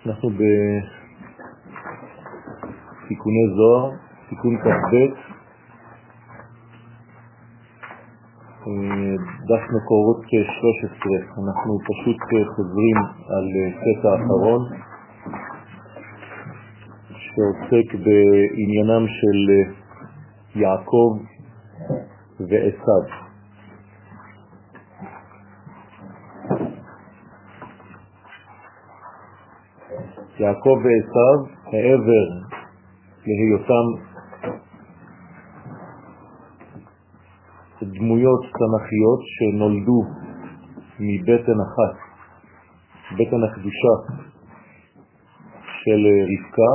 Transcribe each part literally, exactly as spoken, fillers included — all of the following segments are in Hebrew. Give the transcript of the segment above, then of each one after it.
אנחנו בתיקוני זוהר, תיקון כ"ב, דף מקורות שלוש עשרה. אנחנו פשוט חוזרים על קטע האחרון שעוסק בעניינם של יעקב ועשיו. יעקב ועשיו, העבר להיותם דמויות תנ"כיות שנולדו מבטן אחת, בטן הקדושה של רבקה,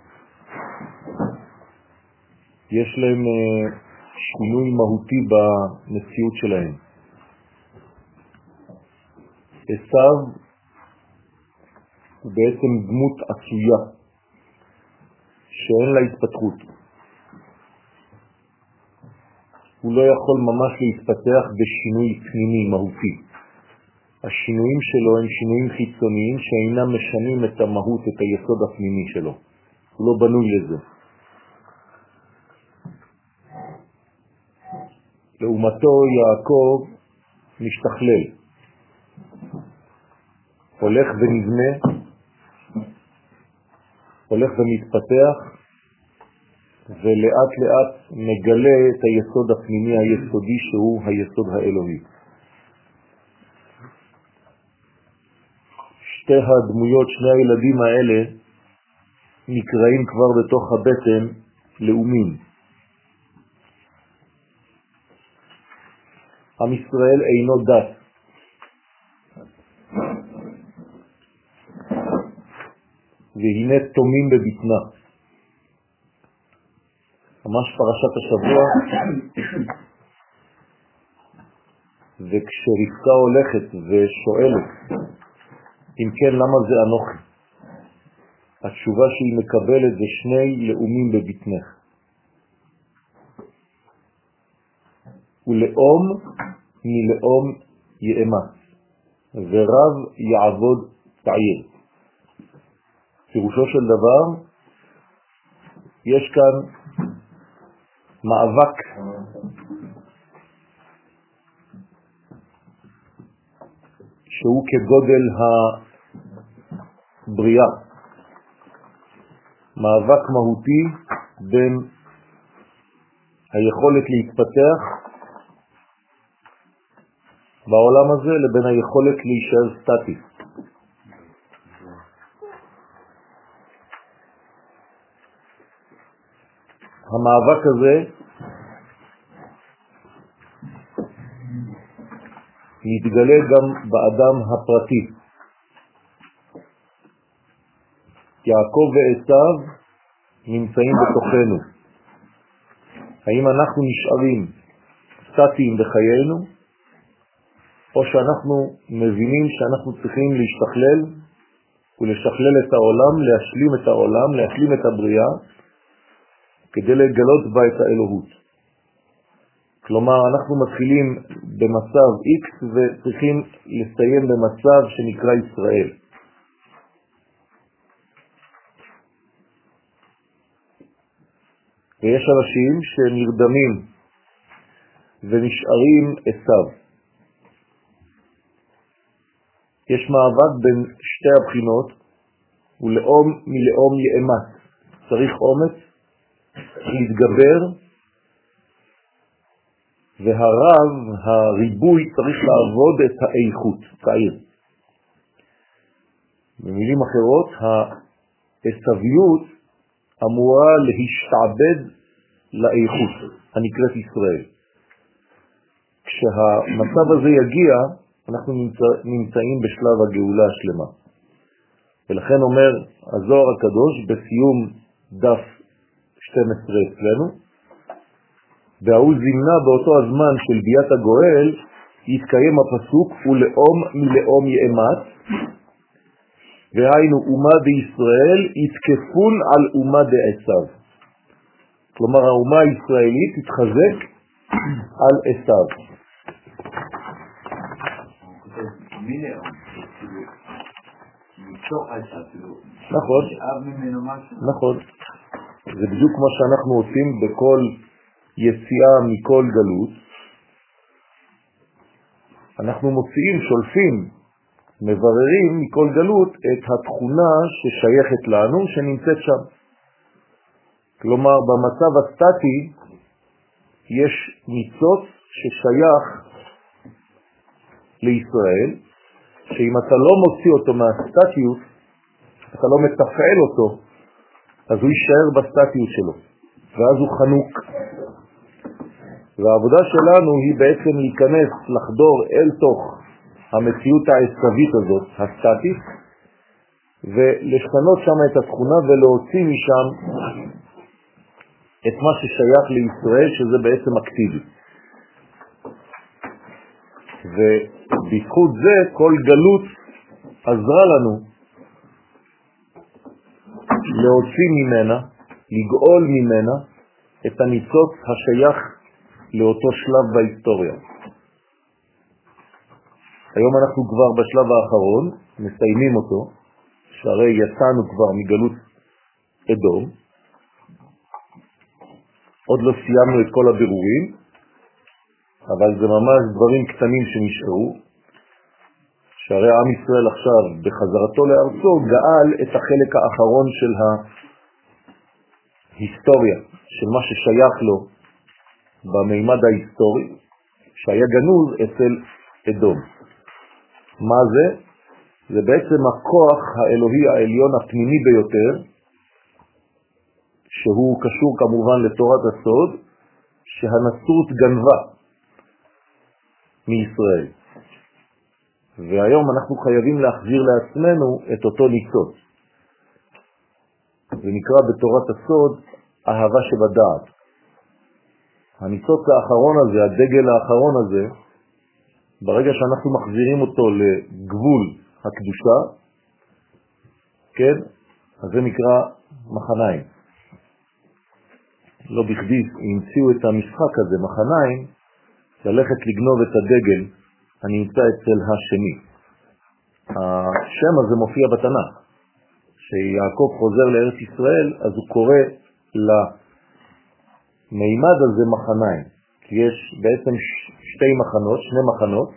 יש להם שינוי מהותי במציאות שלהם. עשיו הוא בעצם דמות עשויה שאין לה התפתחות. הוא לא יכול ממש להתפתח בשינוי פנימי מהותי. השינויים שלו הם שינויים חיצוניים שאינם משנים את המהות, את היסוד הפנימי שלו. הוא לא בנוי לזה. לעומתו יעקב משתכלל, הולך ונבנה, הולך ומתפתח, ולאט לאט מגלה את היסוד הפנימי היסודי שהוא היסוד האלוהי. שתי הדמויות, שני הילדים האלה נקראים כבר בתוך הבטן לאומים. עם ישראל אינו דת. והנה תומים בבטנה. ממש פרשת השבוע. וכשרבקה הולכת ושואלת, אם כן, למה זה אנוכי? התשובה שהיא מקבלת זה שני לאומים בבטנך. ולאום מלאום יאמץ, ורב יעבוד תעיר. פירושו של דבר, יש כאן מאבק שהוא כגודל הבריאה, מאבק מהותי בין היכולת להתפתח בעולם הזה לבין היכולת להישאר סטטי. המאבק הזה מתגלה גם באדם הפרטי. יעקב ועשיו נמצאים בתוכנו. האם אנחנו נשארים סטטיים בחיינו, או שאנחנו מבינים שאנחנו צריכים להשתכלל ולשכלל את העולם, להשלים את העולם, להשלים את הבריאה, כדי לגלות בה את האלוהות. כלומר, אנחנו מתחילים במצב X וצריכים לסיים במצב שנקרא ישראל. ויש אנשים שנרדמים ונשארים עשיו. יש מאבק בין שתי הבחינות, ולאום מלאום יאמץ. צריך אומץ להתגבר, והרב, הריבוי, צריך לעבוד את האיכות, תאיר. במילים אחרות, העשוויות אמורה להשתעבד לאיכות, הנקראת ישראל. כשהמצב הזה יגיע, אנחנו נמצא, נמצאים בשלב הגאולה השלמה. ולכן אומר הזוהר הקדוש בסיום דף שתים עשרה אצלנו, והוא זימנה באותו הזמן של ביאת הגואל, יתקיים הפסוק, ולאום מלאום יאמץ, והיינו אומה בישראל יתקפון על אומה דעשיו. כלומר, האומה הישראלית תתחזק על עשיו. מתוך העסק, נכון, נכון. זה בדיוק מה שאנחנו עושים בכל יציאה מכל גלות. אנחנו מוציאים, שולפים, מבררים מכל גלות את התכונה ששייכת לנו, שנמצאת שם. כלומר, במצב הסטטי יש ניצוץ ששייך לישראל, שאם אתה לא מוציא אותו מהסטטיות, אתה לא מתפעל אותו, אז הוא יישאר בסטטיות שלו, ואז הוא חנוק. והעבודה שלנו היא בעצם להיכנס, לחדור אל תוך המציאות העצבית הזאת, הסטטית, ולשנות שם את התכונה ולהוציא משם את מה ששייך לישראל, שזה בעצם אקטיבי. ובזכות זה כל גלות עזרה לנו להוציא ממנה, לגאול ממנה את הניצוץ השייך לאותו שלב בהיסטוריה. היום אנחנו כבר בשלב האחרון, מסיימים אותו, שהרי יצאנו כבר מגלות אדום, עוד לא סיימנו את כל הבירורים, אבל זה ממש דברים קטנים שנשארו, שהרי עם ישראל עכשיו בחזרתו לארצו גאל את החלק האחרון של ההיסטוריה, של מה ששייך לו במימד ההיסטורי, שהיה גנוז אצל אדום. מה זה? זה בעצם הכוח האלוהי העליון הפנימי ביותר, שהוא קשור כמובן לתורת הסוד, שהנצרות גנבה מישראל. והיום אנחנו חייבים להחזיר לעצמנו את אותו ניצוץ. זה נקרא בתורת הסוד אהבה שבדעת. הניצוץ האחרון הזה, הדגל האחרון הזה, ברגע שאנחנו מחזירים אותו לגבול הקדושה, כן, אז זה נקרא מחניים. לא בכדי המציאו את המשחק הזה, מחניים, ללכת לגנוב את הדגל הנמצא אצל השני. השם הזה מופיע בתנ"ך. כשיעקב חוזר לארץ ישראל, אז הוא קורא למימד הזה מחניים. כי יש בעצם שתי מחנות, שני מחנות,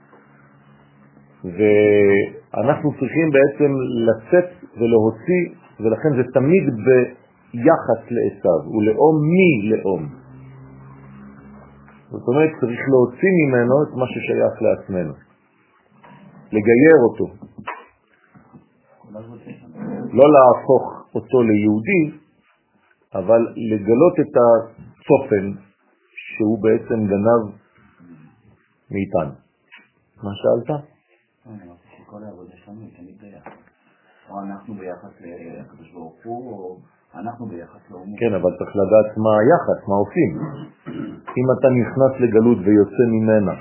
ואנחנו צריכים בעצם לצאת ולהוציא, ולכן זה תמיד ביחס לעשיו, ולאום מי לאום. זאת אומרת, צריך להוציא ממנו את מה ששייך לעצמנו. לגייר אותו. לא להפוך אותו ליהודי, אבל לגלות את הצופן שהוא בעצם גנב מאיתנו. מה שאלת? אני רוצה שכל העבודה שלנו היא תמיד ביחד. או אנחנו ביחס לקדוש ברוך הוא, או אנחנו ביחס לאומו. כן, אבל צריך לדעת מה היחס, מה עושים. אם אתה נכנס לגלות ויוצא ממנה,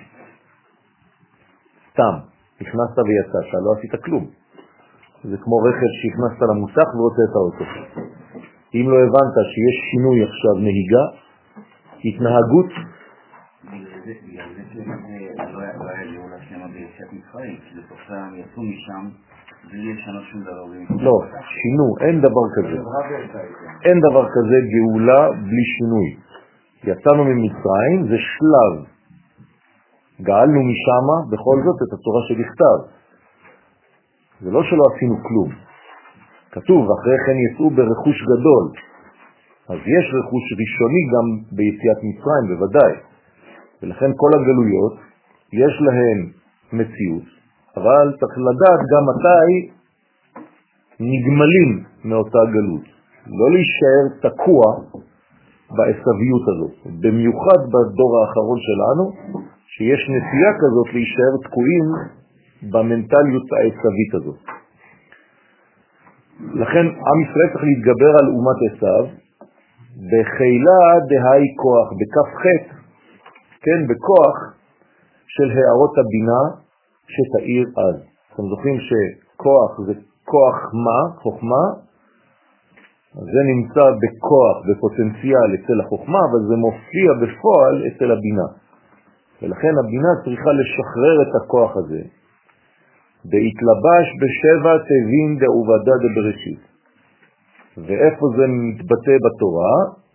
סתם, נכנסת ויצאת, לא עשית כלום. זה כמו רכב שהכנסת למוסך והוצאת אותו. אם לא הבנת שיש שינוי עכשיו נהיגה, התנהגות, בגלל זה שלא היה גאולה שלמה ביציאת מצרים, כי בסופם יצאו משם בלי לשנות שום דבר. לא, שינו, אין דבר כזה. אין דבר כזה גאולה בלי שינוי. יצאנו ממצרים, זה שלב. גאלנו משם בכל זאת את התורה שבכתב. זה לא שלא עשינו כלום. כתוב, אחרי כן יצאו ברכוש גדול. אז יש רכוש ראשוני גם ביציאת מצרים, בוודאי. ולכן כל הגלויות יש להן מציאות, אבל צריך לדעת גם מתי נגמלים מאותה גלות. לא להישאר תקוע בעשביות הזאת. במיוחד בדור האחרון שלנו, שיש נטייה כזאת להישאר תקועים במנטליות העשבית הזאת. לכן עם ישראל צריך להתגבר על אומת עשיו, בחילה דהי כוח, בכף חטא, כן, בכוח של הערות הבינה שתאיר אז. אתם זוכרים שכוח זה כוח מה, חוכמה, זה נמצא בכוח, בפוטנציאל אצל החוכמה, אבל זה מופיע בפועל אצל הבינה. ולכן הבינה צריכה לשחרר את הכוח הזה, בהתלבש בשבע תבין דעובדה דבראשית. ואיפה זה מתבטא בתורה?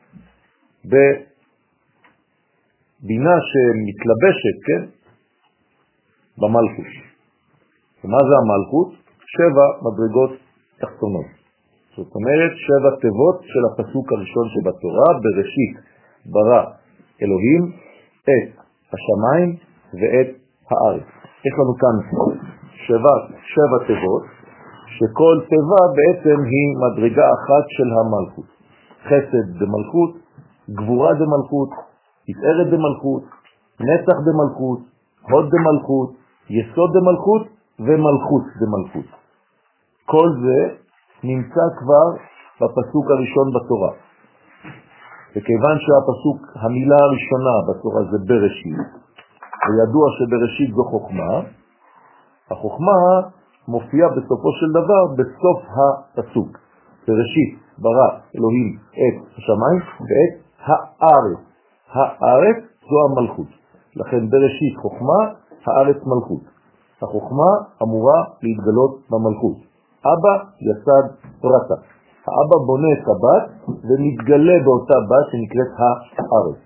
בבינה שמתלבשת, כן? במלכות. ומה זה המלכות? שבע מדרגות תחתונות. זאת אומרת, שבע תיבות של הפסוק הראשון שבתורה, בראשית ברא אלוהים את השמיים ואת הארץ. יש לנו כאן שבע, שבע תיבות, שכל תיבה בעצם היא מדרגה אחת של המלכות. חסד דמלכות, גבורה דמלכות, תפארת דמלכות, נצח דמלכות, הוד דמלכות, יסוד דמלכות ומלכות דמלכות. כל זה נמצא כבר בפסוק הראשון בתורה. וכיוון שהפסוק, המילה הראשונה בתורה זה בראשית, וידוע שבראשית זו חוכמה, החוכמה מופיעה בסופו של דבר בסוף הפסוק. בראשית ברא אלוהים את השמיים ואת הארץ. הארץ זו המלכות. לכן בראשית חוכמה, הארץ מלכות. החוכמה אמורה להתגלות במלכות. אבא יסד פרטה. האבא בונה את הבת ומתגלה באותה בת שנקראת הארץ.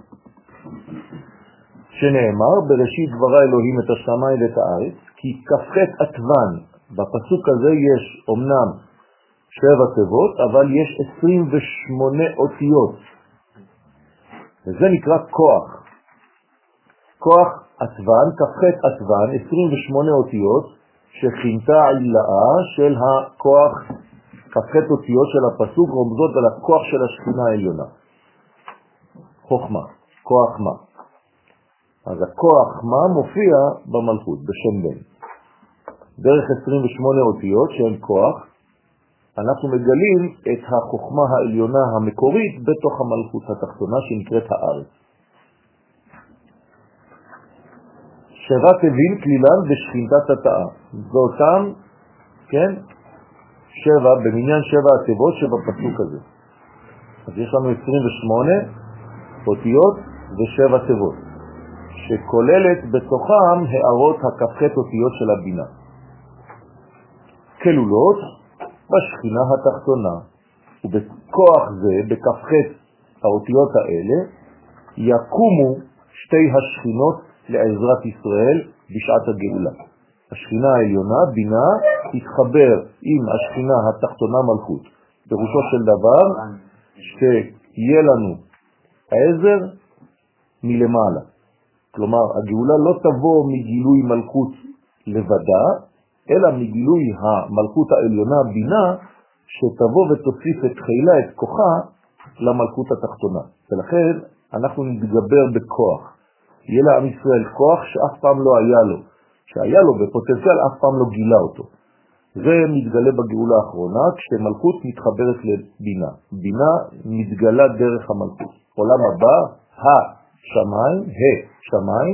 שנאמר, בראשית ברא אלוהים את השמיים ואת הארץ, כי כ"ח עטוון, בפסוק הזה יש אומנם שבע תיבות, אבל יש עשרים ושמונה אותיות. וזה נקרא כוח. כוח עטוון, כ"ח עטוון, עשרים ושמונה אותיות, שכינתה עילאה של הכוח, כ"ח אותיות של הפסוק, רומזות על הכוח של השכינה העליונה. חוכמה, כוח מה. אז הכוח מה מופיע במלכות, בשם בן. דרך עשרים ושמונה אותיות שהן כוח, אנחנו מגלים את החוכמה העליונה המקורית בתוך המלכות התחתונה שנקראת הארץ. שבע תבין כלילן בשכינתת התאה. זאותם, כן, שבע, במניין שבע התיבות שבפסוק הזה. אז יש לנו עשרים ושמונה אותיות ושבע תיבות, שכוללת בתוכם הערות הכ"ח אותיות של הבינה. כלולות בשכינה התחתונה, ובכוח זה, בכ"ח האותיות האלה, יקומו שתי השכינות לעזרת ישראל בשעת הגאולה. השכינה העליונה, בינה, תתחבר עם השכינה התחתונה מלכות. פירושו של דבר שיהיה לנו העזר מלמעלה. כלומר, הגאולה לא תבוא מגילוי מלכות לבדה, אלא מגילוי המלכות העליונה בינה, שתבוא ותוסיף את חילה, את כוחה, למלכות התחתונה. ולכן אנחנו נתגבר בכוח. יהיה לעם ישראל כוח שאף פעם לא היה לו. שהיה לו בפוטנציאל, אף פעם לא גילה אותו. זה מתגלה בגאולה האחרונה, כשמלכות מתחברת לבינה. בינה מתגלה דרך המלכות. עולם הבא, השמיים, השמיים,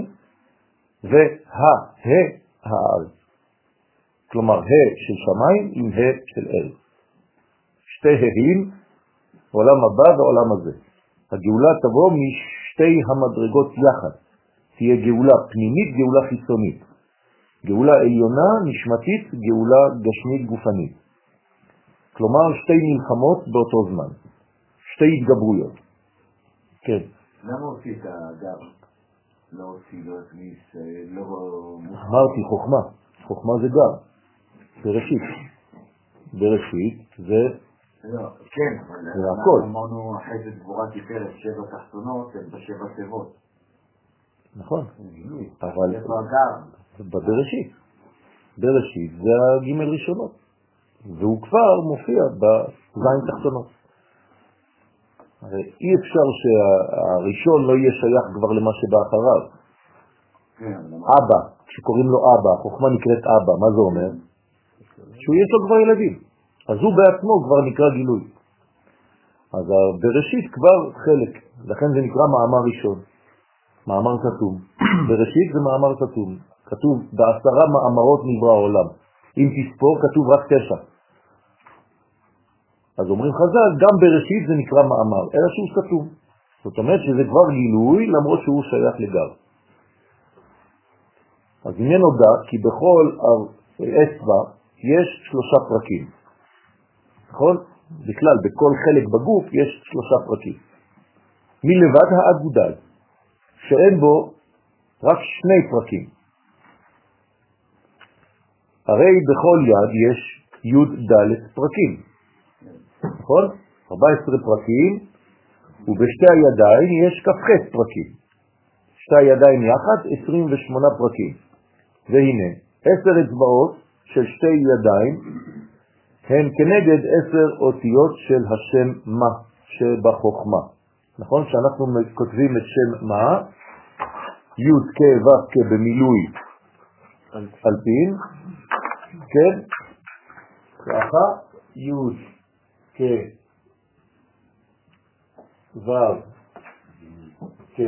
וה-ה, הארץ. כלומר, ה של שמיים עם ה של ארץ. שתי הים, עולם הבא ועולם הזה. הגאולה תבוא משתי המדרגות יחד. תהיה גאולה פנימית, גאולה חיצונית. גאולה עליונה, נשמתית, גאולה גשמית גופנית. כלומר, שתי מלחמות באותו זמן. שתי התגברויות. כן. למה הוציא את הגר? לא הוציא, לא הכניס, לא... אמרתי, חוכמה. חוכמה זה גר. בראשית. בראשית זה... לא, כן, זה הכל. אמרנו אחרי זה גבורה תפארת שבע תחתונות, הם בשבע תיבות. נכון. אבל... איפה הגר? בבראשית. בראשית זה הגימל ראשונות. והוא כבר מופיע בזין תחתונות. הרי אי אפשר שהראשון לא יהיה שייך כבר למה שבא אחריו. אבא, כשקוראים לו אבא, החוכמה נקראת אבא, מה זה אומר? שהוא יש לו כבר ילדים. אז הוא בעצמו כבר נקרא גילוי. אז בראשית כבר חלק, לכן זה נקרא מאמר ראשון. מאמר כתוב. בראשית זה מאמר כתוב. כתוב בעשרה מאמרות נברא העולם. אם תספור כתוב רק תשע. אז אומרים חז"ל, גם בראשית זה נקרא מאמר, אלא שהוא כתוב. זאת אומרת שזה כבר גילוי למרות שהוא שייך לגר. אז הנה נודע כי בכל אצבע, יש שלושה פרקים. נכון? בכלל, בכל חלק בגוף יש שלושה פרקים. מלבד האגודל, שאין בו רק שני פרקים. הרי בכל יד יש י' ד' פרקים. נכון? ארבע עשרה פרקים, ובשתי הידיים יש כ"ח פרקים. שתי הידיים יחד עשרים ושמונה פרקים. והנה, עשר אצבעות של שתי ידיים הן כנגד עשר אותיות של השם מה שבחוכמה. נכון? שאנחנו כותבים את שם מה, י' כ' ו' כ' במילוי אלפין, כן? ככה, י' כ' ו' כ',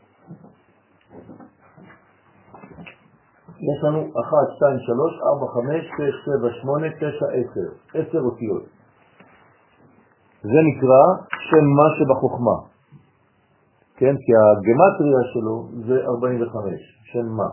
יש לנו אחת, שתיים, שלוש, ארבע, חמש, שש, שבע, שמונה, תשע, עשר. עשר אותיות. זה נקרא שם מה שבחוכמה. כן? כי הגמטריה שלו זה ארבעים וחמש. שם מה.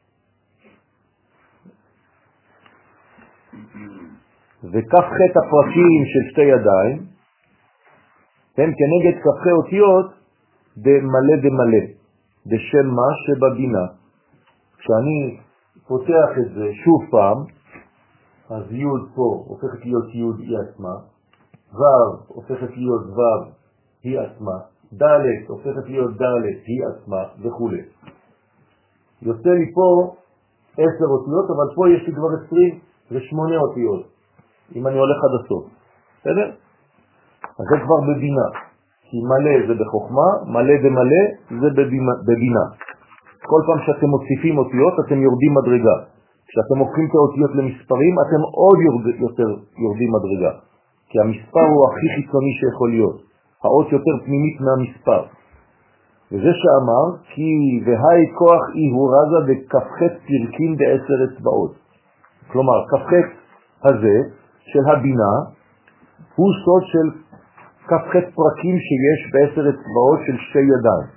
וכף ח' הפרקים של שתי ידיים הם כנגד כף ח' אותיות דמלא דמלא. דשם מה שבבינה. כשאני פותח את זה שוב פעם, אז י' פה הופכת להיות י' היא עצמה, ו' הופכת להיות ו' היא עצמה, ד' הופכת להיות ד' היא עצמה וכו'. יוצא לי פה עשר אותיות, אבל פה יש לי כבר עשרים ושמונה אותיות, אם אני הולך עד הסוף. בסדר? אז זה כבר בבינה, כי מלא זה בחוכמה, מלא דמלא זה בבינה. כל פעם שאתם מוסיפים אותיות, אתם יורדים מדרגה. כשאתם הופכים את האותיות למספרים, אתם עוד יורד, יותר יורדים מדרגה. כי המספר הוא הכי חיצוני שיכול להיות. האות יותר פנימית מהמספר. וזה שאמר, כי והי כוח אי הוא רזה בכ"ח פרקים בעשר אצבעות. כלומר, כ"ח הזה של הבינה, הוא סוד של כ"ח פרקים שיש בעשר אצבעות של שתי ידיים.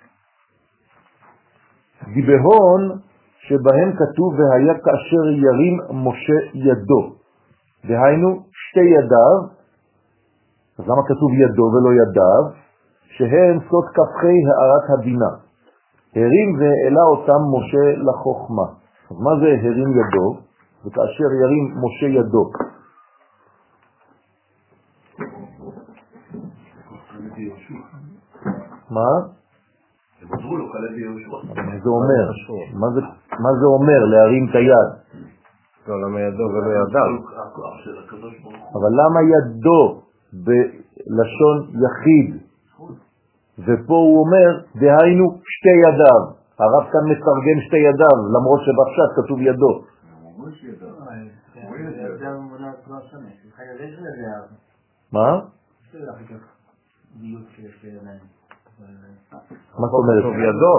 דיבהון שבהם כתוב והיה כאשר ירים משה ידו. דהיינו שתי ידיו, אז למה כתוב ידו ולא ידיו? שהם סוד כ"חי הערת הבינה. הרים והעלה אותם משה לחוכמה. אז מה זה הרים ידו? וכאשר ירים משה ידו. מה? מה זה אומר? מה זה אומר להרים את היד? לא, למה ידו ולא ידיו? אבל למה ידו בלשון יחיד? ופה הוא אומר, דהיינו שתי ידיו. הרב כאן מתרגם שתי ידיו, למרות שבפשט כתוב ידו. מה? מה זאת אומרת? ידו.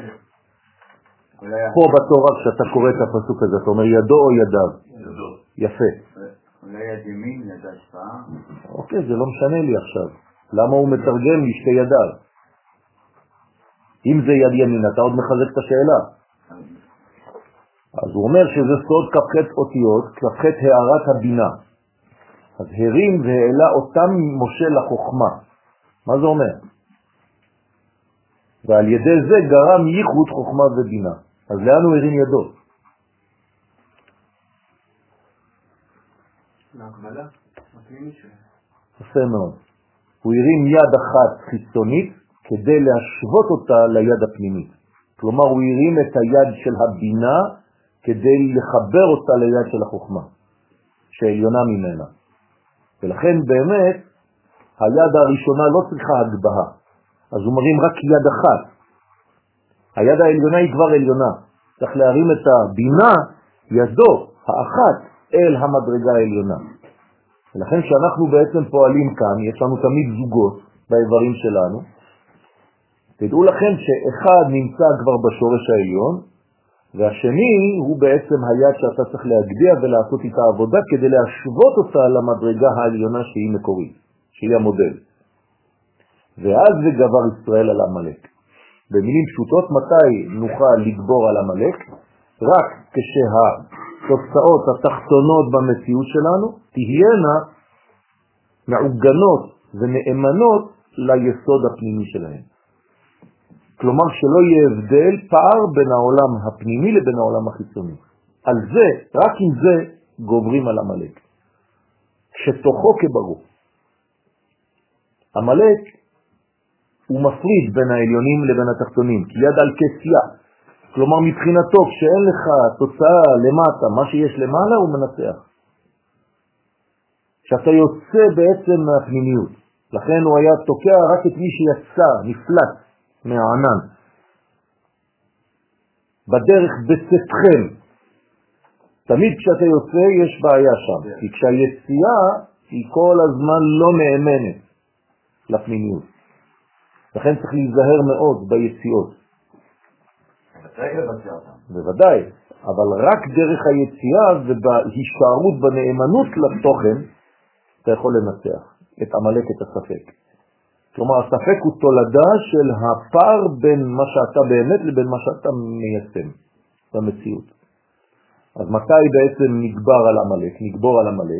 פה בתורה כשאתה קורא את הפסוק הזה, אתה אומר ידו או ידיו? ידו. יפה. אולי יד ימין, יד השפעה. אוקיי, זה לא משנה לי עכשיו. למה הוא מתרגם לי שתי ידיו? אם זה יד ימין, אתה עוד מחזק את השאלה. אז הוא אומר שזה סוד כ"ח אותיות, כ"ח הערת הבינה. אז הרים והעלה אותם משה לחוכמה. מה זה אומר? ועל ידי זה גרם ייחוד חוכמה ובינה. אז לאן הוא הרים ידו? להקבלה, הפנימית שלו. יפה מאוד. הוא הרים יד אחת חיצונית כדי להשוות אותה ליד הפנימית. כלומר, הוא הרים את היד של הבינה כדי לחבר אותה ליד של החוכמה, שעליונה ממנה. ולכן באמת, היד הראשונה לא צריכה הגבהה. אז הוא מרים רק יד אחת. היד העליונה היא כבר עליונה. צריך להרים את הבינה, ידו, האחת, אל המדרגה העליונה. ולכן שאנחנו בעצם פועלים כאן, יש לנו תמיד זוגות באיברים שלנו. תדעו לכם שאחד נמצא כבר בשורש העליון, והשני הוא בעצם היד שאתה צריך להגביה ולעשות איתה עבודה כדי להשוות אותה למדרגה העליונה שהיא מקורית, שהיא המודל. ואז זה גבר ישראל על המלאק. במילים פשוטות, מתי נוכל לגבור על המלאק? רק כשה התוצאות התחתונות במציאות שלנו תהיינה מעוגנות ונאמנות ליסוד הפנימי שלהם. כלומר שלא יהיה הבדל, פער בין העולם הפנימי לבין העולם החיצוני. על זה, רק עם זה גוברים על עמלק. כשתוכו כברור. עמלק הוא מפריד בין העליונים לבין התחתונים, כי יד על כסייה. כלומר מבחינתו, כשאין לך תוצאה למטה, מה שיש למעלה הוא מנצח. כשאתה יוצא בעצם מהפנימיות. לכן הוא היה תוקע רק את מי שיצא, נפלט מהענן. בדרך בצאתכם. תמיד כשאתה יוצא יש בעיה שם, כי כשהיציאה היא כל הזמן לא נאמנת לפנימיות. לכן צריך להיזהר מאוד ביציאות. בוודאי, אבל רק דרך היציאה ובהישארות בנאמנות לתוכן אתה יכול לנצח את עמלק, את הספק. כלומר, הספק הוא תולדה של הפער בין מה שאתה באמת לבין מה שאתה מיישם במציאות. אז מתי בעצם נגבר על עמלק? נגבור על עמלק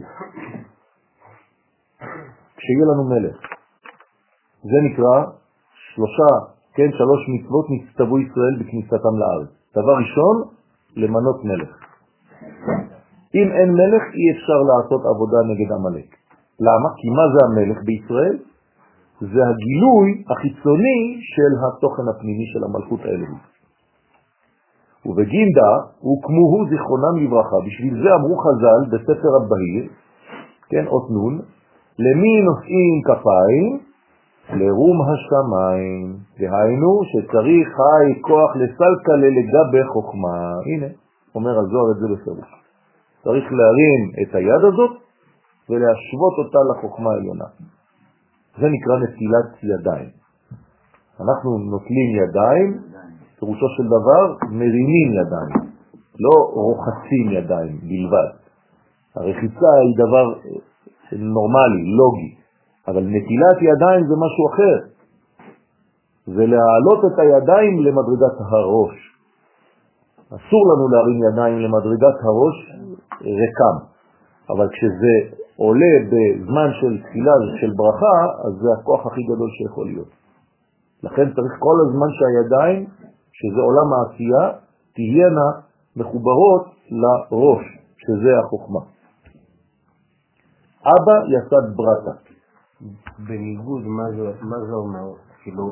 כשיהיה לנו מלך. זה נקרא שלושה, כן, שלוש מצוות נצטוו ישראל בכניסתם לארץ. דבר ראשון, למנות מלך. אם אין מלך, אי אפשר לעשות עבודה נגד עמלק. למה? כי מה זה המלך בישראל? זה הגילוי החיצוני של התוכן הפנימי של המלכות האלוהית. ובגינדה הוקמוהו זיכרונם לברכה. בשביל זה אמרו חז"ל בספר הבהיר, כן, אות נון, למי נושאים כפיים? לרום השמיים. והיינו שצריך חי כוח לסלקה לגבי חוכמה. הנה, אומר הזוהר את זה בפירוש. צריך להרים את היד הזאת ולהשוות אותה לחוכמה העליונה. זה נקרא נטילת ידיים. אנחנו נוטלים ידיים, פירושו של דבר מרימים ידיים, לא רוחצים ידיים בלבד. הרחיצה היא דבר נורמלי, לוגי, אבל נטילת ידיים זה משהו אחר. זה להעלות את הידיים למדרגת הראש. אסור לנו להרים ידיים למדרגת הראש רקם, אבל כשזה עולה בזמן של תפילה של ברכה, אז זה הכוח הכי גדול שיכול להיות. לכן צריך כל הזמן שהידיים, שזה עולם העשייה, תהיינה מחוברות לראש, שזה החוכמה. אבא יסד ברטה. בניגוד, מה זה, מה זה אומר? כאילו,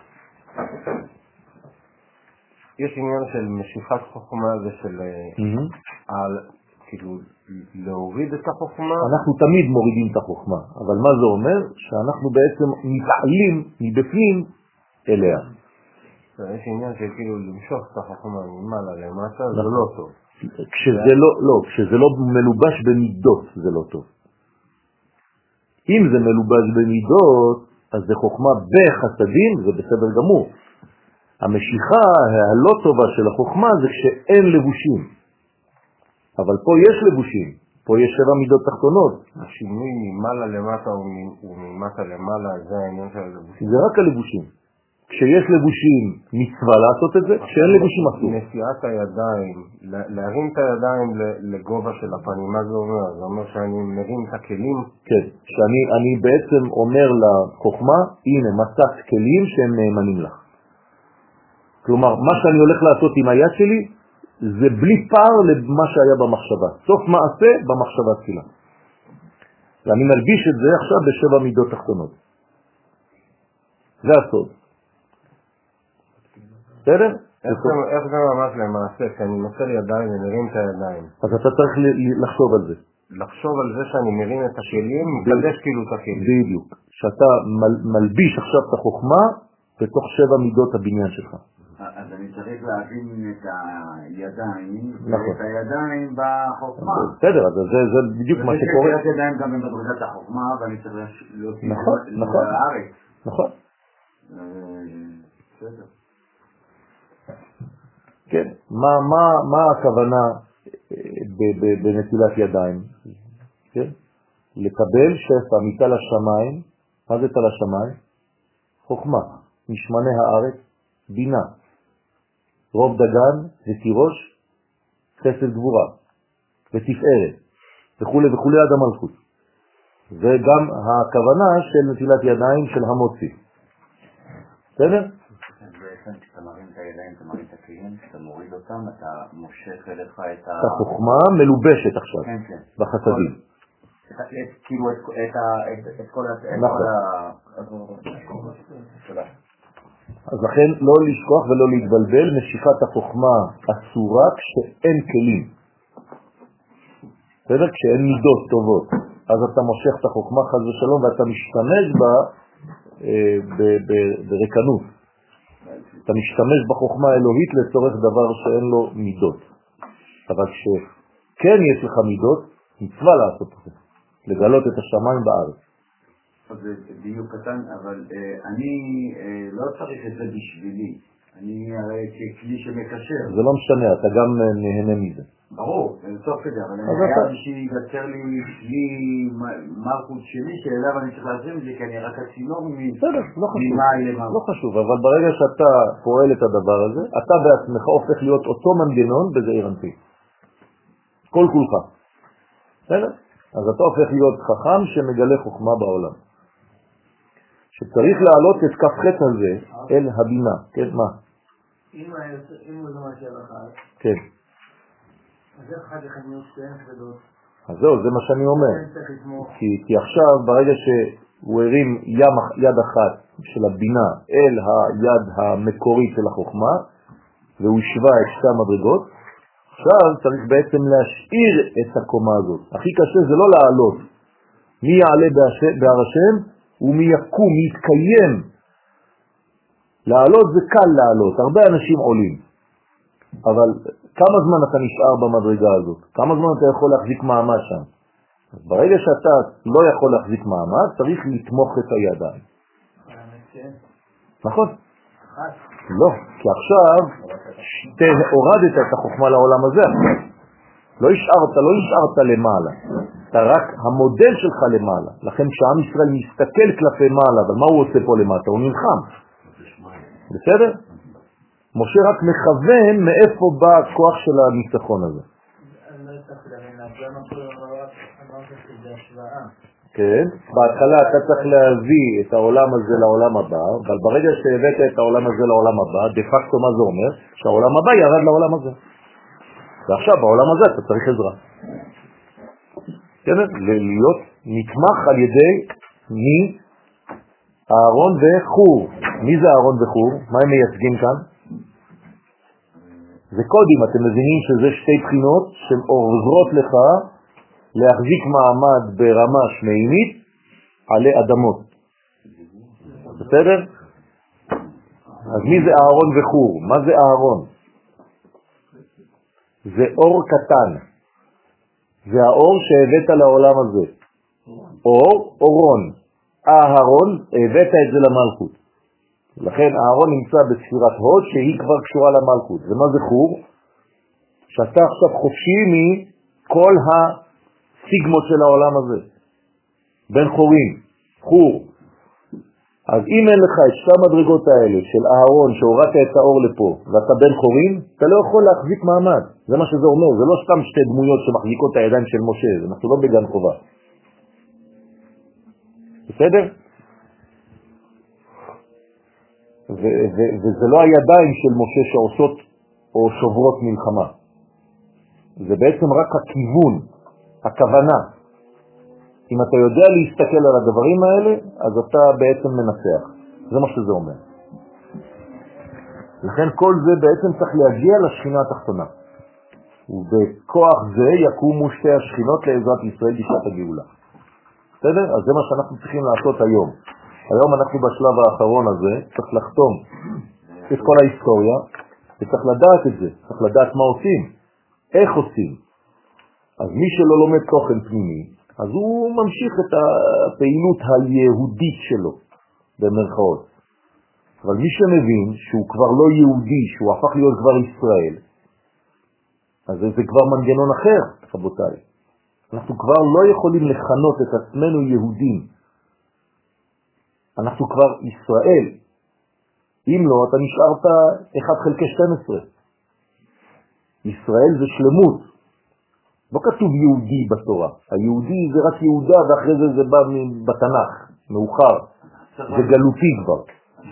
יש עניין של משיכת חוכמה ושל Mm-hmm. על, כאילו, להוריד את החוכמה. אנחנו תמיד מורידים את החוכמה, אבל מה זה אומר? שאנחנו בעצם מתעלים מבפנים אליה. יש עניין של כאילו למשוך את החוכמה ממעלה למטה, זה לא טוב. כשזה לא, לא, כשזה לא מלובש במידות זה לא טוב. אם זה מלובש במידות, אז זה חוכמה בחסדים, זה בסדר גמור. המשיכה הלא טובה של החוכמה זה כשאין לבושים. אבל פה יש לבושים, פה יש שבע מידות תחתונות. השינוי ממעלה למטה וממטה למעלה, זה העניין של הלבושים. זה רק הלבושים. כשיש לבושים מצווה לעשות את זה, כשאין לבושים אסור. נשיאת הידיים, להרים את הידיים לגובה של הפנים, מה זה אומר? זה אומר שאני מרים את הכלים? כן, שאני אני בעצם אומר לחוכמה, הנה מצאת כלים שהם נאמנים לך. כלומר, מה שאני הולך לעשות עם היד שלי, זה בלי פער למה שהיה במחשבה. סוף מעשה במחשבה תחילה. ואני מלביש את זה עכשיו בשבע מידות תחתונות. זה הסוד. בסדר? איך זה ממש למעשה? כשאני מסר ידיים ומרים את הידיים. אז אתה צריך לחשוב על זה. לחשוב על זה שאני מרים את הכלים, מקדש כאילו את הכלים. בדיוק. שאתה מלביש עכשיו את החוכמה בתוך שבע מידות הבניין שלך. אז אני צריך להבין את הידיים, ואת הידיים בחוכמה. בסדר, אז זה בדיוק מה שקורה. וזה ידיים גם במדרגת החוכמה, ואני צריך להוציא לארץ. נכון. בסדר. כן, מה, מה, מה הכוונה בנטילת ידיים? כן? לקבל שפע מתל השמיים. מה זה תל השמיים? חוכמה. משמני הארץ, בינה. רוב דגן ותירוש, חסד גבורה. ותפארת וכו' וכו' עד המלכות. זה גם הכוונה של נטילת ידיים של המוציא. בסדר? בעצם כשאתה מרים את הידיים, אתה מרים את הכלים, כשאתה מוריד אותם, אתה מושך אליך את ה... את החוכמה מלובשת עכשיו, כן, כן. בחסדים. כאילו את כל ה... נכון. תודה. אז לכן לא לשכוח ולא להתבלבל, משיכת החוכמה אסורה כשאין כלים. בסדר? כשאין מידות טובות. אז אתה מושך את החוכמה חס ושלום ואתה משתמש בה אה, ב- ב- ברקנות. אתה משתמש בחוכמה האלוהית לצורך דבר שאין לו מידות. אבל כשכן יש לך מידות, מצווה לעשות את זה. לגלות את השמיים בארץ. זה דיוק קטן, אבל אה, אני אה, לא צריך את זה בשבילי. אני הרי ככלי שמקשר. זה לא משנה, אתה גם נהנה מזה. ברור, זה טוב כזה, אבל אני חייב שיגצר לי כלי מלכות שלי, שאליו אני צריך להזרים את זה, כי אני רק הצינור ממאי למאי. לא חשוב, אבל ברגע שאתה פועל את הדבר הזה, אתה בעצמך הופך להיות אותו מנגנון בזעיר אנפין. כל כולך. בסדר? אז אתה הופך להיות חכם שמגלה חוכמה בעולם. שצריך להעלות את כף חטא הזה אל הבינה. כן, מה? אם הוא לא משאר אחד, כן. אז איך אחד אחד נהיות שתיים כבדות? אז זהו, זה מה שאני אומר. כי, כי עכשיו, ברגע שהוא הרים ים, יד אחת של הבינה אל היד המקורית של החוכמה, והוא השווה את שתי המדרגות, עכשיו צריך בעצם להשאיר את הקומה הזאת. הכי קשה זה לא לעלות. מי יעלה בהר השם ומי יקום, מי יתקיים. לעלות זה קל לעלות, הרבה אנשים עולים. אבל כמה זמן אתה נשאר במדרגה הזאת? כמה זמן אתה יכול להחזיק מעמד שם? אז ברגע שאתה לא יכול להחזיק מעמד, צריך לתמוך את הידיים. נכון? לא, כי עכשיו הורדת את החוכמה לעולם הזה. לא השארת, לא השארת למעלה. אתה רק המודל שלך למעלה. לכן כשעם ישראל מסתכל כלפי מעלה, אבל מה הוא עושה פה למטה? הוא נלחם. בסדר? משה רק מכוון מאיפה בא הכוח של הניצחון הזה. אני לא צריך להבין, למה כל אמרת שזה השוואה? כן, בהתחלה אתה צריך להביא את העולם הזה לעולם הבא, אבל ברגע שהבאת את העולם הזה לעולם הבא, דה פקטו מה זה אומר? שהעולם הבא ירד לעולם הזה. ועכשיו בעולם הזה אתה צריך עזרה. כן, להיות נתמך על ידי מי? אהרון וחור. מי זה אהרון וחור? מה הם מייצגים כאן? זה קודים, אתם מבינים שזה שתי בחינות שעוזרות לך להחזיק מעמד ברמה שמימית עלי אדמות. בסדר? אז מי זה אהרון וחור? מה זה אהרון? זה אור קטן. זה האור שהבאת לעולם הזה. אור, אורון. אהרון, הבאת את זה למלכות. לכן אהרון נמצא בספירת הוד שהיא כבר קשורה למלכות. ומה זה חור? שאתה עכשיו חופשי מכל הסיגמות של העולם הזה. בין חורים, חור. אז אם אין לך את שתי המדרגות האלה של אהרון שהורדת את האור לפה ואתה בין חורים, אתה לא יכול להחזיק מעמד. זה מה שזה אומר. זה לא סתם שתי דמויות שמחזיקות את הידיים של משה. אנחנו לא בגן חובה. בסדר? ו- ו- וזה לא הידיים של משה שעושות או שוברות מלחמה. זה בעצם רק הכיוון, הכוונה. אם אתה יודע להסתכל על הדברים האלה, אז אתה בעצם מנצח. זה מה שזה אומר. לכן כל זה בעצם צריך להגיע לשכינה התחתונה. ובכוח זה יקומו שתי השכינות לעזרת ישראל בשעת הגאולה. בסדר? אז זה מה שאנחנו צריכים לעשות היום. היום אנחנו בשלב האחרון הזה, צריך לחתום את כל ההיסטוריה, וצריך לדעת את זה, צריך לדעת מה עושים, איך עושים. אז מי שלא לומד תוכן פנימי, אז הוא ממשיך את הפעילות היהודית שלו, במרכאות. אבל מי שמבין שהוא כבר לא יהודי, שהוא הפך להיות כבר ישראל, אז זה כבר מנגנון אחר, רבותיי. אנחנו כבר לא יכולים לכנות את עצמנו יהודים. אנחנו כבר ישראל. אם לא, אתה נשארת אחד חלקי שתים עשרה. ישראל זה שלמות. לא כתוב יהודי בתורה. היהודי זה רק יהודה, ואחרי זה זה בא בתנ"ך, מאוחר. זה גלותי כבר.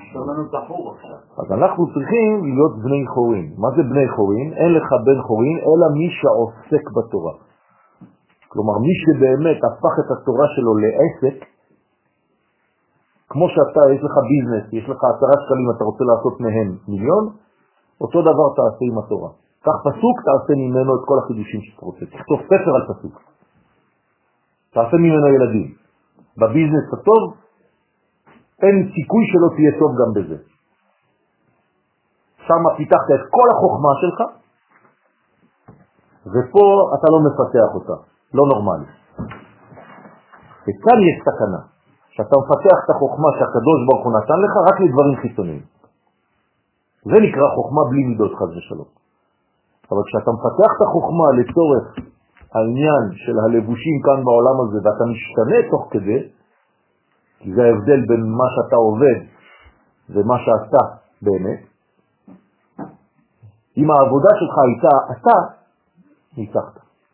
אז אנחנו צריכים להיות בני חורין. מה זה בני חורין? אין לך בן חורין, אלא מי שעוסק בתורה. כלומר, מי שבאמת הפך את התורה שלו לעסק, כמו שאתה, יש לך ביזנס, יש לך עשרה שקלים, אתה רוצה לעשות מהם מיליון, אותו דבר תעשה עם התורה. כך פסוק, תעשה ממנו את כל החידושים שאתה רוצה. תכתוב ספר על פסוק. תעשה ממנו ילדים. בביזנס הטוב, אין סיכוי שלא תהיה טוב גם בזה. שם פיתחת את כל החוכמה שלך, ופה אתה לא מפתח אותה. לא נורמלי. וכאן יש סכנה. שאתה מפתח את החוכמה שהקדוש ברוך הוא נתן לך רק לדברים חיצוניים. זה נקרא חוכמה בלי מידות חס ושלום. אבל כשאתה מפתח את החוכמה לצורך העניין של הלבושים כאן בעולם הזה, ואתה משתנה תוך כדי, כי זה ההבדל בין מה שאתה עובד ומה שאתה באמת, אם העבודה שלך הייתה אתה, ניצחת.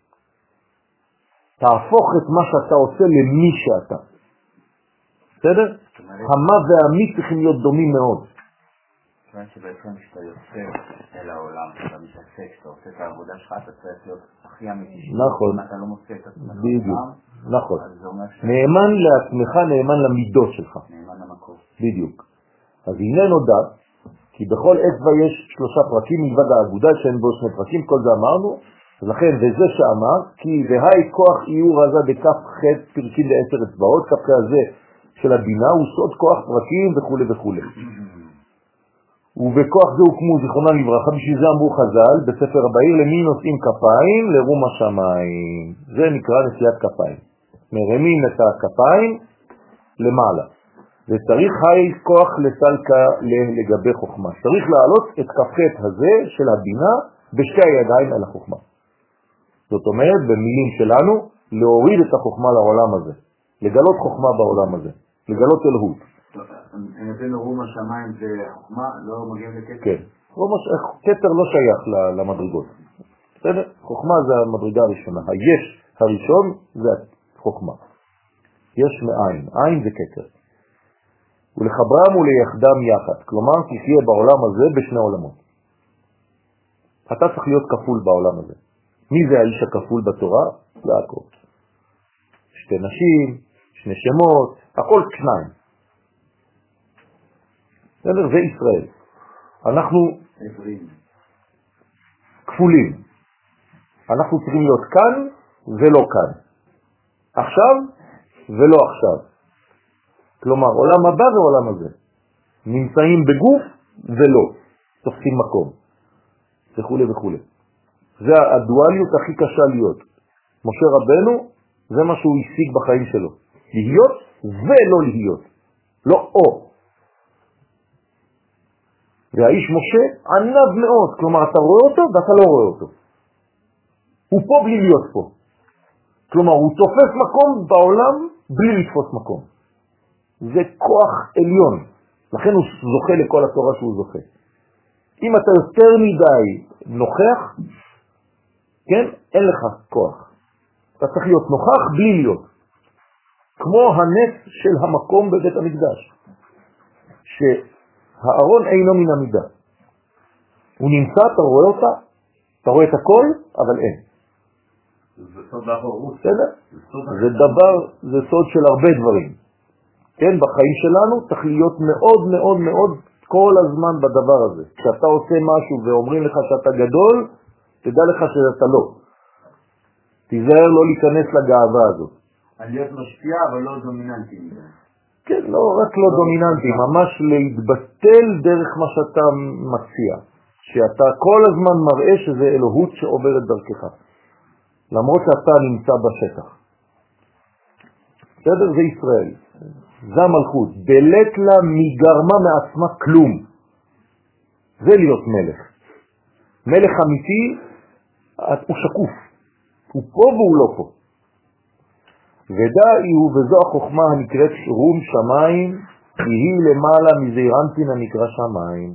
תהפוך את מה שאתה עושה למי שאתה. בסדר? המה והמי צריכים להיות דומים מאוד. זאת אומרת שבעצם כשאתה יוצא אל העולם, כשאתה מתעסק, כשאתה עושה את העבודה שלך, אתה צריך להיות הכי אמיתי. נכון. אם אתה לא מוצא את עצמך. בדיוק. נכון. נאמן לעצמך, נאמן למידות שלך. נאמן למקור. בדיוק. אז הנה נודע, כי בכל אצבע יש שלושה פרקים מלבד האגודה שאין בו שני פרקים, כל זה אמרנו, ולכן, וזה שאמר, כי והי כוח איור הזה בכף ח' פרקים לעשר אצבעות, כף הזה של הבינה הוא סוד כוח פרקים וכו' וכו'. ובכוח זה הוקמו זיכרונם לברכה, בשביל זה אמרו חז"ל בספר הבאיר, למי נושאים כפיים? לרום השמיים. זה נקרא נשיאת כפיים. מרמים את הכפיים למעלה. וצריך היי כוח לסלקה לגבי חוכמה. צריך להעלות את כפת הזה של הבינה בשתי הידיים על החוכמה. זאת אומרת, במילים שלנו, להוריד את החוכמה לעולם הזה. לגלות חוכמה בעולם הזה. לגלות אלוהות. אני נותן רום השמיים זה חוכמה, לא מגיעים לכתר? כן. כתר לא שייך למדרגות. בסדר? חוכמה זה המדרגה הראשונה. היש הראשון זה חוכמה. יש מעין. עין זה כתר. ולחברם וליחדם יחד. כלומר, תחיה בעולם הזה בשני עולמות. אתה צריך להיות כפול בעולם הזה. מי זה האיש הכפול בתורה? יעקב. שתי נשים, שני שמות, הכל שניים. זה ישראל. אנחנו כפולים. אנחנו צריכים להיות כאן ולא כאן. עכשיו ולא עכשיו. כלומר, עולם הבא ועולם הזה. נמצאים בגוף ולא. תופסים מקום. וכו' וכו'. זה הדואליות הכי קשה להיות. משה רבנו, זה מה שהוא השיג בחיים שלו. להיות ולא להיות. לא או. והאיש משה ענב מאוד. כלומר, אתה רואה אותו ואתה לא רואה אותו. הוא פה בלי להיות פה. כלומר, הוא תופס מקום בעולם בלי לתפוס מקום. זה כוח עליון. לכן הוא זוכה לכל התורה שהוא זוכה. אם אתה יותר מדי נוכח, כן, אין לך כוח. אתה צריך להיות נוכח בלי להיות. כמו הנס של המקום בבית המקדש. שהארון אינו מן המידה. הוא נמצא, אתה רואה אותה, אתה רואה את הכל, אבל אין. זה סוד האחרות. זה דבר, זה סוד של הרבה דברים. כן, בחיים שלנו צריך להיות מאוד מאוד מאוד כל הזמן בדבר הזה. כשאתה עושה משהו ואומרים לך שאתה גדול, תדע לך שאתה לא. תיזהר לא להיכנס לגאווה הזאת. על להיות משפיע אבל לא דומיננטי. כן, לא רק לא דומיננטי, ממש להתבטל דרך מה שאתה מציע. שאתה כל הזמן מראה שזה אלוהות שעוברת דרכך. למרות שאתה נמצא בשטח. בסדר? זה ישראל. זה המלכות. בלט לה מגרמה מעצמה כלום. זה להיות מלך. מלך אמיתי, הוא שקוף. הוא פה והוא לא פה. ודאי הוא וזו החוכמה הנקראת רום שמיים, היא למעלה מזעירנטין הנקרא שמיים.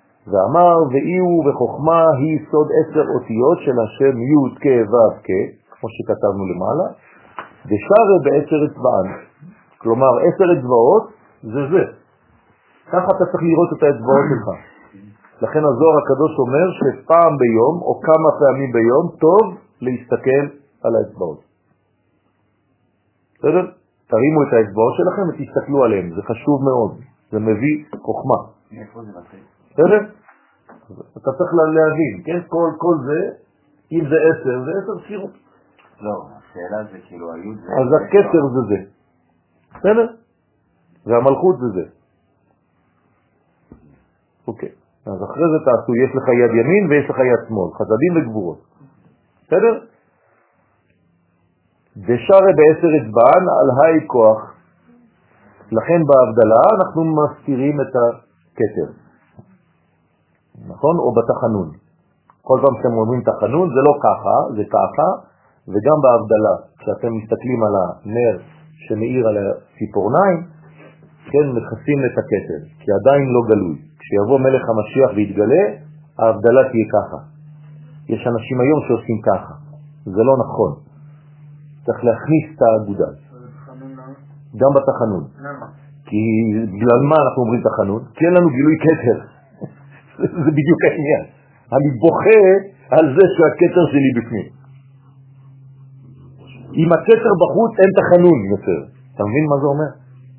ואמר ואי הוא וחוכמה היא סוד עשר אותיות של השם י' כ' ו' כ', כמו שכתבנו למעלה, ושרה בעשר אצבען. כלומר, עשר אצבעות זה זה. ככה אתה צריך לראות את האצבעות שלך. לכן הזוהר הקדוש אומר שפעם ביום או כמה פעמים ביום טוב להסתכל על האצבעות. בסדר? תרימו את האצבעות שלכם ותסתכלו עליהם, זה חשוב מאוד, זה מביא חוכמה. בסדר? אתה צריך להבין, כן? כל, כל זה, אם זה עשר, זה עשר ספירות. לא, השאלה זה כאילו היוד זה... אז הכתר זה זה. בסדר? והמלכות זה זה. אוקיי. אז אחרי זה תעשו, יש לך יד ימין ויש לך יד שמאל, חסדים וגבורות. בסדר? דשרה בעשר אצבען על היי כוח. לכן בהבדלה אנחנו מסתירים את הכתר. נכון? או בתחנון. כל פעם שאתם אומרים תחנון זה לא ככה, זה ככה, וגם בהבדלה, כשאתם מסתכלים על הנר שמאיר על הציפורניים, כן, מכסים את הכתר, כי עדיין לא גלוי. כשיבוא מלך המשיח ויתגלה, ההבדלה תהיה ככה. יש אנשים היום שעושים ככה. זה לא נכון. צריך להכניס את האגודה. גם בתחנון. כי בגלל מה אנחנו אומרים תחנון? כי אין לנו גילוי כתר. זה בדיוק העניין. אני בוכה על זה שהכתר שלי בפנים. אם הכתר בחוץ אין תחנון יותר. אתה מבין מה זה אומר?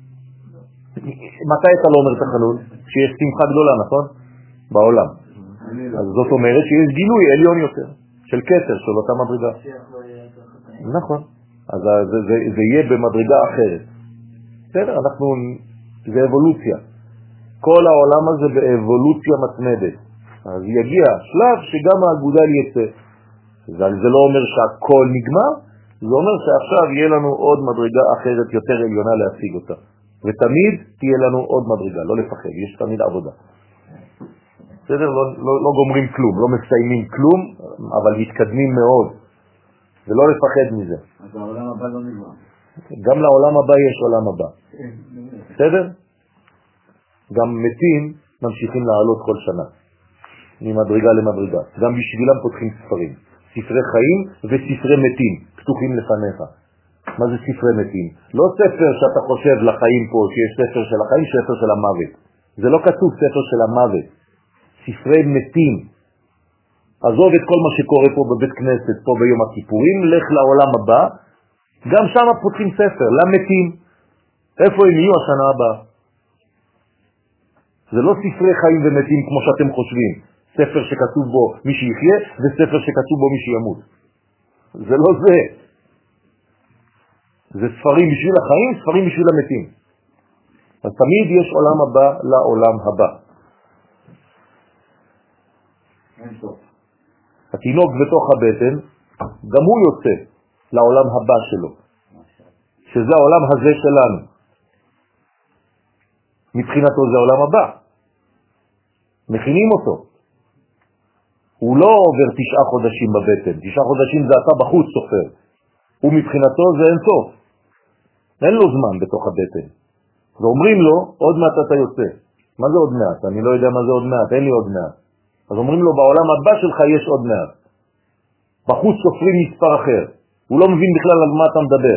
מתי אתה לא אומר תחנון? שיש שמחה גדולה, נכון? בעולם. אז זאת אומרת שיש גילוי עליון יותר, של כתר, של אותה מדרגה. נכון. אז זה, זה, זה יהיה במדרגה אחרת. בסדר? אנחנו, זה אבולוציה. כל העולם הזה באבולוציה מתמדת. אז יגיע שלב שגם האגודל יצא. זה לא אומר שהכל נגמר, זה אומר שעכשיו יהיה לנו עוד מדרגה אחרת יותר עליונה להשיג אותה. ותמיד תהיה לנו עוד מדרגה, לא לפחד, יש תמיד עבודה. בסדר? לא, לא, לא גומרים כלום, לא מסיימים כלום, אבל מתקדמים מאוד. ולא לפחד מזה. אז העולם הבא לא נגמר. גם לעולם הבא יש עולם הבא. בסדר? גם מתים ממשיכים לעלות כל שנה. ממדרגה למדרגה. גם בשבילם פותחים ספרים. ספרי חיים וספרי מתים, פתוחים לפניך. מה זה ספרי מתים? לא ספר שאתה חושב לחיים פה, שיש ספר של החיים, ספר של המוות. זה לא כתוב ספר של המוות. ספרי מתים. עזוב את כל מה שקורה פה בבית כנסת, פה ביום הכיפורים, לך לעולם הבא. גם שם פותחים ספר, למתים. איפה הם יהיו השנה הבאה? זה לא ספרי חיים ומתים כמו שאתם חושבים. ספר שכתוב בו מי שיחיה, וספר שכתוב בו מי שימות. זה לא זה. זה ספרים בשביל החיים, ספרים בשביל המתים. אז תמיד יש עולם הבא לעולם הבא. התינוק בתוך הבטן, גם הוא יוצא לעולם הבא שלו, שזה העולם הזה שלנו. מבחינתו זה העולם הבא. מכינים אותו. הוא לא עובר תשעה חודשים בבטן. תשעה חודשים זה אתה בחוץ סופר. ומבחינתו זה אין סוף. אין לו זמן בתוך הבטן. ואומרים לו, עוד מעט אתה יוצא. מה זה עוד מעט? אני לא יודע מה זה עוד מעט, אין לי עוד מעט. אז אומרים לו, בעולם הבא שלך יש עוד מעט. בחוץ סופרים מספר אחר. הוא לא מבין בכלל על מה אתה מדבר.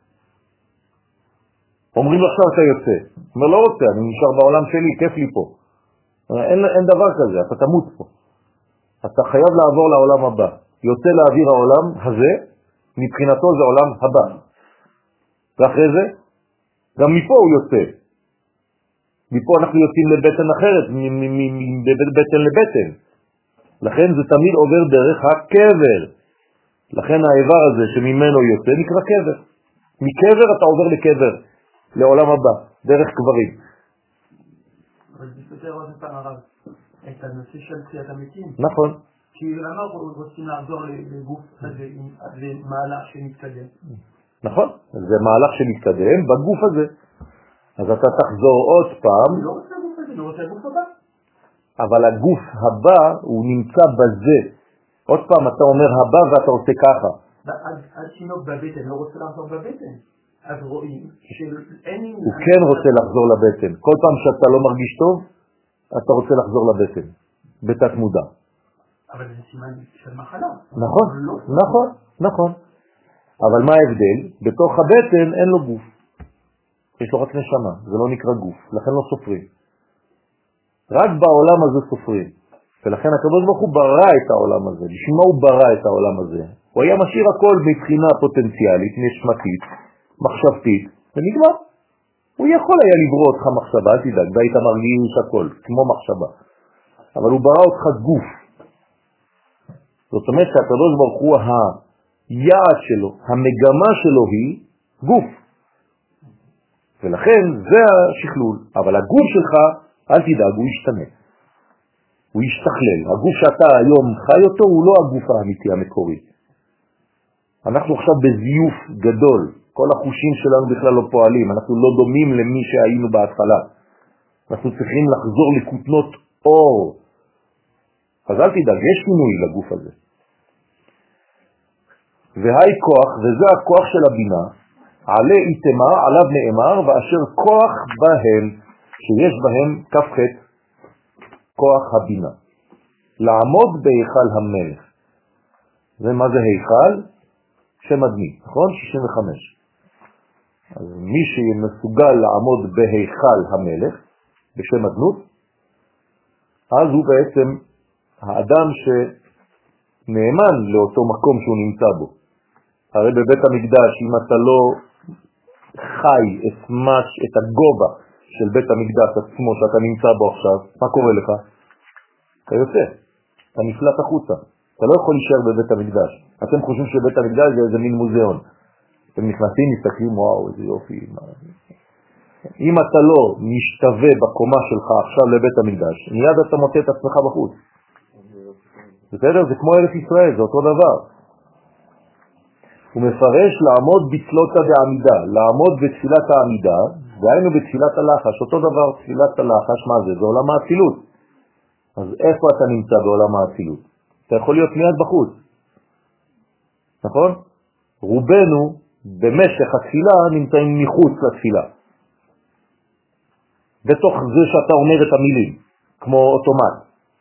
אומרים לו, עכשיו אתה יוצא. הוא אומר, לא רוצה, אני נשאר בעולם שלי, כיף לי פה. אין, אין דבר כזה, אתה תמות פה. אתה חייב לעבור לעולם הבא. יוצא לאוויר העולם הזה, מבחינתו זה עולם הבא. ואחרי זה, גם מפה הוא יוצא. מפה אנחנו יוצאים לבטן אחרת, מבטן לבטן. לכן זה תמיד עובר דרך הקבר. לכן האיבר הזה שממנו יוצא נקרא קבר. מקבר אתה עובר לקבר, לעולם הבא, דרך קברים. אבל זה סותר עוד פעם הרב, את הנושא של תחיית המתים. נכון. כי למה רוצים לעזור לגוף הזה, זה מהלך שמתקדם. נכון, זה מהלך שמתקדם בגוף הזה. אז אתה תחזור עוד פעם. אני לא רוצה הגוף הזה, אני רוצה הגוף הבא. אבל הגוף הבא הוא נמצא בזה. עוד פעם אתה אומר הבא ואתה עושה ככה. עד שינוק בבטן, לא רוצה לחזור בבטן. אז רואים שאין... הוא כן רוצה לחזור לבטן. כל פעם שאתה לא מרגיש טוב, אתה רוצה לחזור לבטן. בתת מודע. אבל זה סימן של מחלה. נכון, נכון, נכון. אבל מה ההבדל? בתוך הבטן אין לו גוף. יש לו רק נשמה, זה לא נקרא גוף, לכן לא סופרים. רק בעולם הזה סופרים. ולכן הקדוש ברוך הוא ברא את העולם הזה. בשביל מה הוא ברא את העולם הזה? הוא היה משאיר הכל מבחינה פוטנציאלית, נשמתית, מחשבתית, ונגמר. הוא יכול היה לברוא אותך מחשבה, אל תדאג, והיית מרגיש הכל, כמו מחשבה. אבל הוא ברא אותך גוף. זאת אומרת שהקדוש ברוך הוא, היעד שלו, המגמה שלו היא גוף. ולכן זה השכלול. אבל הגוף שלך, אל תדאג, הוא ישתנה. הוא ישתכלל. הגוף שאתה היום חי אותו הוא לא הגוף האמיתי המקורי. אנחנו עכשיו בזיוף גדול. כל החושים שלנו בכלל לא פועלים. אנחנו לא דומים למי שהיינו בהתחלה. אנחנו צריכים לחזור לכותנות אור. אז אל תדאג, יש שינוי לגוף הזה. והי כוח, וזה הכוח של הבינה, עלי איתמה, עליו נאמר, ואשר כוח בהם, שיש בהם כפחת, כוח הבינה. לעמוד בהיכל המלך. ומה זה היכל? שם אדמי, נכון? שישים וחמש. אז מי שמסוגל לעמוד בהיכל המלך, בשם אדנות, אז הוא בעצם האדם שנאמן לאותו מקום שהוא נמצא בו. הרי בבית המקדש, אם אתה לא חי את, מש, את הגובה של בית המקדש עצמו שאתה נמצא בו עכשיו, מה קורה לך? אתה יוצא, אתה נפלט החוצה. אתה לא יכול להישאר בבית המקדש. אתם חושבים שבית המקדש זה איזה מין מוזיאון. אתם נכנסים, מסתכלים, וואו, איזה יופי. אם אתה לא משתווה בקומה שלך עכשיו לבית המקדש, מיד אתה מוצא את עצמך בחוץ. בסדר? זה כמו ארץ ישראל, זה אותו דבר. הוא מפרש לעמוד בתפילות בעמידה, לעמוד בתפילת העמידה, והיינו בתפילת הלחש, אותו דבר תפילת הלחש, מה זה? זה עולם האצילות. אז איפה אתה נמצא בעולם האצילות? אתה יכול להיות מיד בחוץ. נכון? רובנו במשך התפילה נמצאים מחוץ לתפילה. בתוך זה שאתה אומר את המילים, כמו אוטומט.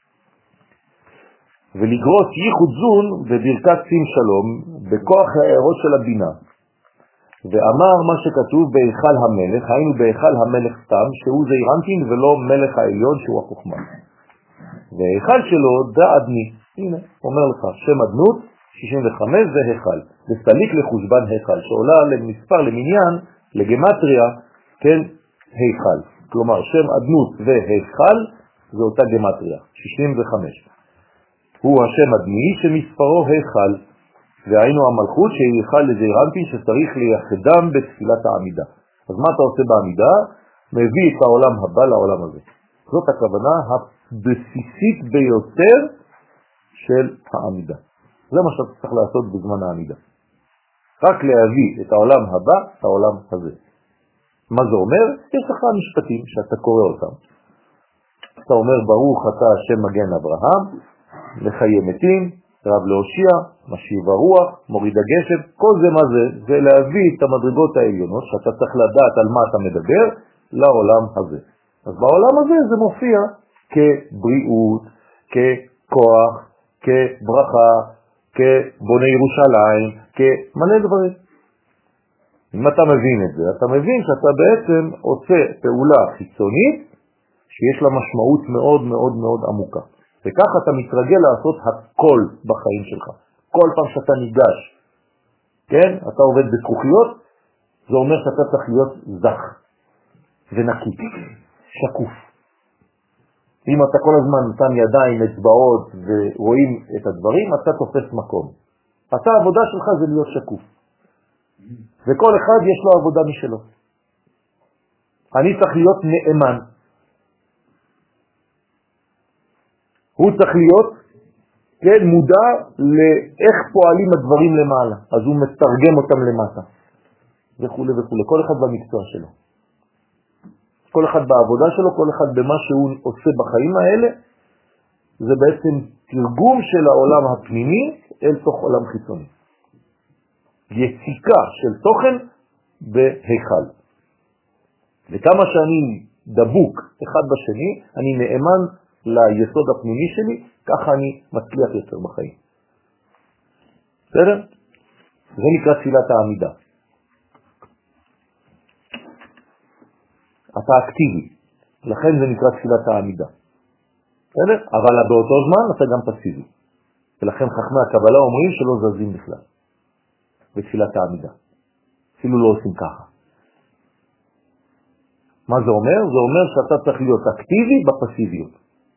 ולגרוס ייחוד זון בברכת שים שלום בכוח הערות של הבינה. ואמר מה שכתוב בהיכל המלך, היינו בהיכל המלך סתם, שהוא זעיר אנפין ולא מלך העליון שהוא החוכמה. וההיכל שלו דאדני, הנה, אומר לך, שם אדנות, שישים וחמש זה היכל. וסליק לחושבן היכל, שעולה למספר למניין, לגמטריה, כן, היכל. כלומר, שם אדנות והיכל זה אותה גמטריה, שישים וחמש. הוא השם אדמי שמספרו היכל, והיינו המלכות שהיא היכל לזעיר אנפין שצריך לייחדם בתפילת העמידה. אז מה אתה עושה בעמידה? מביא את העולם הבא לעולם הזה. זאת הכוונה הבסיסית ביותר של העמידה. זה מה שאתה צריך לעשות בזמן העמידה. רק להביא את העולם הבא, את העולם הזה. מה זה אומר? יש לך משפטים שאתה קורא אותם. אתה אומר ברוך אתה השם מגן אברהם, לחיי מתים, רב להושיע, משיב הרוח, מוריד הגשם, כל זה מה זה? זה להביא את המדרגות העליונות שאתה צריך לדעת על מה אתה מדבר לעולם הזה. אז בעולם הזה זה מופיע כבריאות, ככוח, כברכה, כבוני ירושלים, כמלא דברים. אם אתה מבין את זה, אתה מבין שאתה בעצם עושה פעולה חיצונית שיש לה משמעות מאוד מאוד מאוד עמוקה. וככה אתה מתרגל לעשות הכל בחיים שלך. כל פעם שאתה ניגש, כן? אתה עובד בזכוכיות, זה אומר שאתה צריך להיות זך ונקי, שקוף. אם אתה כל הזמן נתן ידיים, אצבעות ורואים את הדברים, אתה תופס מקום. אתה העבודה שלך זה להיות שקוף. וכל אחד יש לו עבודה משלו. אני צריך להיות נאמן. הוא צריך להיות כן, מודע לאיך פועלים הדברים למעלה. אז הוא מתרגם אותם למטה. וכו' וכו'. כל אחד במקצוע שלו. כל אחד בעבודה שלו, כל אחד במה שהוא עושה בחיים האלה, זה בעצם תרגום של העולם הפנימי אל תוך עולם חיצוני. יציקה של תוכן בהיכל. וכמה שאני דבוק אחד בשני, אני נאמן ליסוד הפנימי שלי, ככה אני מצליח יותר בחיים. בסדר? זה נקרא תפילת העמידה. אתה אקטיבי, לכן זה נקרא תפילת העמידה. בסדר? אבל באותו זמן אתה גם פסיבי. ולכן חכמי הקבלה אומרים שלא זזים בכלל בתפילת העמידה. אפילו לא עושים ככה. מה זה אומר? זה אומר שאתה צריך להיות אקטיבי בפסיביות.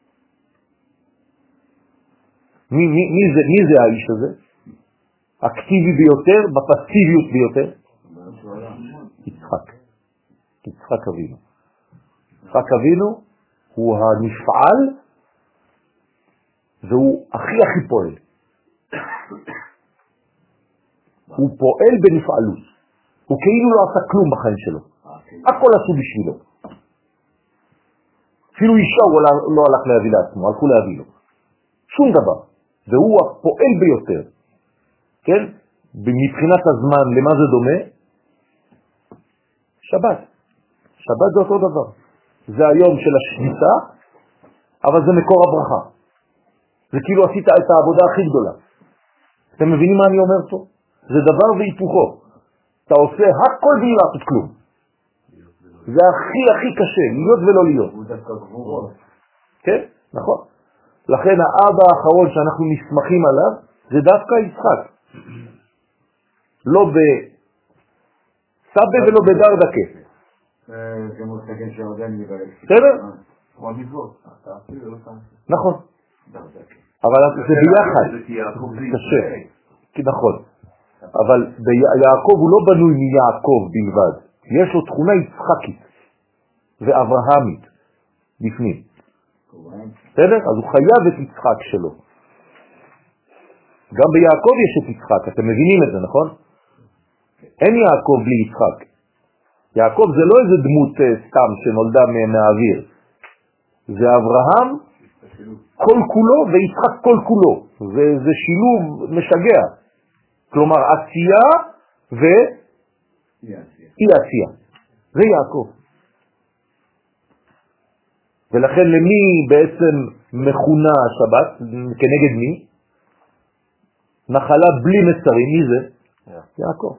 מי, מי, מי, זה, מי זה האיש הזה? אקטיבי ביותר, בפסיביות ביותר? יצחק. יצחק אבינו. יצחק אבינו הוא הנפעל והוא הכי הכי פועל. הוא פועל בנפעלות. הוא כאילו לא עשה כלום בחיים שלו. הכל עשו בשבילו. אפילו אישה הוא לא הלך להביא לעצמו, הלכו להביא לו. שום דבר. והוא הפועל ביותר. כן? מבחינת הזמן, למה זה דומה? שבת. שבת זה אותו דבר. זה היום של השביתה, אבל זה מקור הברכה. זה כאילו עשית את העבודה הכי גדולה. אתם מבינים מה אני אומר פה? זה דבר והיפוכו. אתה עושה הכל בלי לעשות כלום. זה הכי הכי קשה, להיות ולא להיות. הוא דווקא גבורות. כן, נכון. לכן האבא האחרון שאנחנו נסמכים עליו, זה דווקא יצחק. לא בסבא ולא בדרדקה. זה מושגים שעודן מבלק. בסדר? כמו המצוות. אתה אפילו לא פעם. נכון. אבל זה ביחד. קשה. נכון. אבל יעקב הוא לא בנוי מיעקב בלבד. יש לו תכונה יצחקית ואברהמית בפנים. בסדר? אז הוא חייב את יצחק שלו. גם ביעקב יש את יצחק, אתם מבינים את זה, נכון? אין יעקב בלי יצחק. יעקב זה לא איזה דמות סתם שנולדה מהאוויר. זה אברהם כל כולו ויצחק כל כולו. זה, זה שילוב משגע. כלומר עשייה ואי עשייה. זה יעקב. ולכן למי בעצם מכונה השבת? כנגד מי? נחלה בלי מצרים. מי זה? יעקב.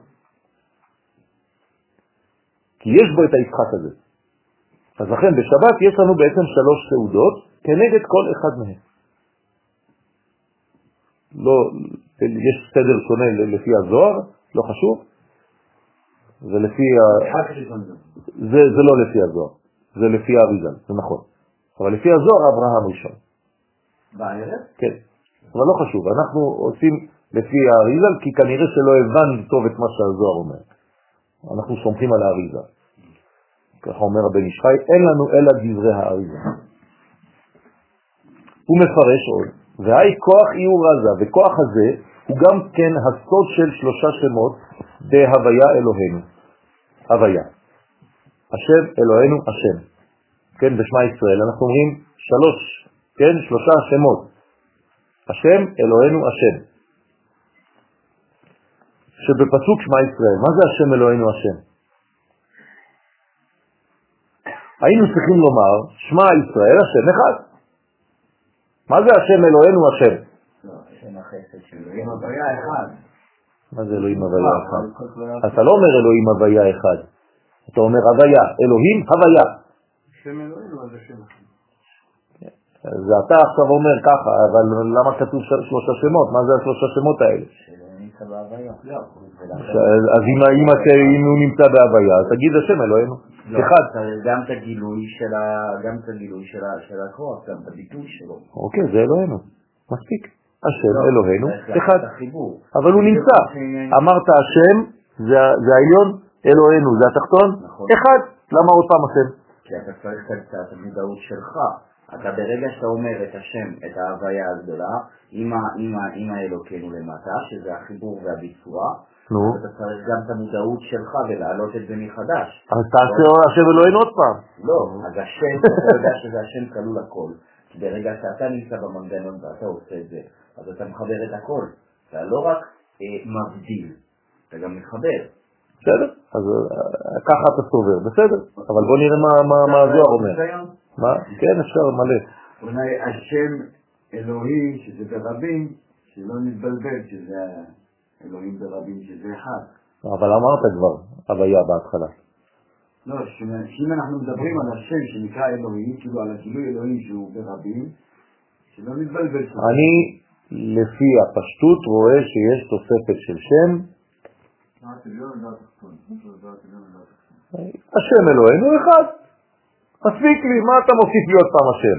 כי יש בו את היצחק הזה. אז לכן בשבת יש לנו בעצם שלוש סעודות כנגד כל אחד מהם. לא, יש סדר שונה לפי הזוהר, לא חשוב. זה לפי ה... זה, זה לא לפי הזוהר, זה לפי האריזל, זה נכון. אבל לפי הזוהר אברהם ראשון. בערב? כן, אבל לא חשוב. אנחנו עושים לפי האריזל כי כנראה שלא הבנו טוב את מה שהזוהר אומר. אנחנו סומכים על האריזל. ככה אומר הבן איש חי, אין לנו אלא דברי האריזל. הוא מפרש עוד, והי כוח איור רזה, וכוח הזה הוא גם כן הסוד של שלושה שמות בהוויה אלוהינו. הוויה. השם אלוהינו השם. כן, בשמה ישראל. אנחנו אומרים שלוש, כן, שלושה שמות. השם אלוהינו השם. שבפסוק שמה ישראל, מה זה השם אלוהינו השם? היינו צריכים לומר, שמה ישראל השם אחד. מה זה השם אלוהינו השם? לא, השם החסד של אלוהים הוויה אחד. מה זה אלוהים הוויה אחד? אתה לא אומר אלוהים הוויה אחד. אתה אומר הוויה, אלוהים הוויה. השם אלוהינו אז השם אחד. אז אתה עכשיו אומר ככה, אבל למה כתוב שלושה שמות? מה זה השלושה שמות האלה? אז אם הוא נמצא בהוויה, תגיד השם אלוהינו. אחד. גם את הגילוי של הכוח, גם את הביטוי שלו. אוקיי, זה אלוהינו. מספיק. השם אלוהינו אחד. אבל הוא נמצא. אמרת השם זה העליון, אלוהינו זה התחתון. אחד. למה עוד פעם השם? כי אתה צריך קצת המודעות שלך. אתה ברגע שאתה אומר את השם, את ההוויה הגדולה, עם האלוקינו למטה, שזה החיבור והביצוע, אתה צריך גם את המודעות שלך ולהעלות את זה מחדש. אז תעשה השם אלוהינו עוד פעם. לא, אז השם, אתה יודע שזה השם כלול הכל. כי ברגע שאתה נמצא במנגנון ואתה עושה את זה, אז אתה מחבר את הכל. אתה לא רק מבדיל, אתה גם מחבר. בסדר, אז ככה אתה סובר, בסדר. אבל בוא נראה מה הזוהר אומר. מה? כן, אפשר מלא. אולי השם אלוהי, שזה ברבים, שלא נתבלבל, שזה אלוהים ברבים שזה אחד. אבל אמרת כבר, הוויה בהתחלה. לא, שאם אנחנו מדברים על השם שנקרא אלוהים, כאילו על הגילוי אלוהים שהוא ברבים, שלא נתבלבל. אני, לפי הפשטות, רואה שיש תוספת של שם. השם אלוהינו אחד. מספיק לי, מה אתה מוסיף לי עוד פעם השם?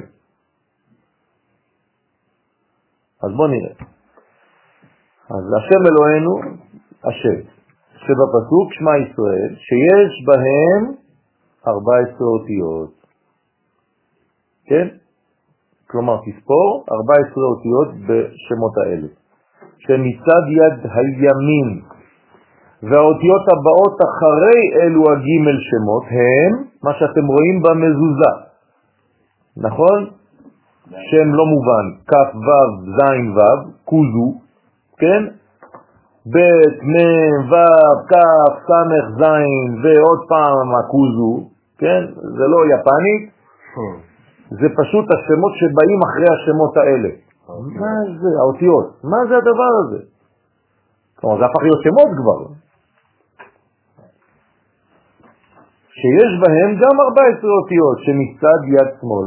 אז בוא נראה. אז השם אלוהינו, השם, שבפסוק שמע ישראל, שיש בהם ארבע עשרה אותיות. כן? כלומר, תספור ארבע עשרה אותיות בשמות האלה. שמצד יד הימין, והאותיות הבאות אחרי אלו הגימל שמות, הם מה שאתם רואים במזוזה. נכון? שם לא מובן, כף וו זין וו, קוזו, כן? בית, מם, וו, כף, סמך, זין, ועוד פעם הקוזו, כן? זה לא יפנית, זה פשוט השמות שבאים אחרי השמות האלה. מה זה? האותיות. מה זה הדבר הזה? כלומר, זה הפך להיות שמות כבר. שיש בהם גם ארבע עשרה אותיות שמצד יד שמאל.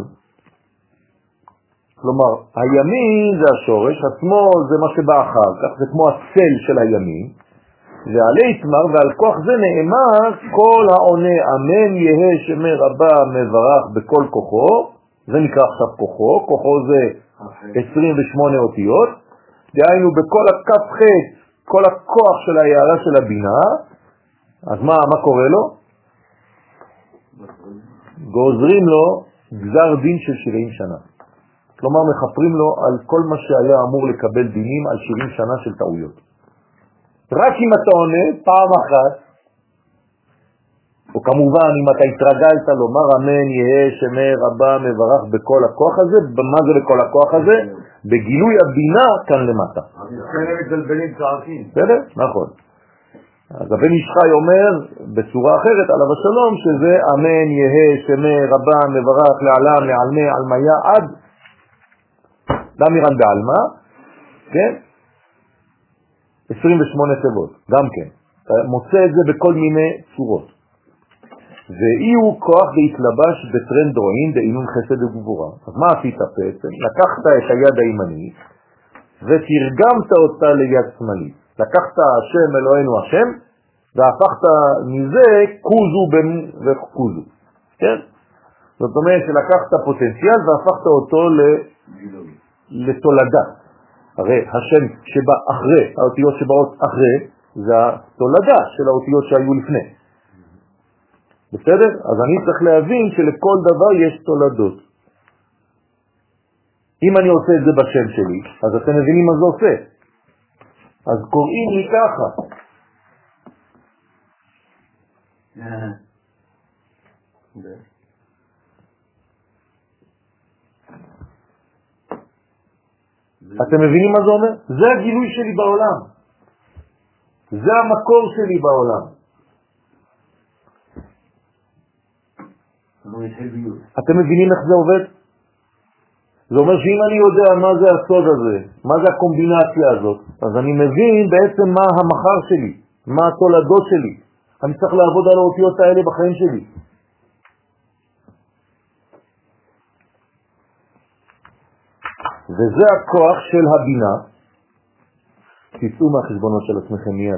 כלומר, הימין זה השורש, השמאל זה מה שבא אחר כך, זה כמו הצל של הימין, ועלי תמר ועל כוח זה נאמר כל העונה אמן יהא שמי רבה מברך בכל כוחו, זה נקרא עכשיו כוחו, כוחו זה עשרים ושמונה אותיות, דהיינו בכל הכף חץ, כל הכוח של ההערה של הבינה, אז מה, מה קורה לו? גוזרים לו גזר דין של שבעים שנה. כלומר, מחפרים לו על כל מה שהיה אמור לקבל דינים על שבעים שנה של טעויות. רק אם אתה עונה פעם אחת, או כמובן אם אתה התרגלת לומר אמן יהא שמי רבה מברך בכל הכוח הזה, במה זה בכל הכוח הזה? בגילוי הבינה כאן למטה. אז לכן הם מתבלבלים צעקים. בסדר? נכון. אז הבן איש חי אומר בצורה אחרת עליו השלום שזה אמן יהא שמי רבה מברך לעלם לעלמי עלמיה עד דמירן בעלמה, כן? עשרים ושמונה תיבות, גם כן. אתה מוצא את זה בכל מיני צורות. ואי הוא כוח והתלבש בטרנד רואים דעינון חסד וגבורה. אז מה עשית בעצם? לקחת את היד הימנית ותרגמת אותה ליד שמאלית. לקחת השם אלוהינו השם והפכת מזה קוזו וקוזו. כן? זאת אומרת שלקחת פוטנציאל והפכת אותו לתולדה. הרי השם שבא אחרי, האותיות שבאות אחרי, זה התולדה של האותיות שהיו לפני. בסדר? אז אני צריך להבין שלכל דבר יש תולדות. אם אני עושה את זה בשם שלי, אז אתם מבינים מה זה עושה. אז קוראים לי ככה. אתם מבינים מה זה אומר? זה הגילוי שלי בעולם. זה המקור שלי בעולם. אתם מבינים איך זה עובד? זה אומר שאם אני יודע מה זה הסוד הזה, מה זה הקומבינציה הזאת, אז אני מבין בעצם מה המחר שלי, מה התולדות שלי. אני צריך לעבוד על האותיות האלה בחיים שלי. וזה הכוח של הבינה. תצאו מהחשבונות של עצמכם מיד.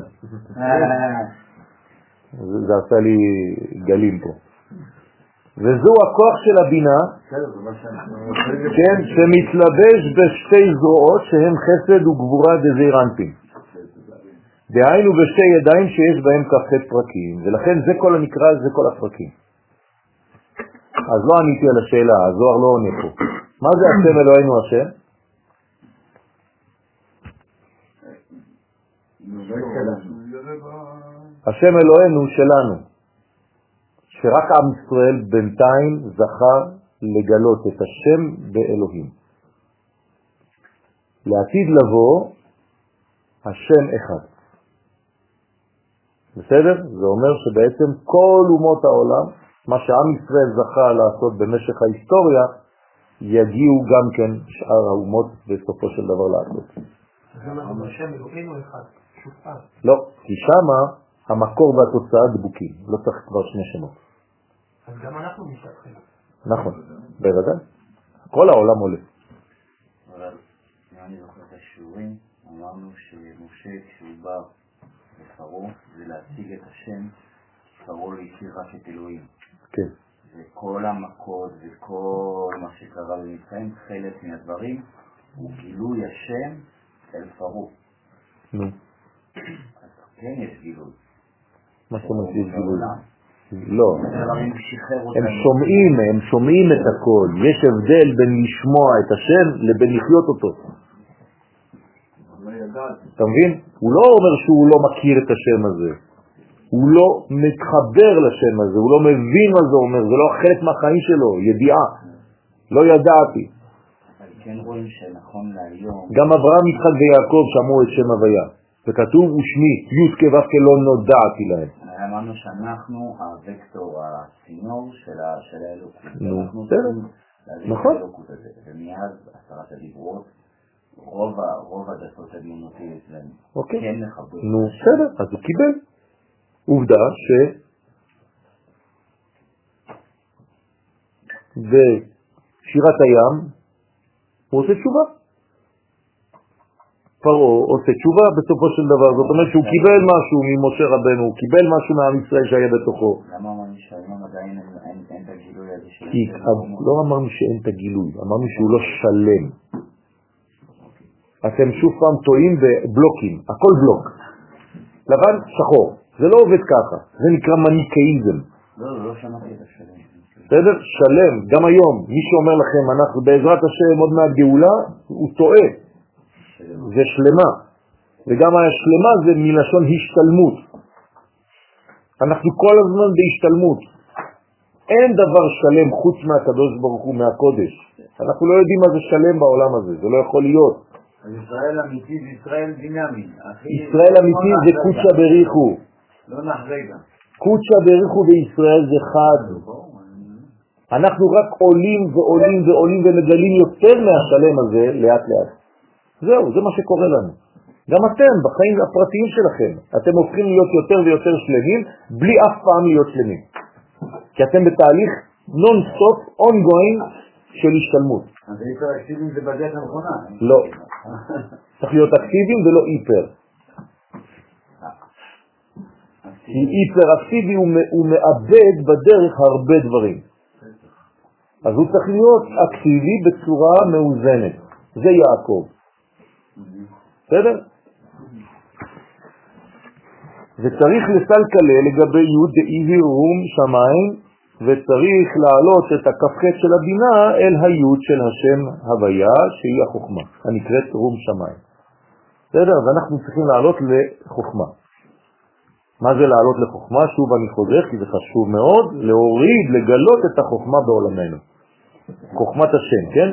זה, זה עשה לי גלים פה. וזו הכוח של הבינה, כן, שמתלבש בשתי זרועות שהן חסד וגבורה דזעיר אנפין. דהיינו בשתי ידיים שיש בהם כ"ח פרקים, ולכן זה כל הנקרא, זה כל הפרקים. אז לא עניתי על השאלה, הזוהר לא עונה פה. מה זה השם אלוהינו השם? השם אלוהינו שלנו, שרק עם ישראל בינתיים זכה לגלות את השם באלוהים. לעתיד לבוא השם אחד. בסדר? זה אומר שבעצם כל אומות העולם, מה שעם ישראל זכה לעשות במשך ההיסטוריה, יגיעו גם כן שאר האומות בסופו של דבר לעשות. זה מה זה השם אלוהינו אחד. לא, כי שמה המקור והתוצאה דבוקים, לא צריך כבר שני שמות. אז גם אנחנו משתתפים. נכון, בוודאי. כל העולם עולה. אבל אם אני זוכר את השיעורים, אמרנו שמשה כשהוא בא לפרעה זה להציג את השם, פרעה לא הכיר רק את אלוהים. כן. וכל המכות וכל מה שקרה במצרים, חלק מהדברים, הוא גילוי השם אל פרעה. נו. אז כן יש גילוי. מה שאתה אומר שיש גילוי? לא. הם שומעים, הם שומעים את הכל. יש הבדל בין לשמוע את השם לבין לחיות אותו. אתה מבין? הוא לא אומר שהוא לא מכיר את השם הזה. הוא לא מתחבר לשם הזה, הוא לא מבין מה זה אומר, זה לא חלק מהחיים שלו, ידיעה. לא ידעתי. אבל כן רואים שנכון להיום... גם אברהם, יצחק ויעקב שמעו את שם הוויה. וכתוב ושמי, י' כ' ו' כ' לא נודעתי להם. אמרנו שאנחנו הוקטור, הצינור של האלוקות. נו, בסדר. נכון. ומאז עשרת הדיברות, רוב הדתות הדמונותיות אצלנו כן מחברים. נו, בסדר, אז הוא קיבל. עובדה ש... בשירת הים הוא עושה תשובה. פרעה עושה תשובה בסופו של דבר, זאת אומרת שהוא קיבל משהו ממשה רבנו, הוא קיבל משהו מעם ישראל שהיה בתוכו. למה אמרנו שהיום עדיין אין את הגילוי הזה של... כי לא אמרנו שאין את הגילוי, אמרנו שהוא לא שלם. אתם שוב פעם טועים בבלוקים, הכל בלוק. לבן, שחור. זה לא עובד ככה, זה נקרא מניקאיזם. לא, לא שמעתי את השלם. בסדר? שלם, גם היום, מי שאומר לכם, אנחנו בעזרת השם עוד מעט גאולה, הוא טועה. זה שלמה. וגם השלמה זה מלשון השתלמות. אנחנו כל הזמן בהשתלמות. אין דבר שלם חוץ מהקדוש ברוך הוא, מהקודש. אנחנו לא יודעים מה זה שלם בעולם הזה, זה לא יכול להיות. ישראל אמיתי זה ישראל דינמי. ישראל אמיתי זה קודשא בריחו. לא נחרגה. קודשא בריחו בישראל זה חד. אנחנו רק עולים ועולים ועולים ומגלים יותר מהשלם הזה לאט לאט. זהו, זה מה שקורה לנו. גם אתם, בחיים הפרטיים שלכם, אתם הופכים להיות יותר ויותר שלמים, בלי אף פעם להיות שלמים. כי אתם בתהליך non-stop, ongoing של השתלמות. אז היפר אקטיביים זה בדרך הנכונה. לא. צריך להיות אקטיביים ולא היפר. כי היפר אקטיבי הוא מאבד בדרך הרבה דברים. אז הוא צריך להיות אקטיבי בצורה מאוזנת. זה יעקב. בסדר? וצריך לסלקלה לגבי י' דאי רום שמיים, וצריך להעלות את הכ"ח של הבינה אל הי' של השם הוויה, שהיא החוכמה, הנקראת רום שמיים. בסדר? אז אנחנו צריכים לעלות לחוכמה. מה זה לעלות לחוכמה? שוב אני חוזר, כי זה חשוב מאוד, להוריד, לגלות את החוכמה בעולמנו. חוכמת השם, כן?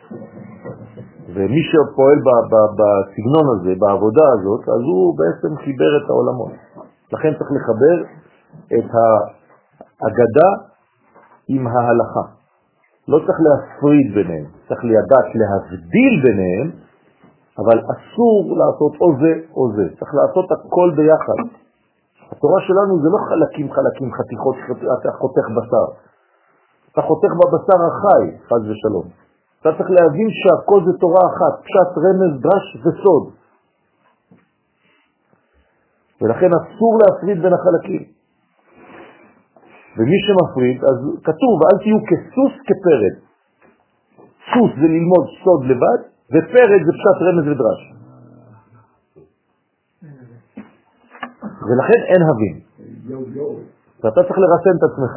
ומי שפועל בסגנון הזה, בעבודה הזאת, אז הוא בעצם חיבר את העולמות. לכן צריך לחבר את האגדה עם ההלכה. לא צריך להפריד ביניהם, צריך לידעת להבדיל ביניהם, אבל אסור לעשות או זה או זה. צריך לעשות הכל ביחד. התורה שלנו זה לא חלקים חלקים, חתיכות, אתה חותך בשר. אתה חותך בבשר החי, חס ושלום. אתה צריך להבין שהכל זה תורה אחת, פשט, רמז, דרש וסוד. ולכן אסור להפריד בין החלקים. ומי שמפריד, אז כתוב, אל תהיו כסוס כפרד. סוס זה ללמוד סוד לבד, ופרד זה פשט, רמז ודרש. ולכן אין הבין. ואתה צריך לרסן את עצמך.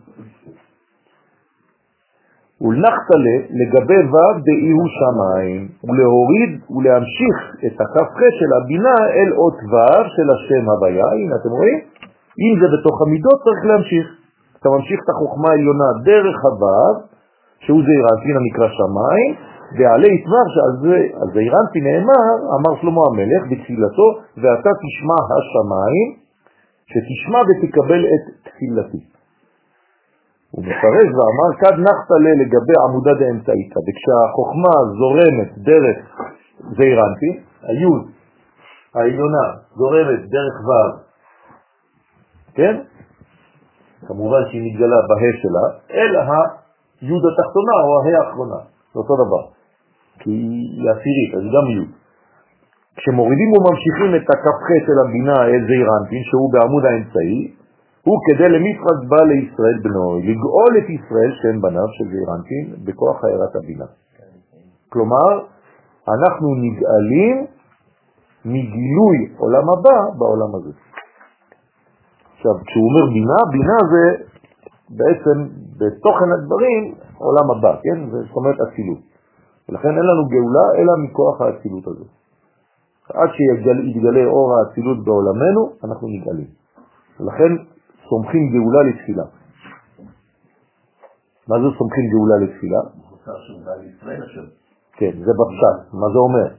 ולנחתלה לגבי ו' דאי הוא שמיים, ולהוריד ולהמשיך את הכ"ח של הבינה אל אות ו' של השם הוויה. הנה אתם רואים? אם זה בתוך המידות צריך להמשיך. אתה ממשיך את החוכמה העליונה דרך הו' שהוא זעירנטין הנקרא שמיים, ועלי יתבר שעל זעירנטין נאמר, אמר שלמה המלך בתפילתו, ואתה תשמע השמיים, שתשמע ותקבל את תפילתי. הוא מפרש ואמר, כד נחתלה לגבי עמודה דאמצעיתא, וכשהחוכמה זורמת דרך זעירנטין, היוד העליונה זורמת דרך ו', כן? כמובן שהיא מתגלה בה' שלה, אלא היוד התחתונה או הה' האחרונה, זה אותו דבר, כי היא עשירית, אז גם יוד. כשמורידים וממשיכים את הכ"ח של הבינה אל זעיר אנפין, שהוא בעמוד האמצעי, הוא כדי למצוות בא לישראל בנו, לגאול את ישראל שהם בניו של זעיר אנפין בכוח הארת הבינה. כלומר, אנחנו נגאלים מגילוי עולם הבא בעולם הזה. עכשיו, כשהוא אומר בינה, בינה זה בעצם בתוכן הדברים עולם הבא, כן? זאת אומרת אצילות. ולכן אין לנו גאולה אלא מכוח האצילות הזה. עד שיתגלה אור האצילות בעולמנו, אנחנו נגאלים. ולכן סומכים גאולה לתפילה. מה זה סומכים גאולה לתפילה? כן, זה בפשט. מה זה אומר?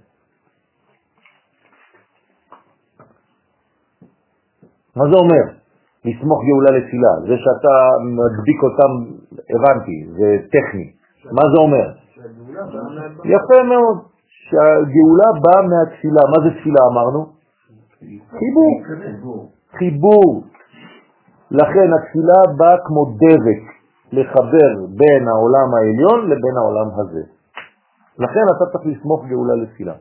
מה זה אומר? לסמוך גאולה לתפילה. זה שאתה מדביק אותם, הבנתי, זה טכני. מה זה אומר? יפה מאוד. שהגאולה באה מהתפילה. מה זה תפילה אמרנו? חיבור. חיבור. לכן התפילה באה כמו דבק לחבר בין העולם העליון לבין העולם הזה. לכן אתה צריך לסמוך גאולה לתפילה.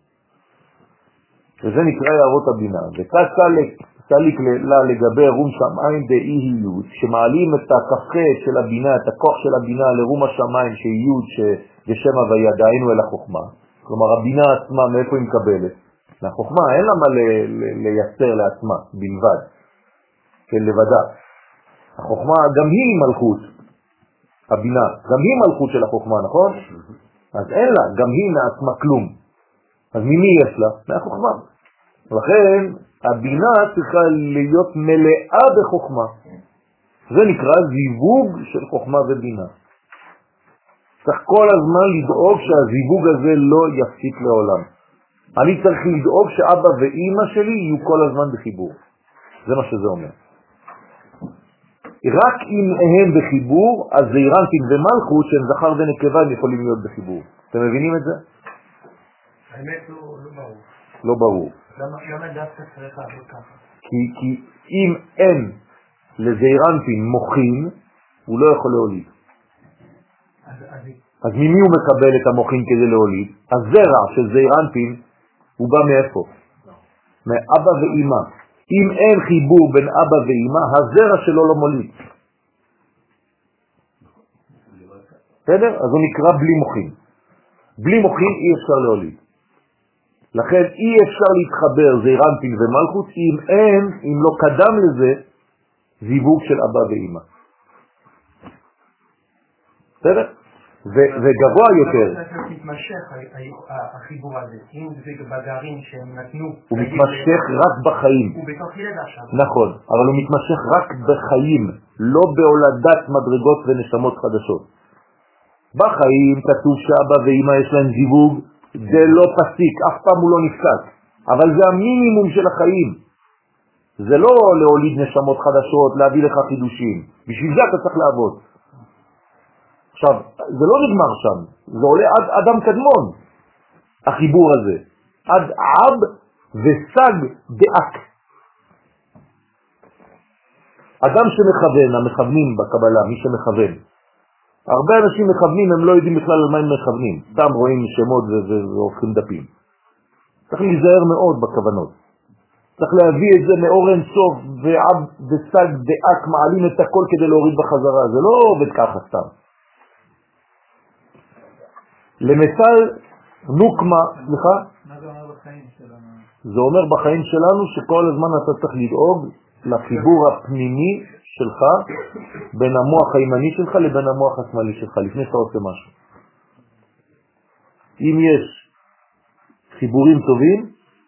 וזה נקרא הערות הבינה. וסליק לה לגבי רום שמיים באי-היות, שמעלים את הכ"ח של הבינה, את הכוח של הבינה לרום השמיים שהיות שבשם הוויה דהיינו אל החוכמה. כלומר הבינה עצמה מאיפה היא מקבלת? מהחוכמה, אין לה מה לייצר לעצמה בלבד, כן, לבדה. החוכמה גם היא מלכות, הבינה, גם היא מלכות של החוכמה, נכון? אז אין לה, גם היא מעצמה כלום. אז ממי יש לה? מהחוכמה. לכן הבינה צריכה להיות מלאה בחוכמה. זה נקרא זיווג של חוכמה ובינה. צריך כל הזמן לדאוג שהזיווג הזה לא יפסיק לעולם. אני צריך לדאוג שאבא ואמא שלי יהיו כל הזמן בחיבור. זה מה שזה אומר. רק אם הם בחיבור, אז זעיר אנפין ומלכות שהם זכר ונקבה יכולים להיות בחיבור. אתם מבינים את זה? האמת לא ברור. לא ברור. למה דווקא צריך לעבוד ככה? כי אם אין לזעיר אנפין מוחין, הוא לא יכול להוליד. אז ממי הוא מקבל את המוחין כדי להוליד? הזרע של זעיר אנפין הוא בא מאיפה? מאבא ואמא. אם אין חיבור בין אבא ואמא, הזרע שלו לא מוליד. בסדר? אז הוא נקרא בלי מוחין. בלי מוחין אי אפשר להוליד. לכן אי אפשר להתחבר זעיר אנפין ומלכות אם אין, אם לא קדם לזה, זיווג של אבא ואמא. בסדר? וגבוה יותר. הוא מתמשך החיבור הזה, אם זה בגרעין שהם נתנו. הוא מתמשך רק בחיים. הוא בתוך ילד עכשיו. נכון, אבל הוא מתמשך רק בחיים, לא בהולדת מדרגות ונשמות חדשות. בחיים כתוב שאבא ואמא יש להם זיווג, זה לא פסיק, אף פעם הוא לא נפסק. אבל זה המינימום של החיים. זה לא להוליד נשמות חדשות, להביא לך חידושים. בשביל זה אתה צריך לעבוד. עכשיו, זה לא נגמר שם, זה עולה עד אדם קדמון, החיבור הזה. עד עב וסג דאק. אדם שמכוון, המכוונים בקבלה, מי שמכוון. הרבה אנשים מכוונים, הם לא יודעים בכלל על מה הם מכוונים. סתם רואים שמות והופכים דפים. צריך להיזהר מאוד בכוונות. צריך להביא את זה מאור אין סוף, ועב וסג דאק מעלים את הכל כדי להוריד בחזרה. זה לא עובד ככה סתם. למשל, נוקמה, סליחה? מה זה אומר בחיים שלנו? זה אומר בחיים שלנו שכל הזמן אתה צריך לדאוג לחיבור הפנימי שלך בין המוח הימני שלך לבין המוח השמאלי שלך, לפני שאתה עושה משהו. אם יש חיבורים טובים,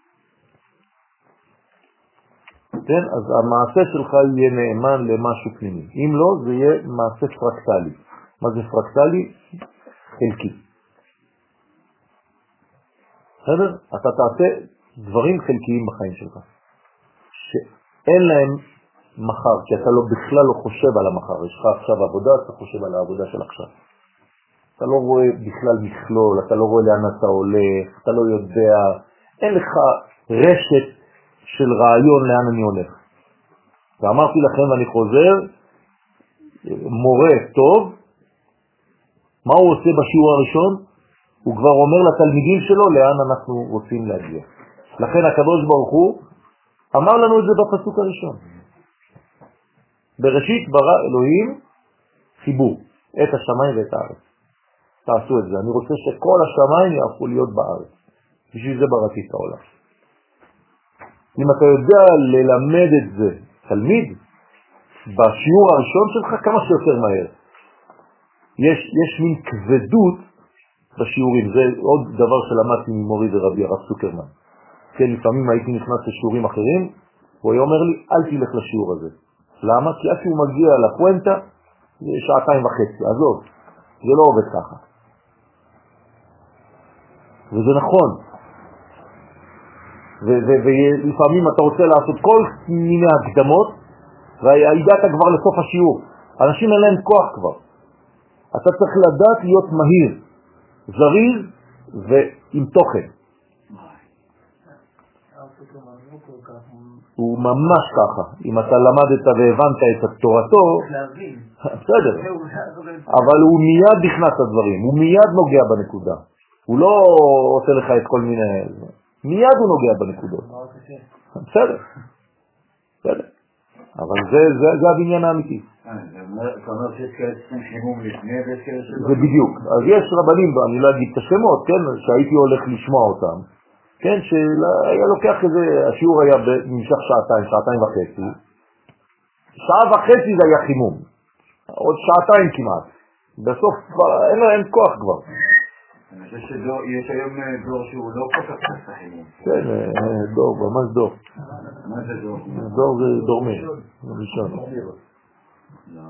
כן, אז המעשה שלך יהיה נאמן למשהו פנימי. אם לא, זה יהיה מעשה פרקטלי. מה זה פרקטלי? חלקי. בסדר? אתה תעשה דברים חלקיים בחיים שלך, שאין להם מחר, כי אתה לא, בכלל לא חושב על המחר. יש לך עכשיו עבודה, אתה חושב על העבודה של עכשיו. אתה לא רואה בכלל מכלול, אתה לא רואה לאן אתה הולך, אתה לא יודע, אין לך רשת של רעיון לאן אני הולך. ואמרתי לכם, ואני חוזר, מורה טוב, מה הוא עושה בשיעור הראשון? הוא כבר אומר לתלמידים שלו לאן אנחנו רוצים להגיע. לכן הקדוש ברוך הוא אמר לנו את זה בפסוק הראשון. בראשית ברא אלוהים חיבור, את השמיים ואת הארץ. תעשו את זה. אני רוצה שכל השמיים יהפכו להיות בארץ. בשביל זה בראתי את העולם. אם אתה יודע ללמד את זה תלמיד, בשיעור הראשון שלך כמה שיותר מהר. יש, יש מין כבדות בשיעורים. זה עוד דבר שלמדתי ממורי ורבי הרב סוקרמן. כן, לפעמים הייתי נכנס לשיעורים אחרים, הוא היה אומר לי, אל תלך לשיעור הזה. למה? כי עד שהוא מגיע לפואנטה, זה שעתיים וחצי. עזוב, זה לא עובד ככה. וזה נכון. ולפעמים אתה רוצה לעשות כל מיני הקדמות, והגעת כבר לסוף השיעור. אנשים אין להם כוח כבר. אתה צריך לדעת להיות מהיר, זריז ועם תוכן. הוא ממש ככה. אם אתה למדת והבנת את תורתו, בסדר. אבל הוא מיד נכנס לדברים, הוא מיד נוגע בנקודה. הוא לא עושה לך את כל מיני... מיד הוא נוגע בנקודות. בסדר. בסדר. אבל זה, זה, זה הבניין האמיתי. אתה אומר שיש כאלה שצריכים חימום לפני ויש כאלה שלא? זה בדיוק. אז יש רבנים, אני לא אגיד את השמות, כן, שהייתי הולך לשמוע אותם, כן, שהיה לוקח איזה, השיעור היה במשך שעתיים, שעתיים וחצי, שעה וחצי זה היה חימום, עוד שעתיים כמעט, בסוף אין להם כוח כבר. אני חושב שיש היום דור שהוא לא כל כך צריך חימום. כן, דור, ממש דור. מה זה דור? דור זה דורמי, ראשון. לא.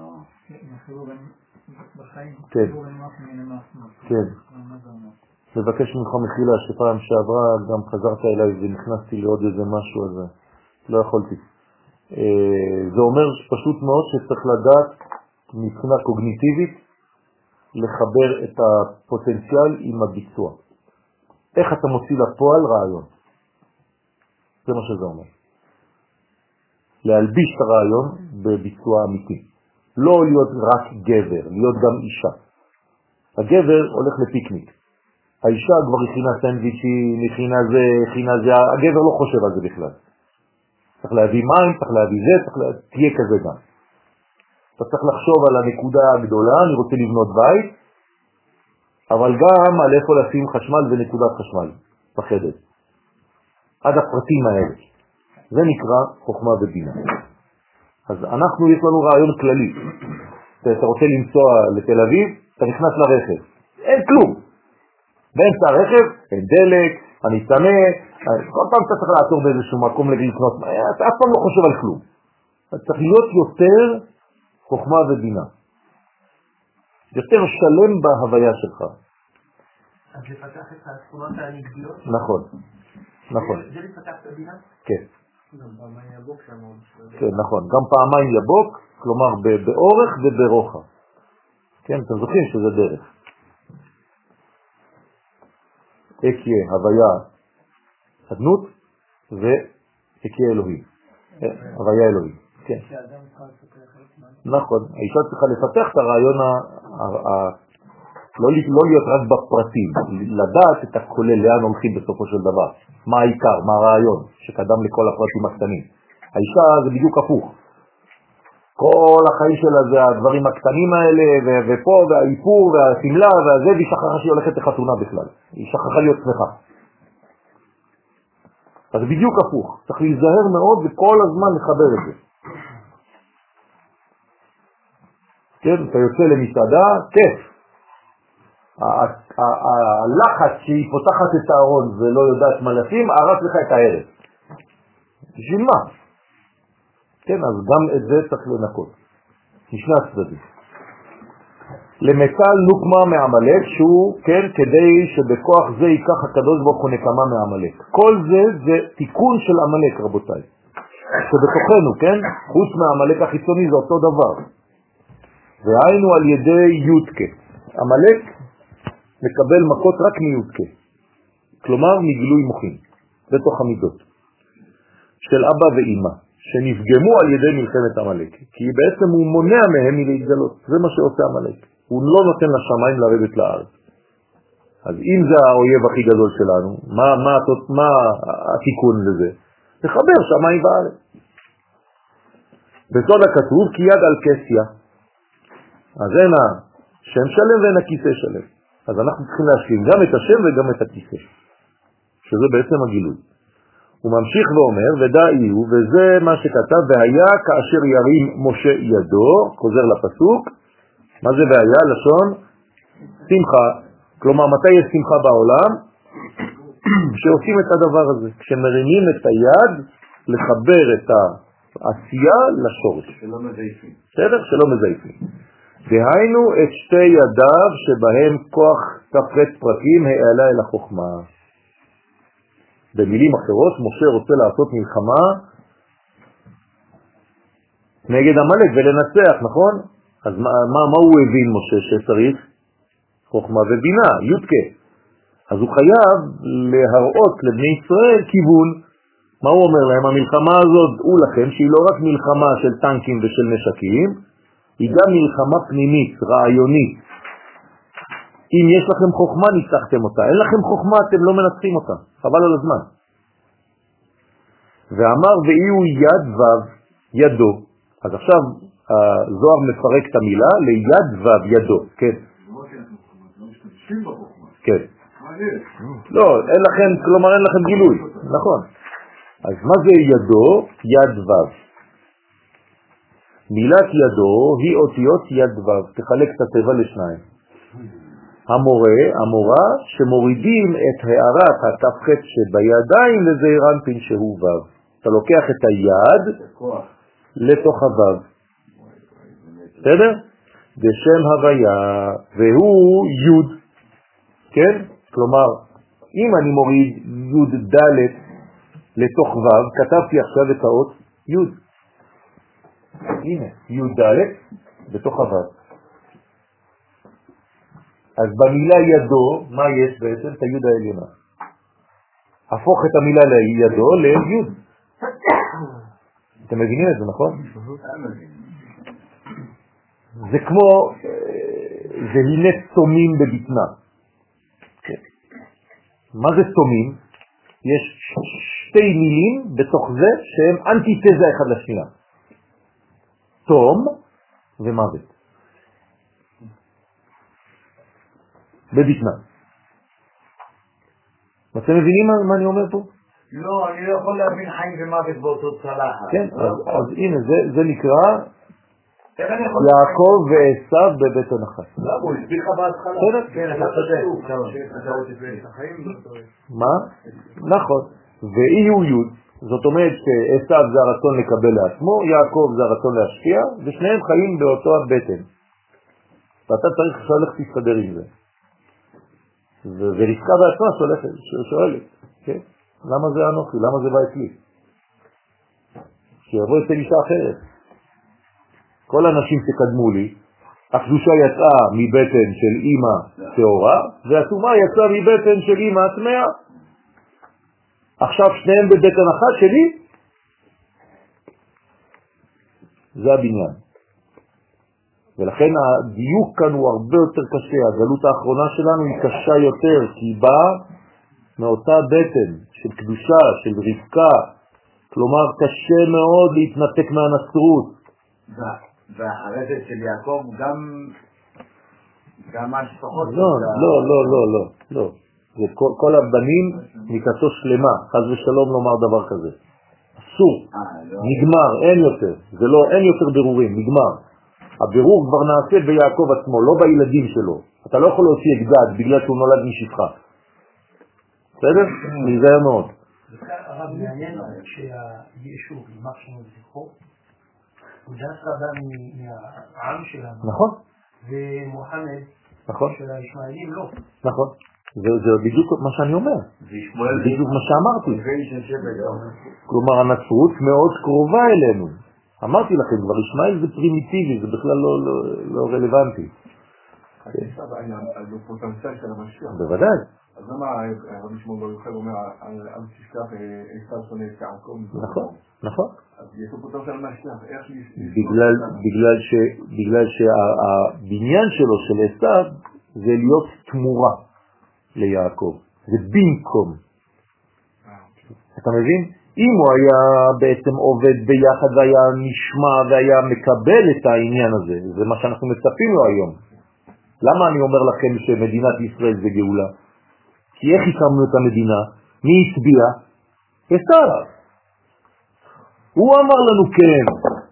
כן, כן. מבקש ממך מחילה שפעם שעברה גם חזרת אליי ונכנסתי לעוד איזה משהו הזה. לא יכולתי. זה אומר פשוט מאוד שצריך לדעת מבחינה קוגניטיבית לחבר את הפוטנציאל עם הביצוע. איך אתה מוציא לפועל רעיון? זה מה שזה אומר. להלביש את הרעיון בביצוע אמיתי. לא להיות רק גבר, להיות גם אישה. הגבר הולך לפיקניק. האישה כבר הכינה סנדוויצ'ים, הכינה זה, הכינה זה, הגבר לא חושב על זה בכלל. צריך להביא מים, צריך להביא זה, צריך לה... תהיה כזה גם. אתה צריך לחשוב על הנקודה הגדולה, אני רוצה לבנות בית, אבל גם על איפה לשים חשמל ונקודת חשמל בחדר. עד הפרטים האלה. זה נקרא חוכמה ובינה. אז אנחנו, יש לנו רעיון כללי. אתה רוצה לנסוע לתל אביב, אתה נכנס לרכב. אין כלום. באמצע הרכב, אין דלק, אני צמא, כל פעם אתה צריך לעצור באיזשהו מקום לקנות, אתה אף פעם לא חושב על כלום. אתה צריך להיות יותר חוכמה ובינה. יותר שלם בהוויה שלך. אז לפתח את התכונות הנגדיות? נכון, נכון. זה לפתח את הבינה? כן. גם פעמיים יבוק שם עוד. כן, נכון. גם פעמיים יבוק, כלומר באורך וברוחב. כן, אתם זוכרים שזה דרך. אקיה, הוויה, אדנות, ואקיה אלוהים. הוויה אלוהים, כן. נכון, האישה צריכה לפתח את הרעיון, לא להיות רק בפרטים, לדעת את הכולל, לאן הולכים בסופו של דבר. מה העיקר, מה הרעיון שקדם לכל הפרטים הקטנים. האישה זה בדיוק הפוך. כל החיים שלה זה הדברים הקטנים האלה, ופה, והאיפור, והסמלה, והזה, והיא שכחה שהיא הולכת לחתונה בכלל. היא שכחה להיות שמחה. אז בדיוק הפוך. צריך להיזהר מאוד וכל הזמן לחבר את זה. כן, אתה יוצא למסעדה, כיף. הלחץ שהיא פותחת את הארון ולא יודעת מה לשים, הרס לך את הערב. בשביל מה? כן, אז גם את זה צריך לנקות. משני הצדדים. למצל נוקמה מעמלק, שהוא, כן, כדי שבכוח זה ייקח הקדוש ברוך הוא נקמה מעמלק. כל זה זה תיקון של עמלק, רבותיי. שבתוכנו, כן, חוץ מהעמלק החיצוני זה אותו דבר. והיינו על ידי יודקה. עמלק מקבל מכות רק מיודקה. כלומר, מגילוי מוחין, בתוך המידות. של אבא ואמא, שנפגמו על ידי מלחמת עמלק, כי בעצם הוא מונע מהם מלהתגלות, זה מה שעושה עמלק, הוא לא נותן לשמיים לרדת לארץ. אז אם זה האויב הכי גדול שלנו, מה, מה, מה התיקון לזה? לחבר שמיים וארץ. בסוד הכתוב כי יד על כסיה, אז אין השם שלם ואין הכיסא שלם, אז אנחנו צריכים להשלים גם את השם וגם את הכיסא, שזה בעצם הגילוי. הוא ממשיך ואומר, ודאי הוא, וזה מה שכתב, והיה כאשר ירים משה ידו, חוזר לפסוק, מה זה והיה? לשון שמחה, כלומר מתי יש שמחה בעולם? כשעושים את הדבר הזה, כשמרימים את היד לחבר את העשייה לשורש. שלא מזייפים. בסדר? שלא מזייפים. דהיינו את שתי ידיו שבהם כוח תפרט פרקים העלה אל החוכמה. במילים אחרות, משה רוצה לעשות מלחמה נגד עמלק ולנצח, נכון? אז מה, מה, מה הוא הבין משה שצריך? חוכמה ובינה, יודקה. אז הוא חייב להראות לבני ישראל כיוון. מה הוא אומר להם? המלחמה הזאת, דעו לכם שהיא לא רק מלחמה של טנקים ושל נשקים, היא גם מלחמה פנימית, רעיונית. אם יש לכם חוכמה, ניצחתם אותה. אין לכם חוכמה, אתם לא מנצחים אותה. חבל על הזמן. ואמר, ואי הוא יד וו, ידו. אז עכשיו, הזוהר מפרק את המילה ליד וו, ידו. כן. כן. לא, אין לכם, כלומר אין לכם גילוי. נכון. אז מה זה ידו? יד וו. מילת ידו היא אותיות יד וו. תחלק את הטבע לשניים. המורה, המורה, שמורידים את הערת התפחת שבידיים לזעיר אנפין שהוא וו. אתה לוקח את היד לתוך הוו. בסדר? בשם הוויה, והוא יוד. כן? כלומר, אם אני מוריד יוד ד' לתוך וו, כתבתי עכשיו את האות יוד. הנה, יוד ד' בתוך הוו. אז במילה ידו, מה יש בעצם? את היוד העליונה. הפוך את המילה לידו ליוד. אתם מבינים את זה, נכון? זה כמו, זה הנה צומים בבטנה. מה זה צומים? יש שתי מילים בתוך זה שהן אנטיתזה אחד לשנייה. תום ומוות. בבטנה. אתם מבינים מה אני אומר פה? לא, אני לא יכול להבין חיים ומוות באותו צלחת. כן, אז הנה, זה נקרא יעקב ועשיו בבית הנחש. לא, הוא הסביר לך בהתחלה. כן, אתה צודק. מה? נכון. ואי הוא יוד, זאת אומרת שעשיו זה הרצון לקבל לעצמו, יעקב זה הרצון להשפיע, ושניהם חיים באותו הבטן. ואתה צריך שהולך תסתדר עם זה. ורבקה בעצמה שואלת, כן? למה זה אנוכי? למה זה בא אצלי? שיבוא אצל אישה אחרת. כל האנשים שקדמו לי, הקדושה יצאה מבטן של אמא תאורה, והטומאה יצאה מבטן של אמא הטמאה. עכשיו שניהם בבטן אחת שלי, זה הבניין. ולכן הדיוק כאן הוא הרבה יותר קשה. הגלות האחרונה שלנו היא קשה יותר, כי היא באה מאותה בטן של קדושה, של רבקה. כלומר, קשה מאוד להתנתק מהנצרות. והחרדת של יעקב גם גם השפחות. לא, לא, לא, לא, לא, לא. כל, כל הבנים מיתתו שלמה, חס ושלום לומר דבר כזה. אסור, נגמר, אין יותר. זה לא, אין יותר בירורים, נגמר. הבירור כבר נעשה ביעקב עצמו, לא בילדים שלו. אתה לא יכול להוציא את גד בגלל שהוא נולד משפחה. בסדר? נזהר מאוד. הרב מעניין שהיישוב, יימח שמו וזכרו, הוא דווקא בא מהעם שלנו. נכון. ומוחמד של הישמעאלים לא. נכון. זה בדיוק מה שאני אומר. זה בדיוק מה שאמרתי. כלומר, הנצרות מאוד קרובה אלינו. אמרתי לכם, כבר ישמעאל זה פרימיטיבי, זה בכלל לא רלוונטי. זה פוטנציאל של המשיח. בוודאי, אז למה הרבי שמעון בר יוחאי אומר, אל תשכח עשיו שונא את יעקב? נכון, נכון. אז יש לו פה טוב של משכח, איך בגלל שהבניין שלו של עשיו זה להיות תמורה ליעקב, זה במקום. אתה מבין? אם הוא היה בעצם עובד ביחד והיה נשמע והיה מקבל את העניין הזה, זה מה שאנחנו מצפים לו היום. למה אני אומר לכם שמדינת ישראל זה גאולה? כי איך הקמנו את המדינה? מי הצביע? עשיו. הוא אמר לנו כן.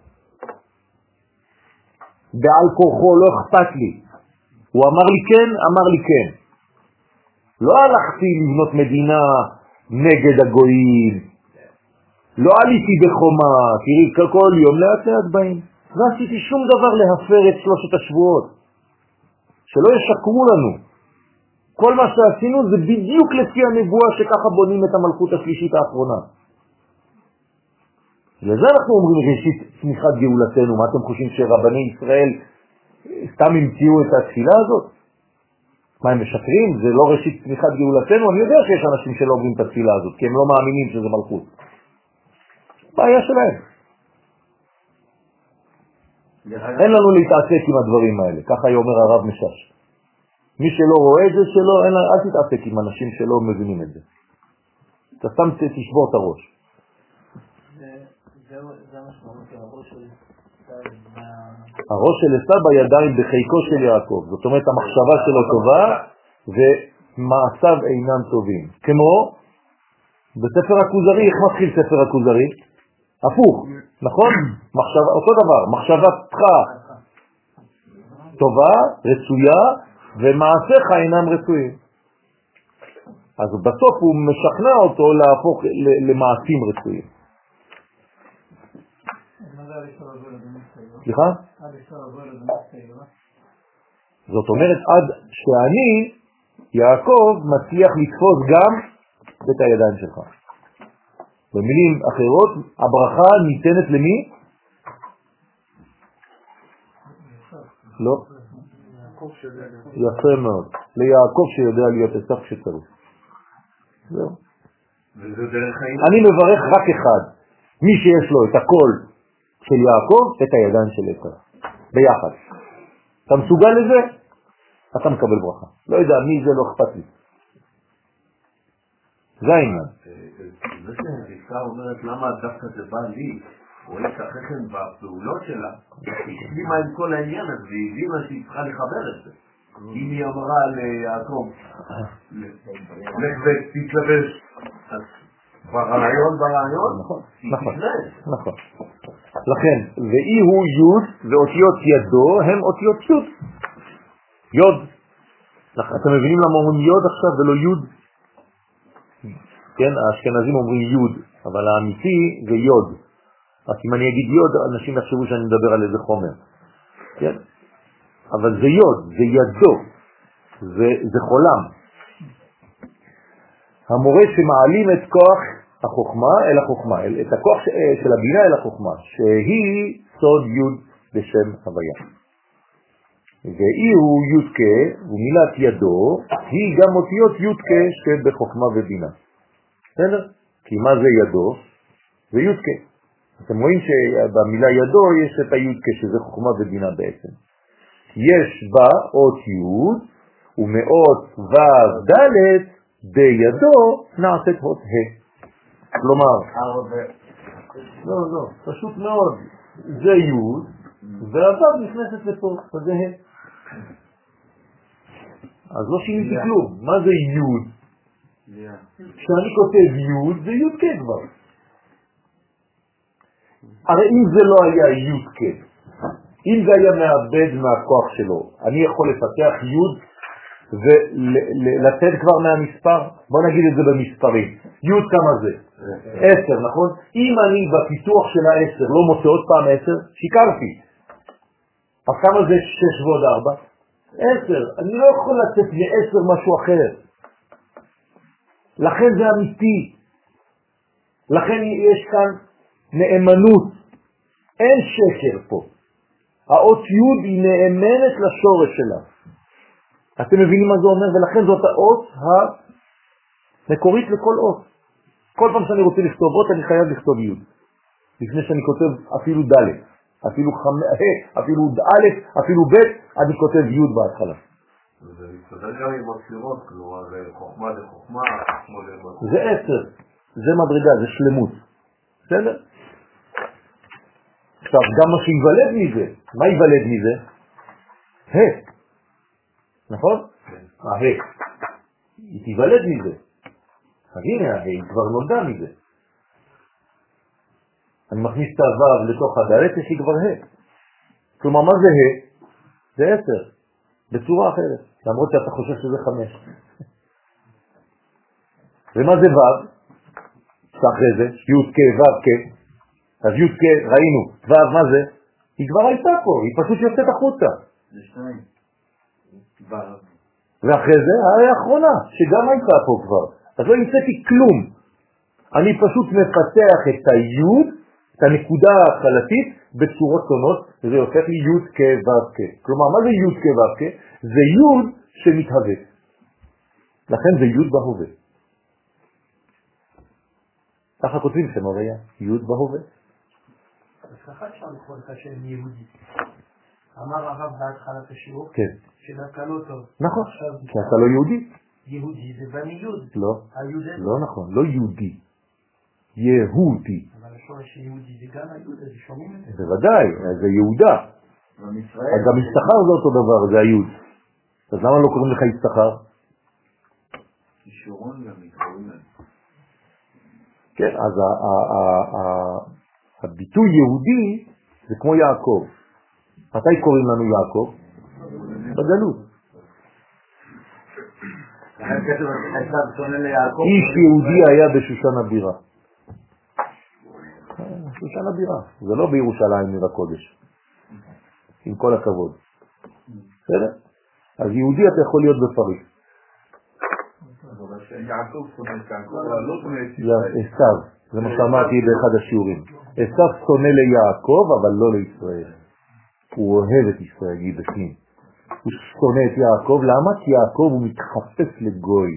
בעל כוחו לא אכפת לי. הוא אמר לי כן, אמר לי כן. לא הלכתי לבנות מדינה נגד הגויים. לא עליתי בחומה, תראי כל יום לאט לאט באים. לא עשיתי שום דבר להפר את שלושת השבועות. שלא ישקרו לנו. כל מה שעשינו זה בדיוק לפי הנבואה שככה בונים את המלכות השלישית האחרונה. לזה אנחנו אומרים ראשית צמיחת גאולתנו. מה אתם חושבים שרבני ישראל סתם המציאו את התפילה הזאת? מה, הם משקרים? זה לא ראשית צמיחת גאולתנו? אני יודע שיש אנשים שלא אומרים את התפילה הזאת, כי הם לא מאמינים שזה מלכות. בעיה שלהם. אין לנו להתעסק עם הדברים האלה, ככה אומר הרב משש. מי שלא רואה את זה שלו, אין, אל תתעסק עם אנשים שלא מבינים את זה. אתה סתם תשבור את הראש. זה המשמעות של הראש של עשיו. הראש של עשיו בידיים בחיקו של יעקב. זאת אומרת, המחשבה שלו טובה ומעשיו אינם טובים. כמו בספר הכוזרי, איך מתחיל ספר הכוזרי? הפוך, נכון? מחשבה, אותו דבר, מחשבתך טובה, רצויה, ומעשיך אינם רצויים. אז בסוף הוא משכנע אותו להפוך למעשים רצויים. סליחה? זאת אומרת, עד שאני, יעקב, מצליח לתפוס גם את הידיים שלך. במילים אחרות, הברכה ניתנת למי? לא. יפה מאוד. ליעקב שיודע להיות עשיו כשצריך. זהו. אני מברך רק אחד. מי שיש לו את הכל של יעקב, את הידיים של עשיו. ביחד. אתה מסוגל לזה? אתה מקבל ברכה. לא יודע, מי זה לא אכפת לי. זה העניין. זה שרבקה אומרת למה דווקא זה בא לי, רואה כחכם בפעולות שלה, היא השלימה עם כל העניין הזה, והיא הבינה שהיא צריכה לחבר את זה. אם היא אמרה ליעקב, לך ותתלבש, אז ברעיון, ברעיון, היא תתלבש. נכון. לכן, ואי הוא יוד, ואותיות ידו הם אותיות יוד. יוד. אתם מבינים למה אומרים יוד עכשיו ולא יוד? כן, האשכנזים אומרים יוד, אבל האמיתי זה יוד. אז אם אני אגיד יוד, אנשים יחשבו שאני מדבר על איזה חומר. כן? אבל זה יוד, זה ידו, זה, זה חולם. המורה שמעלים את כוח החוכמה אל החוכמה, את הכוח של הבינה אל החוכמה, שהיא סוד יוד בשם הוויה. ואי הוא יודקה, ומילת ידו, היא גם אותיות יודקה שבחוכמה ובינה. בסדר? כי מה זה ידו? זה יודקה. אתם רואים שבמילה ידו יש את היודקה, שזה חוכמה ובינה בעצם. יש בה אות יוד, ומאות ו' ד' בידו נעשית אות ה'. כלומר, לא, לא, פשוט מאוד. זה יוד, והו' נכנסת לפה, זה ה'. אז לא שיניתי כלום. מה זה יוד? כשאני כותב יוד, זה יוד כן כבר. הרי אם זה לא היה יוד כן, אם זה היה מאבד מהכוח שלו, אני יכול לפתח יוד ולתת כבר מהמספר, בוא נגיד את זה במספרים. יוד כמה זה? עשר, נכון? אם אני בפיתוח של העשר לא מוצא עוד פעם עשר, שיקרתי. אז כמה זה שש ועוד ארבע? עשר. אני לא יכול לתת מעשר משהו אחר. לכן זה אמיתי. לכן יש כאן נאמנות. אין שקר פה. האות יוד היא נאמנת לשורש שלה. אתם מבינים מה זה אומר? ולכן זאת האות מקורית לכל אות. כל פעם שאני רוצה לכתוב אות, אני חייב לכתוב י'. לפני שאני כותב אפילו ד', אפילו חמ', אפילו ד', אפילו ב', אני כותב י' בהתחלה. וזה מסתדר גם עם הספירות, כלומר, חוכמה זה חוכמה, חוכמה זה חוכמה. זה עשר, זה מדרגה, זה שלמות. בסדר? עכשיו, גם מה שיוולד מזה, מה יוולד מזה? ה', נכון? ה', היא תיוולד מזה. אז הנה ה', היא כבר נולדה מזה. אני מכניס את הו' לתוך הדלת, יש לי כבר ה'. כלומר, מה זה ה'? זה עשר, בצורה אחרת, למרות שאתה חושב שזה חמש. ומה זה ו'? שאחרי זה, י' כ' ו' כ'. אז י' כ' ראינו, ו' מה זה? היא כבר הייתה פה, היא פשוט יוצאת החוצה. זה שניים. ואחרי זה, הרי האחרונה, שגם הייתה פה כבר. אז לא המצאתי כלום. אני פשוט מפתח את היוד, את הנקודה ההתחלתית, בצורות שונות, וזה הופך לי יוד כ' ו' כ'. כלומר, מה זה יוד כ' ו' כ'? זה יוד שמתהווה. לכן זה יוד בהווה. ככה כותבים שם הרי, יוד בהווה. אז ככה אפשר לקרוא את השם יהודי. אמר הרב בהתחלת השיעור, כן. שדווקא לא טוב. נכון, כי אתה לא יהודי. יהודי זה בני יוד. לא, היהודי. לא נכון, לא יהודי. יהודי. אבל השורש יהודי זה גם היהודי, זה שומעים את זה. בוודאי, זה יהודה. גם יששכר זה אותו דבר, זה היהוד. אז למה לא קוראים לך יששכר? כישורון גם מתקוראים להם. כן, אז הביטוי יהודי זה כמו יעקב. מתי קוראים לנו יעקב? בגלות. איש יהודי היה בשושן הבירה. שושן הבירה. זה לא בירושלים עיר הקודש. עם כל הכבוד. בסדר? אז יהודי אתה יכול להיות בפריס. יעקב שונא את יעקב, לא שונא את עשיו, זה מה שאמרתי באחד השיעורים. עשיו שונא ליעקב, אבל לא לישראל. הוא אוהב את ישראל, היא בפנים. הוא שונא את יעקב, למה? כי יעקב הוא מתחפש לגוי.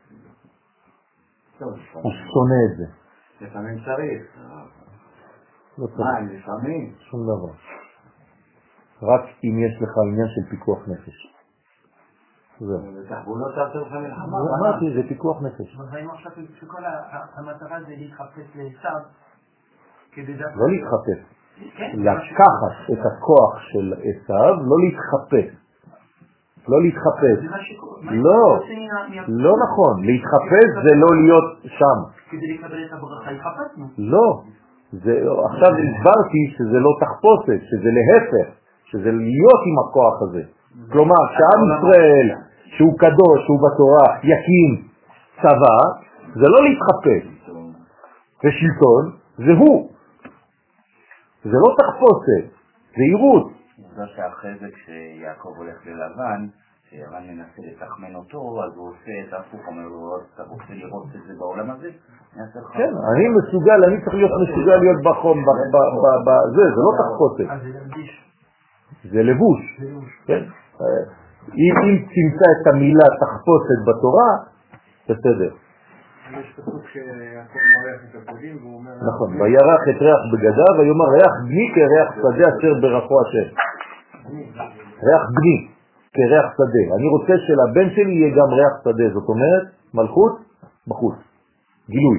הוא שונא את זה. לפעמים צריך. לא צריך. מה, לפעמים? שום דבר. רק אם יש לך עניין של פיקוח נפש. בתחבולות תעשה לך מלחמה. אמרתי, זה פיקוח נפש. אבל ראינו עכשיו שכל המטרה זה להתחפש לעשיו כדי דווקא... לא להתחפש. לקחת את הכוח של עשיו, לא להתחפש. לא להתחפש. לא, לא נכון. להתחפש זה לא להיות שם. כדי לקבל את הברכה, התחפשנו. לא. עכשיו הסברתי שזה לא תחפושת, שזה להפך, שזה להיות עם הכוח הזה. כלומר, שעם ישראל, שהוא קדוש, שהוא בתורה, יקים צבא, זה לא להתחפש. ושלטון, זה הוא. זה לא תחפושת, זה עירות. זה שאחרי זה כשיעקב הולך ללבן, שירן מנסה לתחמן אותו, אז הוא עושה את הפוך, אומר לו, אתה רוצה לראות את זה בעולם הזה? כן, אני מסוגל, אני צריך להיות מסוגל להיות בחום, זה, זה לא תחפושת. אז זה לבוש. זה לבוש. כן. אם תמצא את המילה תחפושת בתורה, בסדר. יש פסוק שיעקב מריח את הפדים והוא אומר... נכון, וירח את ריח בגדיו, ויאמר ריח בני כריח שדה אשר ברכו השם. ריח בני כריח שדה. אני רוצה שלבן שלי יהיה גם ריח שדה, זאת אומרת מלכות בחוץ, גילוי.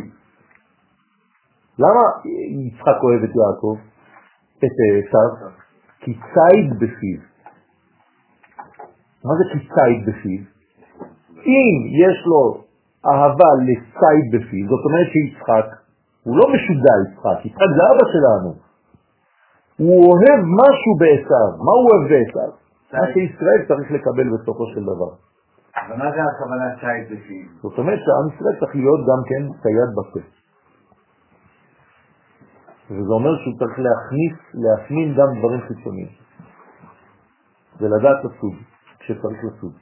למה יצחק אוהב את יעקב? את עשיו? כי ציד בפיו. מה זה כי ציד בפיו? אם יש לו אהבה לציד בפיו, זאת אומרת שיצחק, הוא לא משוגע יצחק, יצחק זה אבא שלנו. הוא אוהב משהו בעשיו. מה הוא אוהב בעשיו? מה שישראל צריך לקבל בסופו של דבר. אבל מה זה הכוונה ציד בפיו? זאת אומרת שעם ישראל צריך להיות גם כן צייד בפה. וזה אומר שהוא צריך להכניס, להפנים גם דברים חיצוניים. ולדעת לסוג, כשצריך לסוג.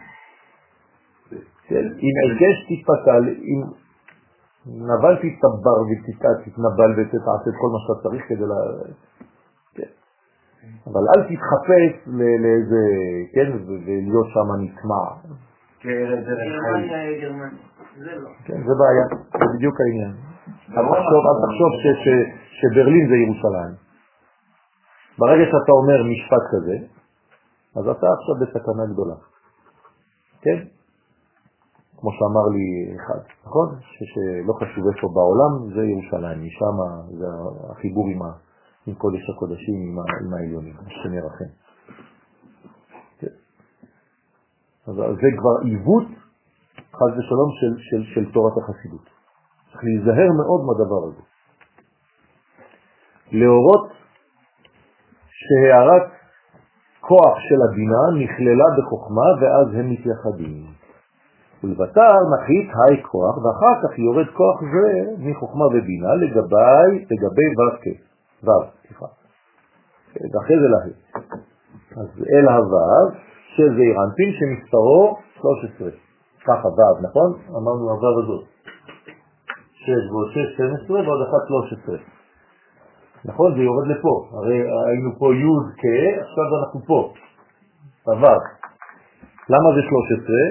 אם עיקש תתפתל, אם נבל תתבר ותתנבל ותתעשה את כל מה שאתה צריך כדי לה... כן. אבל אל תתחפש לאיזה, כן, ולהיות שם נטמע. גרמניה, גרמניה. זה לא. כן, זה בעיה, זה בדיוק העניין. אל תחשוב שברלין זה ירושלים. ברגע שאתה אומר משפט כזה, אז אתה עכשיו בסכנה גדולה. כן? כמו שאמר לי אחד, נכון? שלא חשוב איפה בעולם, זה ירושלים, משם זה החיבור עם, ה, עם קודש הקודשים, עם, ה, עם העליונים, שנרחם. כן. אז זה כבר עיוות, חס ושלום, של, של, של תורת החסידות. צריך להיזהר מאוד מהדבר הזה. להורות שהערת כוח של הבינה נכללה בחוכמה ואז הם מתייחדים. ולבטר נחית היי כוח ואחר כך יורד כוח זה מחוכמה ובינה לגבי, לגבי ו"ק. ו"ו, סליחה. ואחרי זה להי. אז אל הו"ו של זעיר אנפין שמספרו שלוש עשרה. ככה ו"ו, נכון? אמרנו הו"ו הזאת. שש ועוד שש, שתים עשרה ועוד אחת שלוש עשרה. נכון? זה יורד לפה. הרי היינו פה י' כ', עכשיו אנחנו פה. הו"ו. למה זה שלוש עשרה?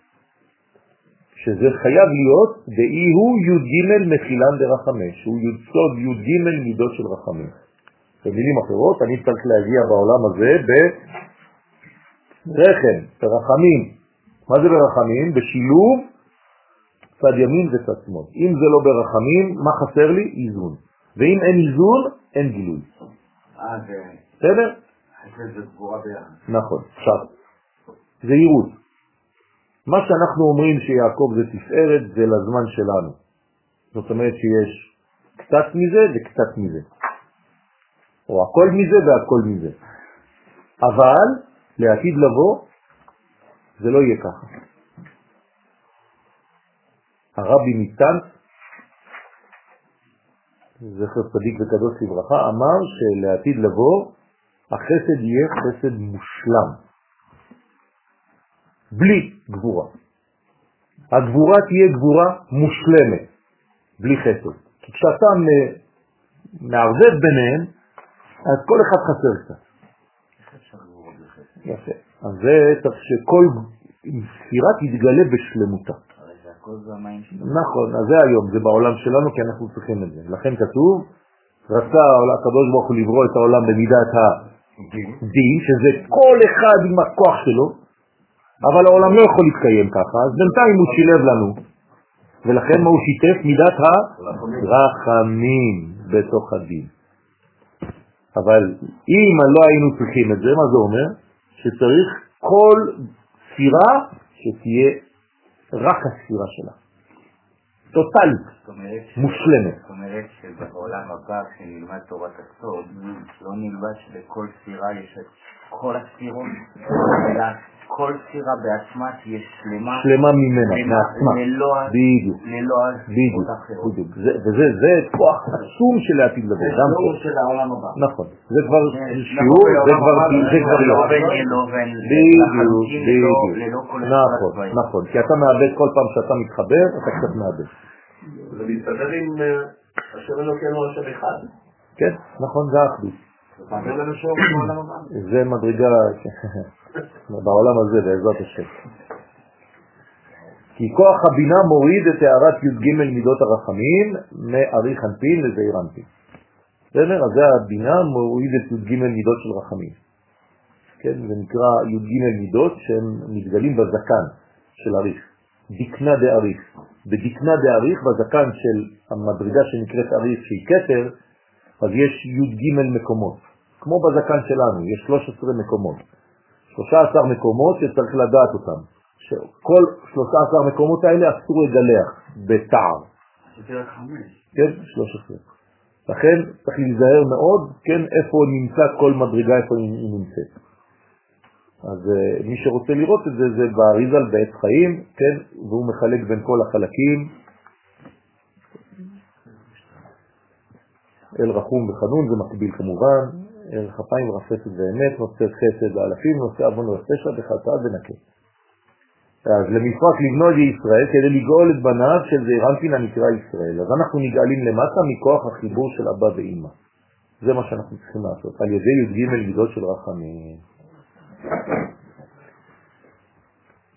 שזה חייב להיות דאי הוא י' ג' מחילן דרחמש. הוא יסוד י' ג' מידות של רחמים. במילים אחרות, אני צריך להגיע בעולם הזה ברחם, ברחמים. מה זה ברחמים? בשילוב צד ימין וצד שמאל. אם זה לא ברחמים, מה חסר לי? איזון. ואם אין איזון, אין גילוי. אה, זה... בסדר? זה גבורה ביחד. נכון. עכשיו, זה יירות. מה שאנחנו אומרים שיעקב זה תפארת, זה לזמן שלנו. זאת אומרת שיש קצת מזה וקצת מזה. או הכל מזה והכל מזה. אבל לעתיד לבוא, זה לא יהיה ככה. הרבי מיטנץ, זכר צדיק וקדוש לברכה, אמר שלעתיד לבוא, החסד יהיה חסד מושלם. בלי גבורה. הגבורה תהיה גבורה מושלמת, בלי חסד. כי כשאתה מערבב ביניהם, אז כל אחד חסר קצת. יפה. אז זה צריך שכל ספירה תתגלה בשלמותה. נכון, אז זה היום, זה בעולם שלנו, כי אנחנו צריכים את זה. לכן כתוב, רצה הקדוש ברוך הוא לברוא את העולם במידת הדין, שזה כל אחד עם הכוח שלו, אבל העולם לא יכול להתקיים ככה, אז בינתיים הוא שילב לנו. ולכן מה הוא שיתף? מידת הרחמים בתוך הדין. אבל אם לא היינו צריכים את זה, מה זה אומר? שצריך כל ספירה שתהיה רק הספירה שלה. טוטלית, מושלמת. זאת אומרת שבעולם הבא כשנלמד תורת הסוד, לא נלמד שבכל ספירה יש את כל הספירות, אלא כל ספירה בעצמה תהיה שלמה. שלמה ממנה, מעצמה. ללא הספירות האחרות. וזה כוח עצום של העתיד לבוא. זה שיעור של העולם הבא. נכון. זה כבר שיעור, זה כבר לא. בדיוק, בדיוק. נכון, נכון. כי אתה מאבד כל פעם שאתה מתחבר, אתה קצת מאבד. זה מסתדר עם השם אלוקינו השם אחד. כן, נכון, זה האחדות. זה מדרגה בעולם הזה, בעזרת השם. כי כוח הבינה מוריד את הערת י' ג' מידות הרחמים מאריך אנפין לזעיר אנפין. בסדר? אז זה הבינה מוריד את י' ג' מידות של רחמים. כן, זה נקרא י' ג' מידות שהם מתגלים בזקן של אריך. דקנה דאריך. בדקנה דאריך, בזקן של המדרגה שנקראת אריך שהיא כתר, אז יש י' ג' מקומות. כמו בזקן שלנו, יש שלוש עשרה מקומות. שלוש עשרה מקומות שצריך לדעת אותם. כל שלוש עשרה מקומות האלה אסור לגלח בתער. כן, שלוש עשרה. לכן צריך להיזהר מאוד, כן, איפה נמצא כל מדרגה, איפה היא נמצאת. אז uh, מי שרוצה לראות את זה, זה באריזל בעץ חיים, כן, והוא מחלק בין כל החלקים. אל רחום וחנון, זה מקביל כמובן, אל חפיים ורפסת ואמת, נושא חסד ואלפים, נושא אבון ורפשע וחטא ונקה. אז למפרק לבנות ישראל, כדי לגאול את בניו של זעיר אנפין הנקרא ישראל. אז אנחנו נגאלים למטה מכוח החיבור של אבא ואמא. זה מה שאנחנו צריכים לעשות, על ידי י' ג' מידות של רחמים.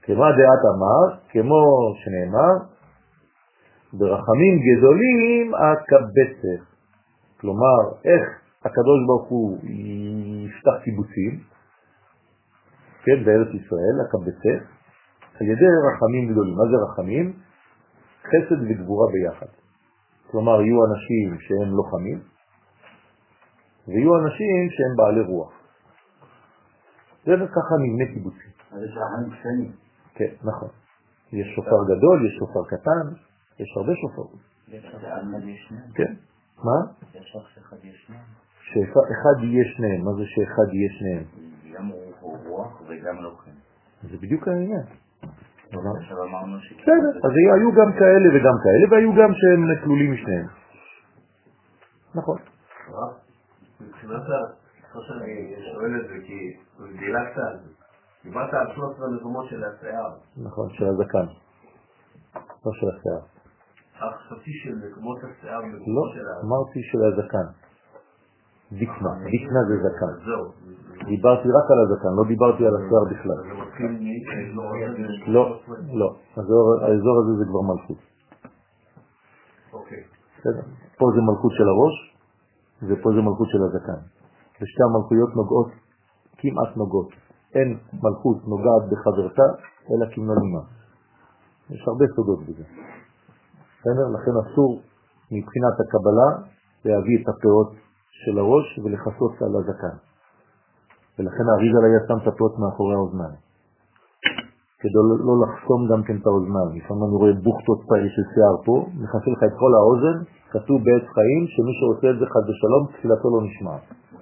כמה דעת אמר, כמו שנאמר, ברחמים גדולים הקבצך. כלומר, איך הקדוש ברוך הוא יפתח קיבוצים, כן, בארץ ישראל, הקבצך, על ידי רחמים גדולים. מה זה רחמים? חסד וגבורה ביחד. כלומר, יהיו אנשים שהם לוחמים, ויהיו אנשים שהם בעלי רוח. זה וככה נבנה קיבוצים. אז יש רחמים קטנים. כן, נכון. יש שופר גדול, יש שופר קטן, יש הרבה שופרות. יש אחד יש שניים. כן. מה? יש שאחד יש שניים. שאחד יהיה שניהם. מה זה שאחד יהיה שניהם? גם רוח וגם לוחם. זה בדיוק העניין. עכשיו אמרנו ש... בסדר, אז היו גם כאלה וגם כאלה, והיו גם שהם כלולים משניהם. נכון. מבחינת מה שאני שואל את זה, כי דילגת על זה. דיברת על שלוש עשרה מקומות של השיער. נכון, של הזקן. לא של השיער. חשבתי של מקומות השיער לא, מקומות של ה... אמרתי של הזקן. דיקנה, דיקנה זה זקן. זהו. דיברתי רק על הזקן, לא דיברתי על השיער בכלל. זה מתחיל מ... לא, לא. האזור הזה זה כבר מלכות. אוקיי. פה זה מלכות של הראש, ופה זה מלכות של הזקן. ושתי המלכויות נוגעות, כמעט נוגעות. אין מלכות נוגעת בחברתה, אלא כמנונימה. יש הרבה סודות בזה. לכן אסור מבחינת הקבלה להביא את הפאות של הראש ולחסות על הזקן. ולכן האריז"ל היה שם את הפאות מאחורי האוזניים. כדי לא לחסום גם כן את האוזניים. לפעמים אני רואה בוכתות פעיל של שיער פה, מכסה לך את כל האוזן, כתוב בעץ חיים שמי שעושה את זה חד ושלום, תפילתו לא נשמע.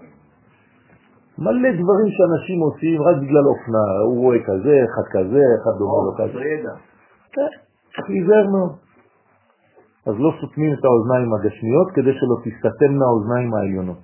מלא דברים שאנשים עושים רק בגלל אופנה, הוא רואה כזה, אחד כזה, אחד דומה לו כזה. זה ידע. כן, להיזהר מאוד. אז לא סותמים את האוזניים הגשמיות כדי שלא תסתתמנה האוזניים העליונות.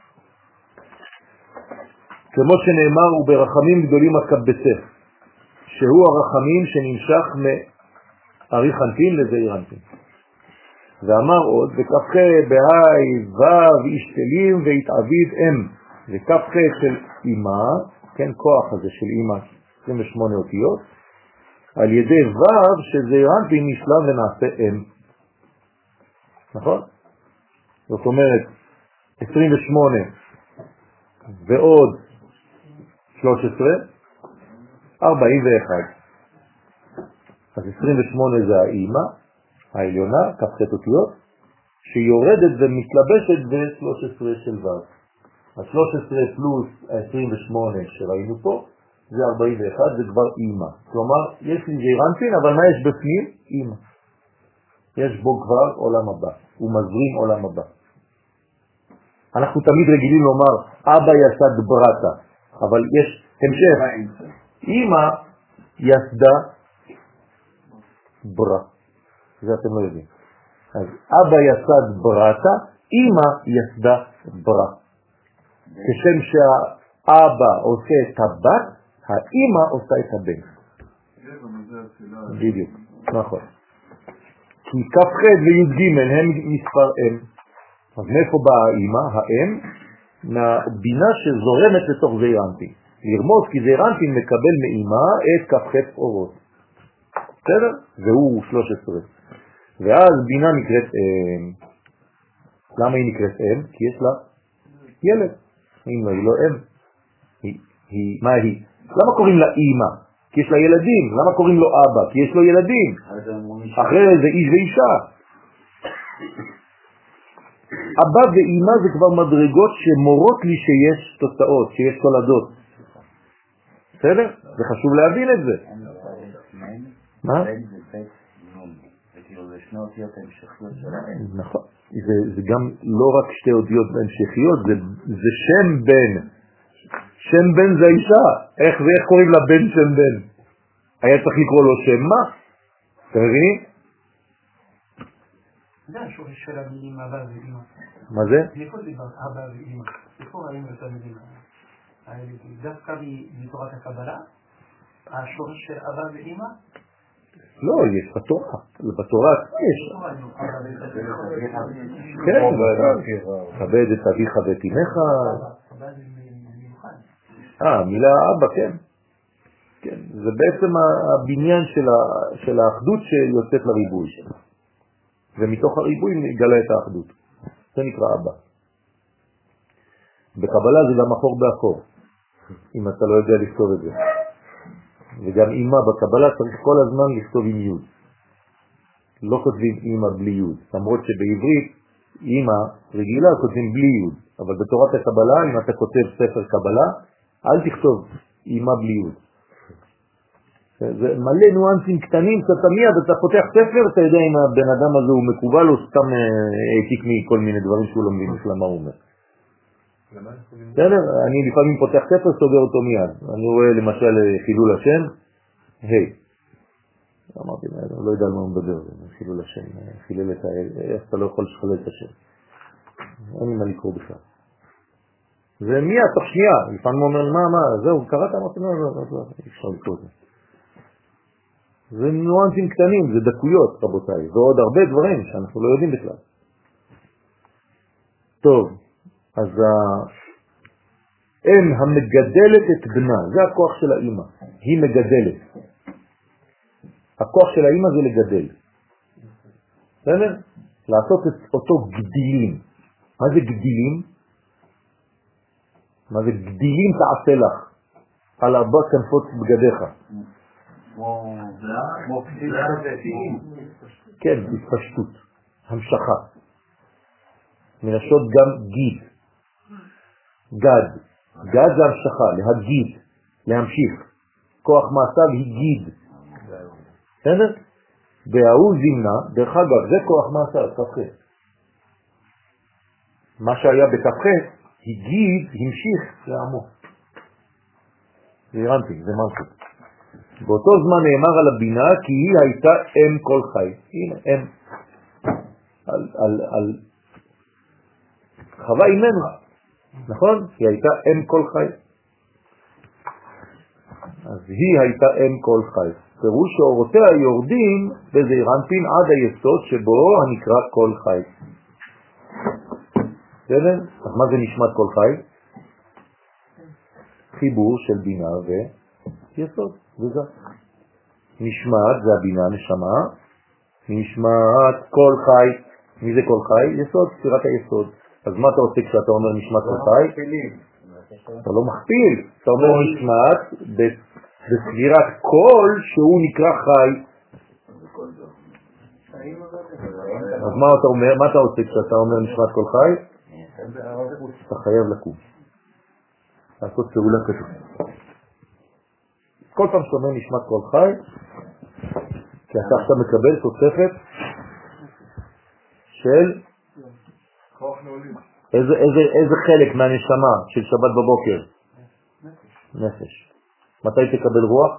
כמו שנאמר, וברחמים גדולים הקבצך, שהוא הרחמים שנמשך מארי חנפין לזעיר אנפין. ואמר עוד, וכ"ח בהי ו' ישתלים ויתעביד אם, וכ"ח של אמא, כן, כוח הזה של אמא, עשרים ושמונה אותיות, על ידי ו' שזעיר אנפין נשלם ונעשה אם. נכון? זאת אומרת, עשרים ושמונה ועוד שלוש עשרה, ארבעים ואחת. אז עשרים ושמונה זה האמא, העליונה, כ"ח אותיות, שיורדת ומתלבשת ב-שלוש עשרה של ו'. ה-שלוש עשרה פלוס ה-עשרים ושמונה שראינו פה, זה ארבעים ואחת, זה כבר אמא. כלומר, יש לי זעיר אנפין, אבל מה יש בפנים? אמא. יש בו כבר עולם הבא, הוא מזרים עולם הבא. אנחנו תמיד רגילים לומר, אבא יסד ברטה, אבל יש המשך. אמא יסדה ברא. זה אתם לא יודעים. אז אבא יסד ברטה, אמא יסדה ברא. כשם שהאבא עושה את הבת, האמא עושה את הבן. בדיוק, נכון. כי כ"ח וי"ג הם מספר אם. אז מאיפה באה האמא, האם? מהבינה שזורמת לתוך זעיר אנפין. לרמוז כי זעיר אנפין מקבל מאמא את כ"ח אורות. בסדר? והוא שלוש עשרה. ואז בינה נקראת אם. למה היא נקראת אם? כי יש לה ילד. אם לא, היא לא אם. היא, היא, מה היא? למה קוראים לה אמא? כי יש לה ילדים. למה קוראים לו אבא? כי יש לו ילדים. אחרי זה איש ואישה. אבא ואמא זה כבר מדרגות שמורות לי שיש תוצאות, שיש תולדות. בסדר? זה חשוב להבין את זה. מה? נכון. זה גם לא רק שתי אותיות המשכיות, זה שם בן. שם בן זה האישה. איך זה, איך קוראים לבן שם בן? היה צריך לקרוא לו שם מה? אתם מבינים? זה השורש של המילים אבא ואמא. מה זה? איפה זה אבא ואמא? איפה ראינו את המילים האלה? דווקא בתורת הקבלה? השורש של אבא ואמא? לא, יש בתורה. בתורה יש. כן, כבד את אביך ואת אמך. אה, מילה אבא, כן. כן, זה בעצם הבניין של, ה, של האחדות שיוצאת לריבוי. ומתוך הריבוי נגלה את האחדות. זה נקרא אבא. בקבלה זה גם אחור באחור, אם אתה לא יודע לכתוב את זה. וגם אימא בקבלה צריך כל הזמן לכתוב עם יוד. לא כותבים אימא בלי יוד, למרות שבעברית אימא רגילה כותבים בלי יוד. אבל בתורת הקבלה, אם אתה כותב ספר קבלה, אל תכתוב אימא בלי יוד. זה מלא ניואנסים קטנים, אתה מיד, אתה פותח ספר, אתה יודע אם הבן אדם הזה הוא מקובל או סתם העתיק מכל מיני דברים שהוא לא מבין בכלל מה הוא אומר. בסדר? אני לפעמים פותח ספר, סוגר אותו מיד. אני רואה למשל חילול השם, היי. אמרתי, אני לא יודע על מה הוא מדבר, חילול השם, חילל את האל, איך אתה לא יכול לשחלל את השם. אין לי מה לקרוא בכלל. זה מיד, תוך שנייה, לפעמים הוא אומר, מה, מה, זהו, קראת? אמרתי, לא, לא, לא, לא, אפשר לקרוא את זה. זה ניואנסים קטנים, זה דקויות, רבותיי, ועוד הרבה דברים שאנחנו לא יודעים בכלל. טוב, אז האם המגדלת את בנה, זה הכוח של האמא, היא מגדלת. הכוח של האמא זה לגדל. בסדר? לעשות את אותו גדילים. מה זה גדילים? מה זה גדילים תעשה לך? על ארבע כנפות בגדיך. כן, התפשטות, המשכה. מלשון גם גיד. גד. גד זה המשכה, להגיד, להמשיך. כוח מעשיו היא גיד. בסדר? בהוא זימנה, דרך אגב, זה כוח מעשיו, תפחי. מה שהיה בתפחי, הגיד, המשיך לעמו. זה הרנתי, זה משהו. באותו זמן נאמר על הבינה כי היא הייתה אם כל חי. הנה, אם. על, על, על חווה אימנו. נכון? היא הייתה אם כל חי. אז היא הייתה אם כל חי. פירוש שאורותיה יורדים בזעיר אנפין עד היסוד שבו הנקרא כל חי. בסדר? אז מה זה נשמת כל חי? חיבור של בינה ויסוד. וזה. נשמת זה הבינה, נשמה. נשמת כל חי. מי זה כל חי? יסוד, ספירת היסוד. אז מה אתה עושה כשאתה אומר נשמת כל חי? אתה לא מכפיל. אתה אומר נשמת בספירת כל שהוא נקרא חי. אז מה אתה אומר? מה אתה עושה כשאתה אומר נשמת כל חי? אתה חייב לקום. לעשות פעולה כזאת. כל פעם שאתה אומר נשמת כל חי, כי אתה עכשיו מקבל תוספת של איזה, איזה, איזה חלק מהנשמה של שבת בבוקר? נפש. מתי תקבל רוח?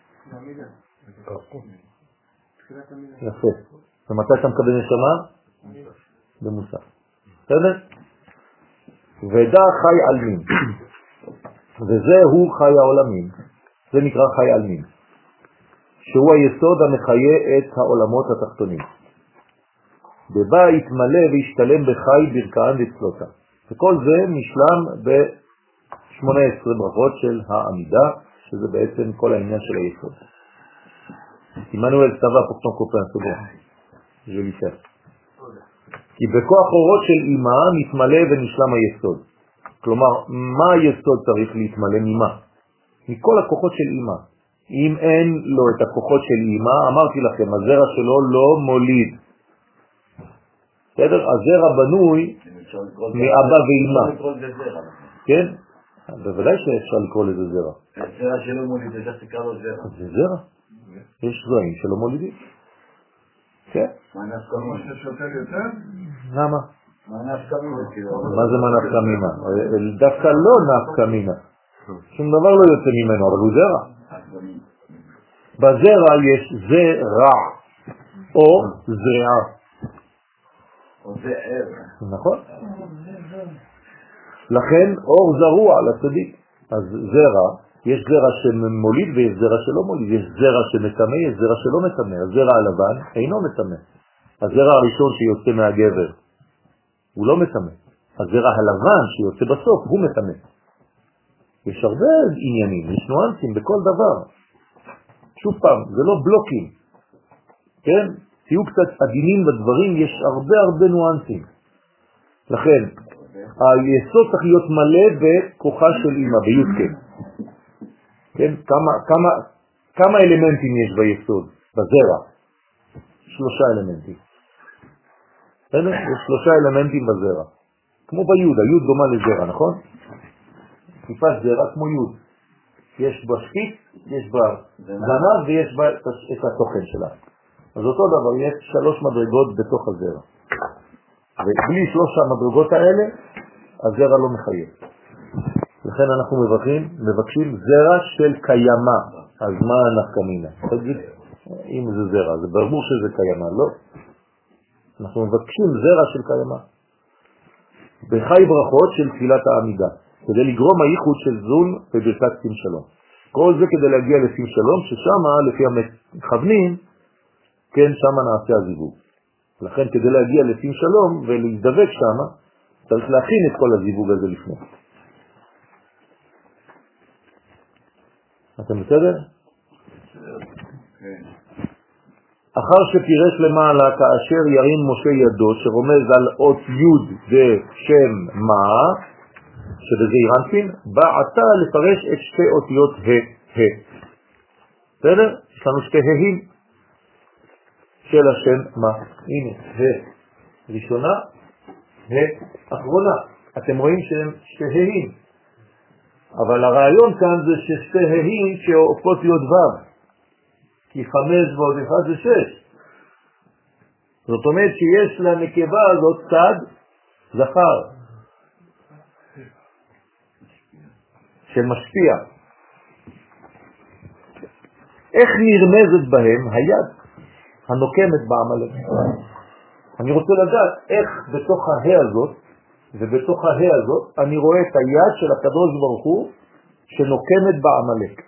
יפה. ומתי אתה מקבל נשמה? במוסף. בסדר? ודע חי עלמין. וזה הוא חי העולמים. זה נקרא חי עלמין. שהוא היסוד המחיה את העולמות התחתונים. בבא יתמלא וישתלם בחי ברכאן וצלותה. וכל זה נשלם ב-שמונה עשרה ברכות של העמידה, שזה בעצם כל העניין של היסוד. עמנואל סבא פורטון קופן סוגר. je lui fais. כי בכוח אורות של אימא מתמלא ונשלם היסוד. כלומר, מה היסוד צריך להתמלא ממה? מכל הכוחות של אימא. אם אין לו את הכוחות של אימא, אמרתי לכם, הזרע שלו לא מוליד. בסדר? הזרע בנוי מאבא ואימא. כן? בוודאי שאפשר לקרוא לזה זרע. הזרע שלא מוליד, זה תקרא לו זרע. זה זרע. יש זרעים שלא מולידים. כן? מה נפקא מינה? למה? מה נפקא מינה? מה זה מה נפקא מינה? דווקא לא נפקא מינה. שום דבר לא יוצא ממנו, אבל הוא זרע. בזרע יש זרע או זרעה. או זרע. נכון? לכן אור זרוע לצדיק. אז זרע, יש זרע שמוליד ויש זרע שלא מוליד. יש זרע שמטמא, יש זרע שלא מטמא. הזרע הלבן אינו מטמא. הזרע הראשון שיוצא מהגבר הוא לא מטמא. הזרע הלבן שיוצא בסוף הוא מטמא. יש הרבה עניינים, יש נואנסים בכל דבר. שוב פעם, זה לא בלוקים, כן? תהיו קצת עדינים בדברים, יש הרבה הרבה נואנסים. לכן, היסוד צריך להיות מלא בכוחה של אמא, בי"ק. כן? כמה, כמה, כמה אלמנטים יש ביסוד, בזרע? שלושה אלמנטים. יש שלושה אלמנטים בזרע. כמו ביוד, היוד דומה לזרע, נכון? טיפת זרע כמו יוד. יש בה שפיץ, יש בה זנב ויש בה את התוכן שלה. אז אותו דבר, יש שלוש מדרגות בתוך הזרע. ובלי שלוש המדרגות האלה, הזרע לא מחייב. לכן אנחנו מבקשים, מבקשים זרע של קיימה. אז מה הנפקמינה? תגיד, אם זה זרע, זה ברור שזה קיימה, לא? אנחנו מבקשים זרע של קיימה. בחי ברכות של תפילת העמידה, כדי לגרום הייחוד של זון וברכת שים שלום. כל זה כדי להגיע לשים שלום, ששם, לפי המכוונים, כן, שם נעשה הזיווג. לכן כדי להגיע לשים שלום ולהזדבק שם, צריך להכין את כל הזיווג הזה לפני. אתם בסדר? כן. אחר שפירש למעלה כאשר ירים משה ידו שרומז על אות יוד ושם מה, שבזה ירנפין, בא עתה לפרש את שתי אותיות ה, ה. בסדר? יש לנו שתי ה'ים של השם מה. הנה, ה ראשונה, ה אחרונה. אתם רואים שהם שתי ה'ים. אבל הרעיון כאן זה ששתי ה'ים שהופכות להיות ו'. כי חמש ועוד אחד זה שש. זאת אומרת שיש לנקבה הזאת צד זכר שמשפיע. איך נרמזת בהם היד הנוקמת בעמלק? אני רוצה לדעת איך בתוך ההא הזאת ובתוך ההא הזאת אני רואה את היד של הקדוש ברוך הוא שנוקמת בעמלק.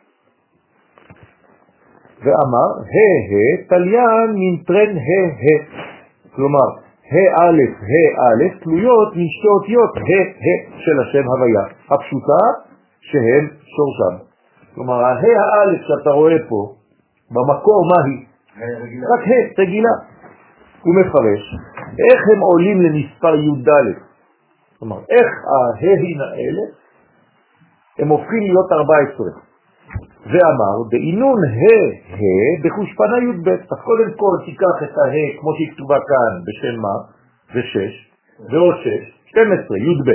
ואמר, ה' תליין מנטרן ה', כלומר, ה' א', ה' א', תלויות משתי אותיות ה' ה' של השם הוויה, הפשוטה שהם שורשם. כלומר, ה' הא' שאתה רואה פה, במקור מה היא? רק ה' רגילה. הוא מפרש, איך הם עולים למספר י"ד? כלומר, איך הה'ים האלה, הם הופכים להיות ארבע עשרה. ואמר, בעינון ה' ה' בחושפנה י"ב. אז קודם כל תיקח את ה' כמו שהיא כתובה כאן בשם מה, ושש, ועוד שש, שתים עשרה, י"ב.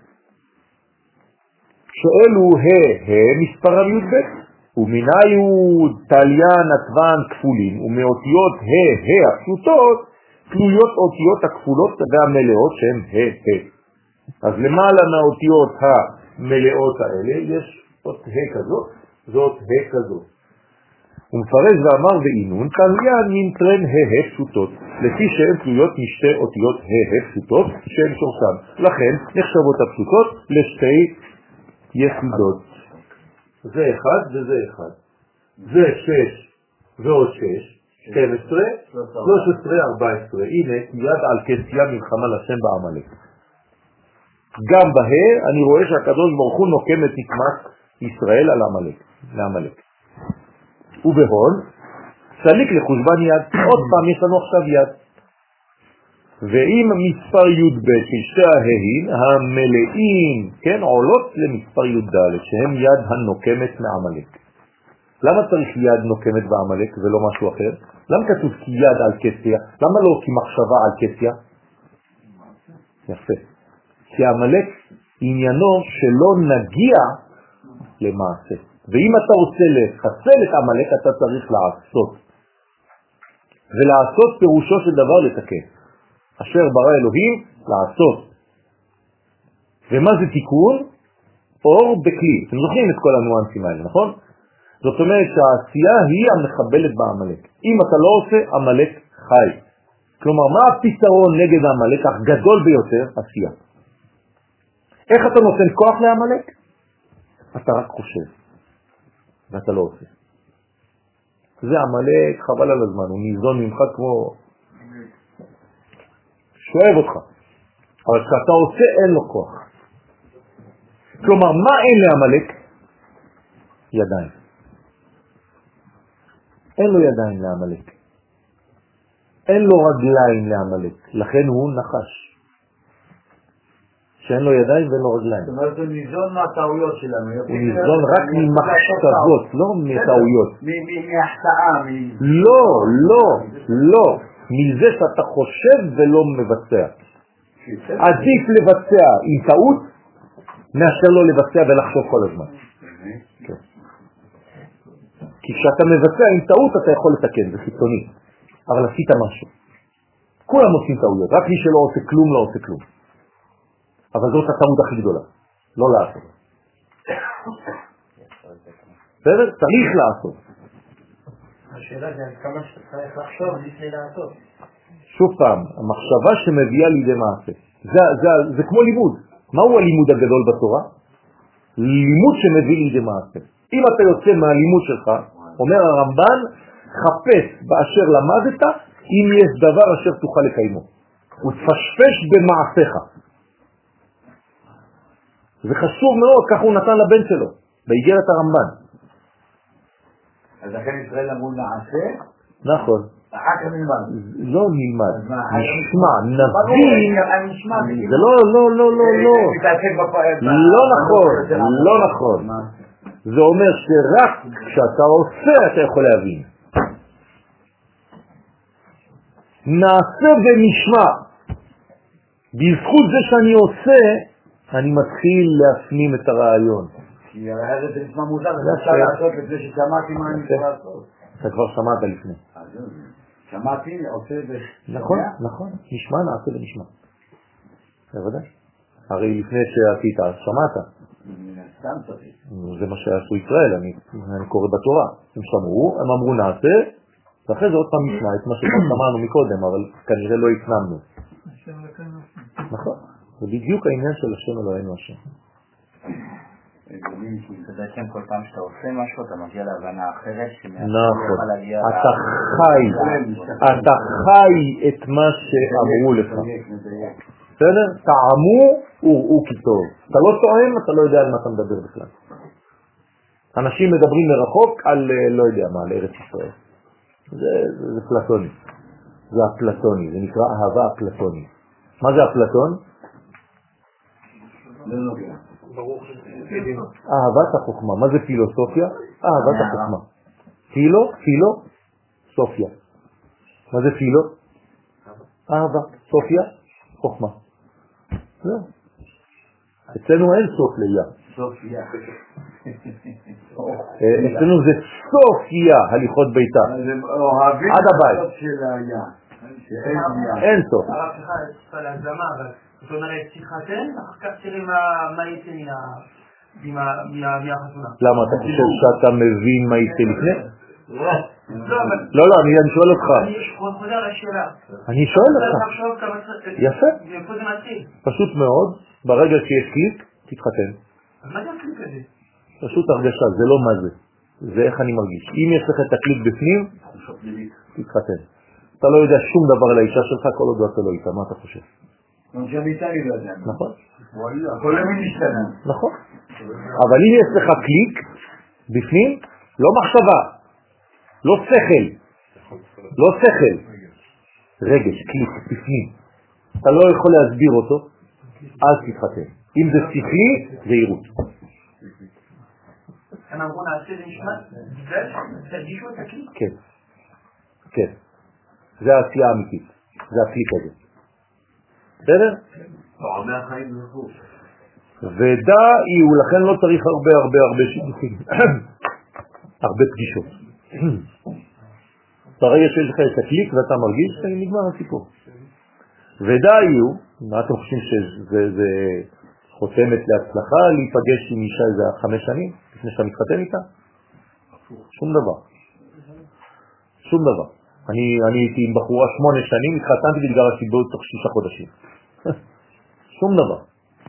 שאלו ה' ה' מספרם י"ב. ומנהיו תליין עטוון כפולים, ומאותיות ה' ה' הפשוטות, תלויות אותיות הכפולות והמלאות שהן ה' ה'. אז למעלה מהאותיות המלאות האלה יש אות ה' כזאת, זאת ה' כזאת. הוא מפרש ואמר ועינון תליין מנטרן ה' ה' פשוטות, לפי שהן תלויות משתי אותיות ה' ה' פשוטות שהן שורשן. לכן נחשבות הפשוטות לשתי יחידות. זה אחד וזה אחד. זה שש ועוד שש, שתים עשרה, שלוש עשרה, ארבע עשרה. הנה יד על כסיה מלחמה לשם בעמלק. גם בה אני רואה שהקדוש ברוך הוא נוקם את נקמת ישראל על עמלק, לעמלק. ובהון, סליק לחושבן יד. עוד פעם יש לנו עכשיו יד. ואם מספר י"ב של שתי הה'ים המלאים, כן, עולות למספר י"ד, שהם יד הנוקמת מעמלק. למה צריך יד נוקמת בעמלק ולא משהו אחר? למה כתוב כי יד על כסיה? למה לא כי מחשבה על כסיה? יפה. כי העמלק עניינו שלא נגיע למעשה. ואם אתה רוצה לחסל את העמלק, אתה צריך לעשות. ולעשות פירושו של דבר לתקן. אשר ברא אלוהים לעשות. ומה זה תיקון? אור בכלי. אתם זוכרים את כל הנואנסים האלה, נכון? זאת אומרת שהעשייה היא המחבלת בעמלק. אם אתה לא עושה, עמלק חי. כלומר, מה הפתרון נגד העמלק הגדול ביותר? עשייה. איך אתה נותן כוח לעמלק? אתה רק חושב, ואתה לא עושה. זה עמלק, חבל על הזמן, הוא ניזון ממך כמו... שואב אותך. אבל כשאתה עושה, אין לו כוח. כלומר, מה אין לעמלק? ידיים. אין לו ידיים לעמלק. אין לו רגליים לעמלק, לכן הוא נחש. שאין לו ידיים ואין לו רגליים. זאת אומרת, הוא ניזון מהטעויות שלנו. הוא ניזון רק ממחשבות, לא מטעויות. מהחטאה. לא, לא, לא. מזה שאתה חושב ולא מבצע. עדיף לבצע עם טעות, מאשר לא לבצע ולחשוב כל הזמן. כי כשאתה מבצע עם טעות אתה יכול לתקן, זה חיצוני. אבל עשית משהו. כולם עושים טעויות, רק מי שלא עושה כלום לא עושה כלום. אבל זאת הטעות הכי גדולה, לא לעשות. בסדר? צריך לעשות. השאלה זה כמה שאתה צריך לחשוב לפני לעשות. שוב פעם, המחשבה שמביאה לידי מעשה. זה, זה, זה כמו לימוד. מהו הלימוד הגדול בתורה? לימוד שמביא לידי מעשה. אם אתה יוצא מהלימוד שלך, אומר הרמב"ן, חפש באשר למדת, אם יש דבר אשר תוכל לקיימו. ותפשפש במעשיך. זה חשוב מאוד, כך הוא נתן לבן שלו, באיגרת הרמב"ן. אז לכן ישראל אמרו נעשה? נכון. אחר כך נלמד. לא נלמד, נשמע, נבין. זה לא, לא, לא, לא, לא. לא נכון, לא נכון. זה אומר שרק כשאתה עושה אתה יכול להבין. נעשה ונשמע. בזכות זה שאני עושה, אני מתחיל להפנים את הרעיון. כי אחרת זה נשמע מוזר, זה אפשר לעשות לפני ששמעתי מה אני צריך לעשות. אתה כבר שמעת לפני. שמעתי, עושה ו... נכון, נכון. נשמע, נעשה ונשמע. זה ודאי. הרי לפני שעשית, שמעת. סתם צריך. זה מה שעשו ישראל, אני קורא בתורה. הם שמעו, הם אמרו נעשה, ואחרי זה עוד פעם נשמע את מה ששמענו מקודם, אבל כנראה לא הפנמנו. נכון. זה בדיוק העניין של השם אלוהינו השם. זה בעצם כל פעם שאתה עושה משהו, אתה מגיע להבנה אחרת, נכון. אתה חי, אתה חי את מה שאמרו לך. בסדר? טעמו וראו כי טוב. אתה לא טועם, אתה לא יודע על מה אתה מדבר בכלל. אנשים מדברים מרחוק על לא יודע מה, על ארץ ישראל. זה, זה, זה פלטוני. זה הפלטוני, זה נקרא אהבה הפלטוני. מה זה הפלטון? אהבת החוכמה. מה זה פילוסופיה? אהבת החוכמה. פילו, פילו, סופיה. מה זה פילו? אהבה, סופיה, חוכמה. זהו. אצלנו אין סוף ליה. סופיה. אצלנו זה סופיה, הליכות ביתה. עד הבית. אין סוף. הרב שלך יש להגזמה, אבל זאת אומרת, תתחתן, אחר כך תראה מה יצא מהחתונה. למה? אתה חושב שאתה מבין מה יצא לפני? לא, לא, אני שואל אותך. אני חוזר על השאלה. אני שואל אותך. יפה. איפה זה מתחיל? פשוט מאוד, ברגע שיש קליק, תתחתן. אז מה זה הקליק הזה? פשוט הרגשה, זה לא מה זה. זה איך אני מרגיש. אם יש לך את הקליק בפנים, תתחתן. אתה לא יודע שום דבר על האישה שלך, כל עוד אתה לא איתה, מה אתה חושב? נכון? הכל למי משתנה. נכון. אבל אם יש לך קליק בפנים, לא מחשבה, לא שכל, לא שכל, רגש, קליק בפנים. אתה לא יכול להסביר אותו, אז תתחתן. אם זה שכלי, זה עירות. אנחנו אמרו נעשה זה נשמע, תרגישו את הקליק? כן, כן. זה העשייה האמיתית, זה הקליק הזה. בסדר? פעמי החיים זכו. ודע היא, ולכן לא צריך הרבה הרבה הרבה שידוכים, הרבה פגישות. ברגע שיש לך את הקליק ואתה מרגיש, נגמר הסיפור. ודע היא, מה אתם חושבים שזה חותמת להצלחה להיפגש עם אישה איזה חמש שנים, לפני שאתה מתחתן איתה? שום דבר. שום דבר. אני, אני הייתי עם בחורה שמונה שנים, התחתנתי והתגרשתי בעוד תוך שישה חודשים. שום דבר.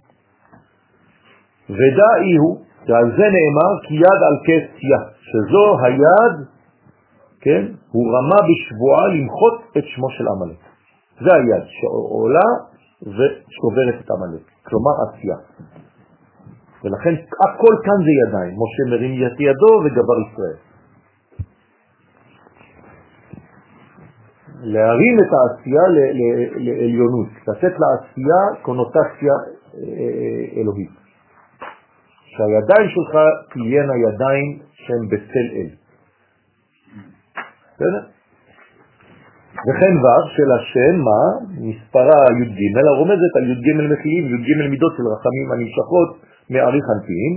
ודע איהו, ועל זה נאמר, כי יד על כסיה, שזו היד, כן, הוא רמה בשבועה למחות את שמו של עמלק. זה היד שעולה ושוברת את עמלק, כלומר עשייה. ולכן הכל כאן זה ידיים, משה מרים יד ידו וגבר ישראל. להרים את העשייה לעליונות, לתת לעשייה קונוטציה אלוהית. שהידיים שלך תהיינה ידיים שהן בצל אל. בסדר? וכן ו' של השם, מה? מספרה י"ג, הרומזת על י"ג מחילים, י"ג מידות של רחמים הנמשכות מעריך אנפין,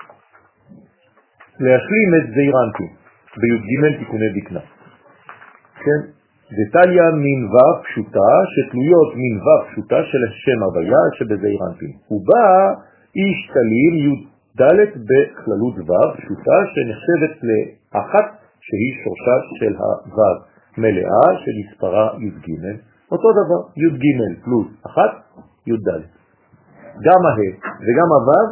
להשלים את זעיר אנפין, בי"ג תיקוני דקנה. כן? דתליה מן ו' פשוטה, שתלויות מן ו' פשוטה של השם הוויה שבזעיר אנפין. הוא בא איש תלים י"ד בכללות ו' פשוטה שנחשבת לאחת שהיא שורשה של הו' מלאה שמספרה י"ג, אותו דבר, י"ג פלוס אחת, י"ד. גם ה' וגם הו',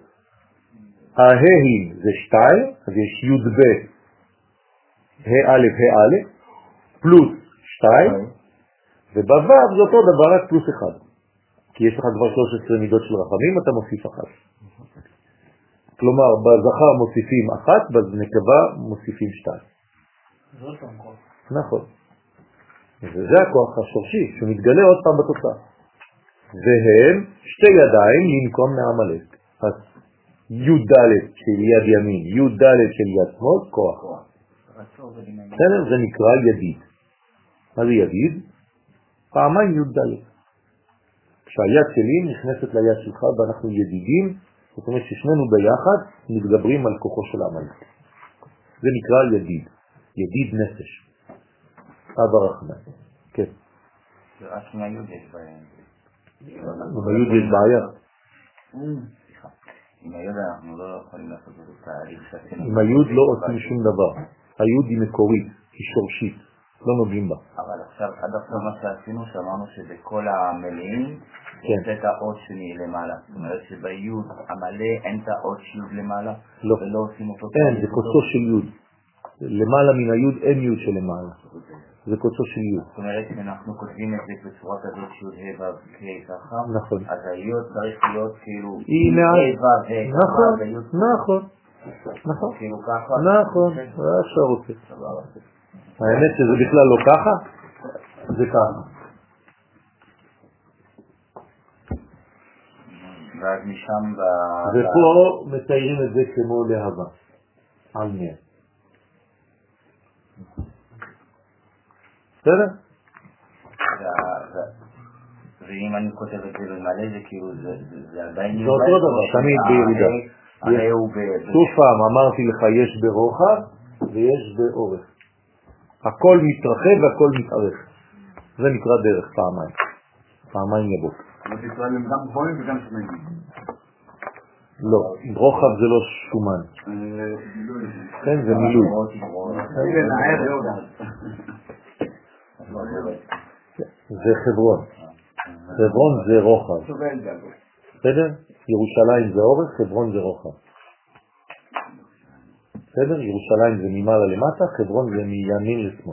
הה' זה שתיים, אז יש י"ב, ה' א' ה' א', פלוס שתיים, ובו' זה אותו דבר רק פלוס אחד. כי יש לך כבר שלוש עשרה מידות של רחמים, אתה מוסיף אחת. כלומר, בזכר מוסיפים אחת, בנקבה מוסיפים שתיים. זה עוד פעם כוח. נכון. וזה הכוח השורשי שמתגלה עוד פעם בתוצאה. והם שתי ידיים לנקום מעמלק. אז י"ד של יד ימין, י"ד של יד שמאל, כוח. בסדר? זה נקרא ידיד. מה זה ידיד? פעמיים י"ד. כשהיד שלי נכנסת ליד שלך ואנחנו ידידים, זאת אומרת ששנינו ביחד מתגברים על כוחו של עמלק. זה נקרא ידיד. ידיד נפש. אבא רחמן. כן. רק עם היוד יש בעיה. עם היוד יש בעיה. סליחה. עם היוד אנחנו לא יכולים לעשות את התהליך שעשינו. עם היוד לא עושים שום דבר. היוד היא מקורית, היא שורשית. לא נוגעים בה. אבל עכשיו, עד עכשיו מה שעשינו, שאמרנו שבכל המלאים יש את האות שני למעלה. זאת אומרת שביוד המלא אין את האות שיוד למעלה. לא. ולא עושים אותו. אין, זה קוצו של יוד. למעלה מן היוד אין יוד של למעלה. זה קוצו של יוד. זאת אומרת שאנחנו כותבים את זה בצורת הזאת שיוד ה' ו' כ' ככה. נכון. אז היוד צריך להיות כאילו היא מעל. ה' ו' ה' נכון, נכון. נכון. כאילו ככה. נכון, זה אפשר רוצה. האמת שזה בכלל לא ככה, זה ככה. ואז משם ב... ופה מתארים את זה כמו להבה. על מאה. בסדר? ואם אני כותב את זה במלא, זה כאילו, זה עדיין... זה אותו דבר, תמיד בירידה. הרי הוא ב... שוב פעם, אמרתי לך, יש ברוחב ויש באורך. הכל מתרחב והכל מתארך. זה נקרא דרך פעמיים. פעמיים יבוא. אבל ישראל הם גם גבוהים וגם שמנים. לא, רוחב זה לא שומן. כן, זה מילוי. זה חברון. חברון זה רוחב. בסדר? ירושלים זה אורך, חברון זה רוחב. בסדר? ירושלים זה ממעלה למטה, חברון זה מימין לשמאל.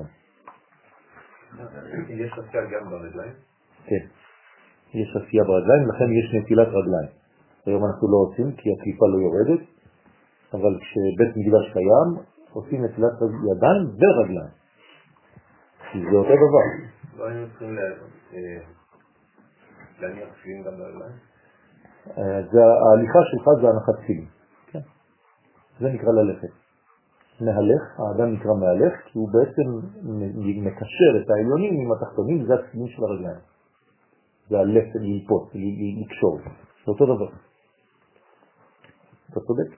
יש עשייה גם ברגליים? כן. יש עשייה ברגליים, לכן יש נטילת רגליים. היום אנחנו לא עושים כי הקליפה לא יורדת, אבל כשבית מקדש קיים, עושים נטילת ידיים ורגליים. כי זה אותו דבר. לא היינו צריכים להניח תפילין גם ברגליים? ההליכה שלך זה הנחת תפילין. כן. זה נקרא ללכת. מהלך, האדם נקרא מהלך, כי הוא בעצם מקשר את העליונים עם התחתונים, זה התפילין של הרגליים. זה הלפן, ללפות, לקשור. זה אותו דבר. אתה צודק.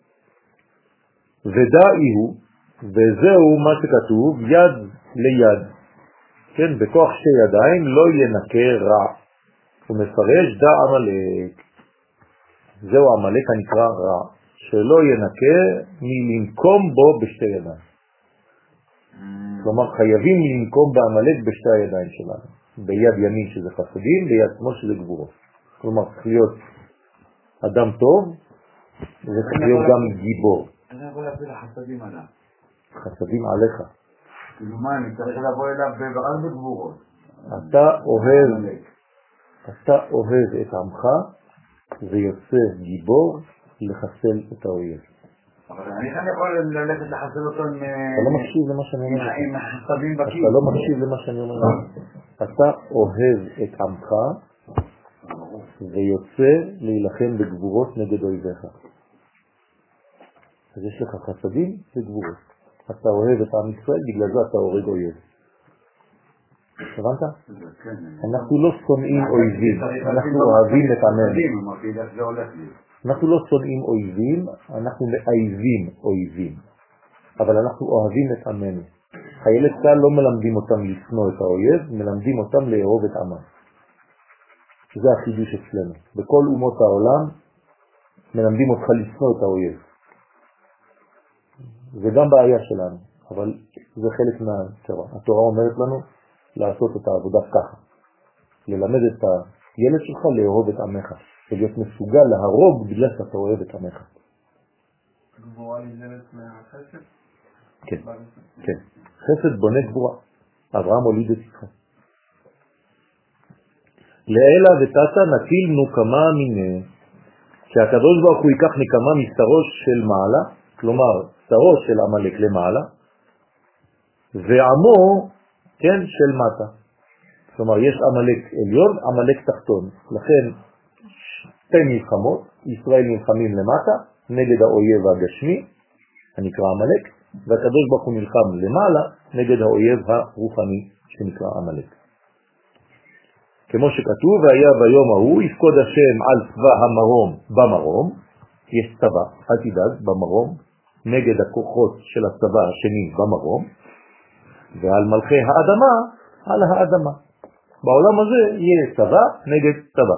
ודאי הוא, וזהו מה שכתוב, יד ליד. כן, בכוח שתי ידיים לא ינקה רע. הוא מפרש דע עמלק. זהו עמלק הנקרא רע. שלא ינקה מלנקום בו בשתי ידיים. כלומר, חייבים לנקום בעמלק בשתי הידיים שלנו. ביד ימין שזה חסדים, ביד שמאל שזה גבורות. כלומר, צריך להיות אדם טוב, וצריך להיות גם גיבור. אני יכול להפיל חסדים עליו. חסדים עליך. כאילו מה, אני צריך לבוא אליו רק בגבורות. אתה אוהב, אתה אוהב את עמך, ויוצא גיבור לחסל את האויב. אבל אני כאן יכול ללכת לחסל אותו עם... אתה לא מקשיב למה שאני אומר. עם החסבים בקיר. אתה לא מקשיב למה שאני אומר. אתה אוהב את עמך ויוצא להילחם בגבורות נגד אויביך. אז יש לך חסדים וגבורות. אתה אוהב את עם ישראל, בגלל זה אתה הורג אויב. הבנת? אנחנו לא שונאים אויבים, אנחנו אוהבים את עמנו. אנחנו לא שונאים אויבים, אנחנו מאייבים אויבים. אבל אנחנו אוהבים את עמנו. חיילי צה"ל לא מלמדים אותם לשנוא את האויב, מלמדים אותם לאהוב את עמם. זה החידוש אצלנו. בכל אומות העולם מלמדים אותך לשנוא את האויב. זה גם בעיה שלנו, אבל זה חלק מהתורה. התורה אומרת לנו לעשות את העבודה ככה. ללמד את הילד שלך לאהוב את עמך. ולהיות מסוגל להרוג בגלל שאתה אוהב את עמך. גבורה נגזרת מהחסד? כן, כן. חסד בונה גבורה. אברהם הוליד את יצחק. לאלה ותתה נטיל נוקמה מיני. שהקדוש ברוך הוא ייקח נקמה משרו של מעלה, כלומר, שרו של עמלק למעלה, ועמו, כן, של מטה. כלומר, יש עמלק עליון, עמלק תחתון. לכן, שתי מלחמות, ישראל נלחמים למטה, נגד האויב הגשמי, הנקרא עמלק, והקדוש ברוך הוא נלחם למעלה, נגד האויב הרוחני, שנקרא עמלק. כמו שכתוב, והיה ביום ההוא, יפקוד השם על צבא המרום במרום, יש צבא, אל תדאג, במרום, נגד הכוחות של הצבא השני במרום, ועל מלכי האדמה, על האדמה. בעולם הזה יהיה צבא נגד צבא.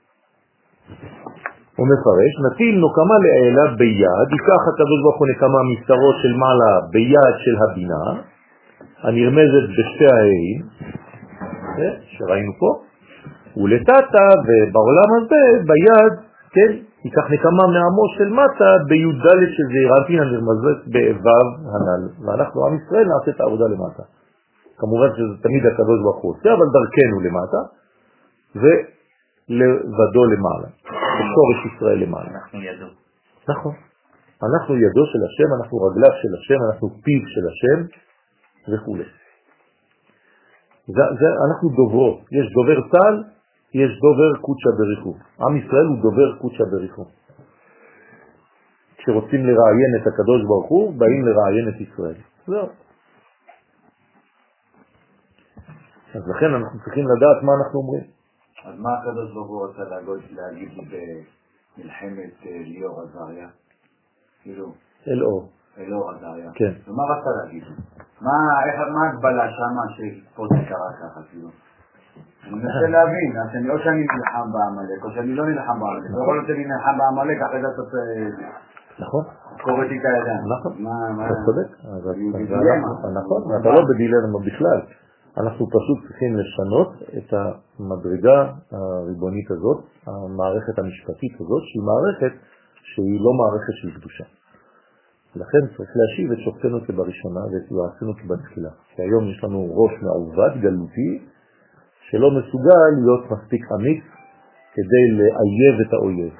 הוא מפרש, נטיל נוקמה לאלה ביד, ייקח הקדוש ברוך הוא נקמה משרו של מעלה ביד של הבינה, הנרמזת בשתי הערים, שראינו פה, ולתתה, ובעולם הזה ביד, כן, ייקח נקמה מעמו של מטה ביוד ד' שזה ירנטין הנרמזת באבב הנ"ל, ואנחנו עם ישראל נעשה את העבודה למטה. כמובן שזה תמיד הקדוש ברוך הוא עושה, אבל דרכנו למטה, ולבדו למעלה, בשורש ישראל למעלה. אנחנו ידו. נכון. אנחנו ידו של השם, אנחנו רגליו של השם, אנחנו פיו של השם, וכו'. זה, זה, אנחנו דוברו. יש דובר צה"ל, יש דובר קודשא בריחו. עם ישראל הוא דובר קודשא בריחו. כשרוצים לראיין את הקדוש ברוך הוא, באים לראיין את ישראל. זהו. אז לכן אנחנו צריכים לדעת מה אנחנו אומרים. אז מה הקדוש ברוך הוא רוצה להגיד במלחמת ליאור עזריה? כאילו... אלאור. אלאור עזריה. כן. ומה רצה להגיד? מה ההגבלה שמה שפה זה קרה ככה, כאילו? אני מנסה להבין, או שאני נלחם בעמלק, או שאני לא נלחם בעמלק. לא יכול להיות שאני נלחם בעמלק, אחרי זה אתה נכון. קורא איתה ידיים. נכון. אתה צודק. נכון, אתה לא בדילמה בכלל. אנחנו פשוט צריכים לשנות את המדרגה הריבונית הזאת, המערכת המשפטית הזאת, שהיא מערכת שהיא לא מערכת של קדושה. לכן צריך להשיב את שופטנו כבראשונה ואת יועצנו כבתחילה. כי היום יש לנו ראש מעובד גלותי, שלא מסוגל להיות מספיק אמיץ כדי לאייב את האויב.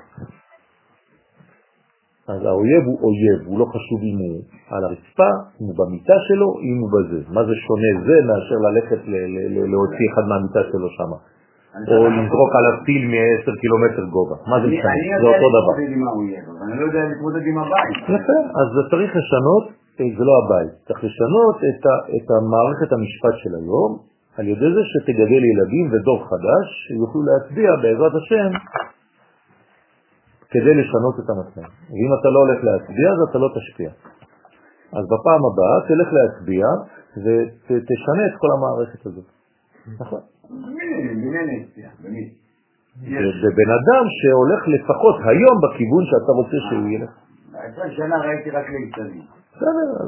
אז האויב הוא אויב, הוא לא חשוב אם הוא על הרצפה, אם הוא במיטה שלו, אם הוא בזה. מה זה שונה זה מאשר ללכת להוציא אחד מהמיטה שלו שם? או לזרוק עליו טיל מ-עשרה קילומטר גובה. מה זה משנה? זה אותו דבר. אני יודע להתמודד עם האויב, אבל אני לא יודע להתמודד עם הבית. יפה, אז צריך לשנות, זה לא הבית, צריך לשנות את המערכת המשפט של היום, על ידי זה שתגדל ילדים ודור חדש, שיוכלו להצביע בעזרת השם, כדי לשנות את המצב. ואם אתה לא הולך להצביע, אז אתה לא תשפיע. אז בפעם הבאה תלך להצביע, ותשנה את כל המערכת הזאת. נכון? זה בן אדם שהולך לפחות היום בכיוון שאתה רוצה שהוא ילך. עשרים שנה ראיתי רק ליצנים. בסדר, אז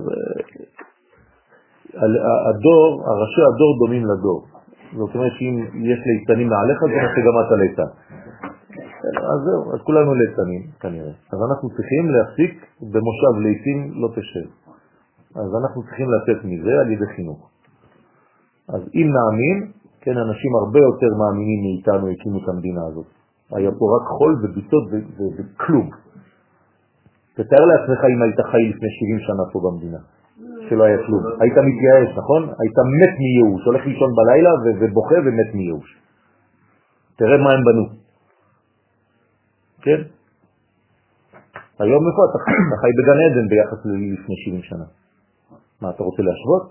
הדור, הראשי הדור דומים לדור. זאת אומרת שאם יש ליצנים מעליך, זה נעשה גם אתה ליצן. אז זהו, אז כולנו ליצנים כנראה. אז אנחנו צריכים להפסיק במושב ליצים לא תשב. אז אנחנו צריכים לצאת מזה על ידי חינוך. אז אם נאמין, כן, אנשים הרבה יותר מאמינים מאיתנו הקימו את המדינה הזאת. היה פה רק חול וביצות וכלום. תתאר לעצמך אם היית חי לפני שבעים שנה פה במדינה, שלא היה כלום. היית מתייאש, נכון? היית מת מייאוש, הולך לישון בלילה ובוכה ומת מייאוש. תראה מה הם בנו. כן? היום איפה אתה חי? אתה חי בגן עדן ביחס לפני שבעים שנה. מה, אתה רוצה להשוות?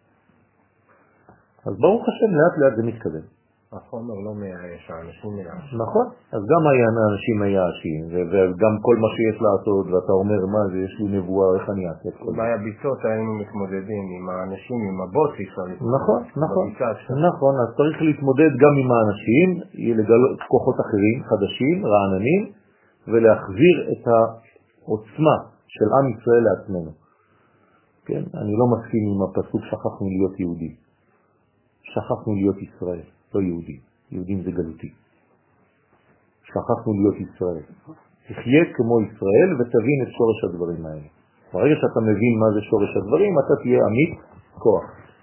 אז ברוך השם, לאט לאט זה מתקדם. החומר לא מייאש, האנשים מייאש. נכון, אז גם האנשים מייאשים, וגם כל מה שיש לעשות, ואתה אומר, מה זה, יש לי נבואה, איך אני אעשה? בהביצות היינו מתמודדים עם האנשים, עם הבוט, נכון, נכון, נכון, אז צריך להתמודד גם עם האנשים, לגלות כוחות אחרים, חדשים, רעננים, ולהחזיר את העוצמה של עם ישראל לעצמנו. כן, אני לא מסכים עם הפסוק שכחנו להיות יהודי. שכחנו להיות ישראל. לא יהודי, יהודים זה גלותי. שכחנו להיות ישראל. תחיה כמו ישראל ותבין את שורש הדברים האלה. ברגע שאתה מבין מה זה שורש הדברים, אתה תהיה עמית כוח.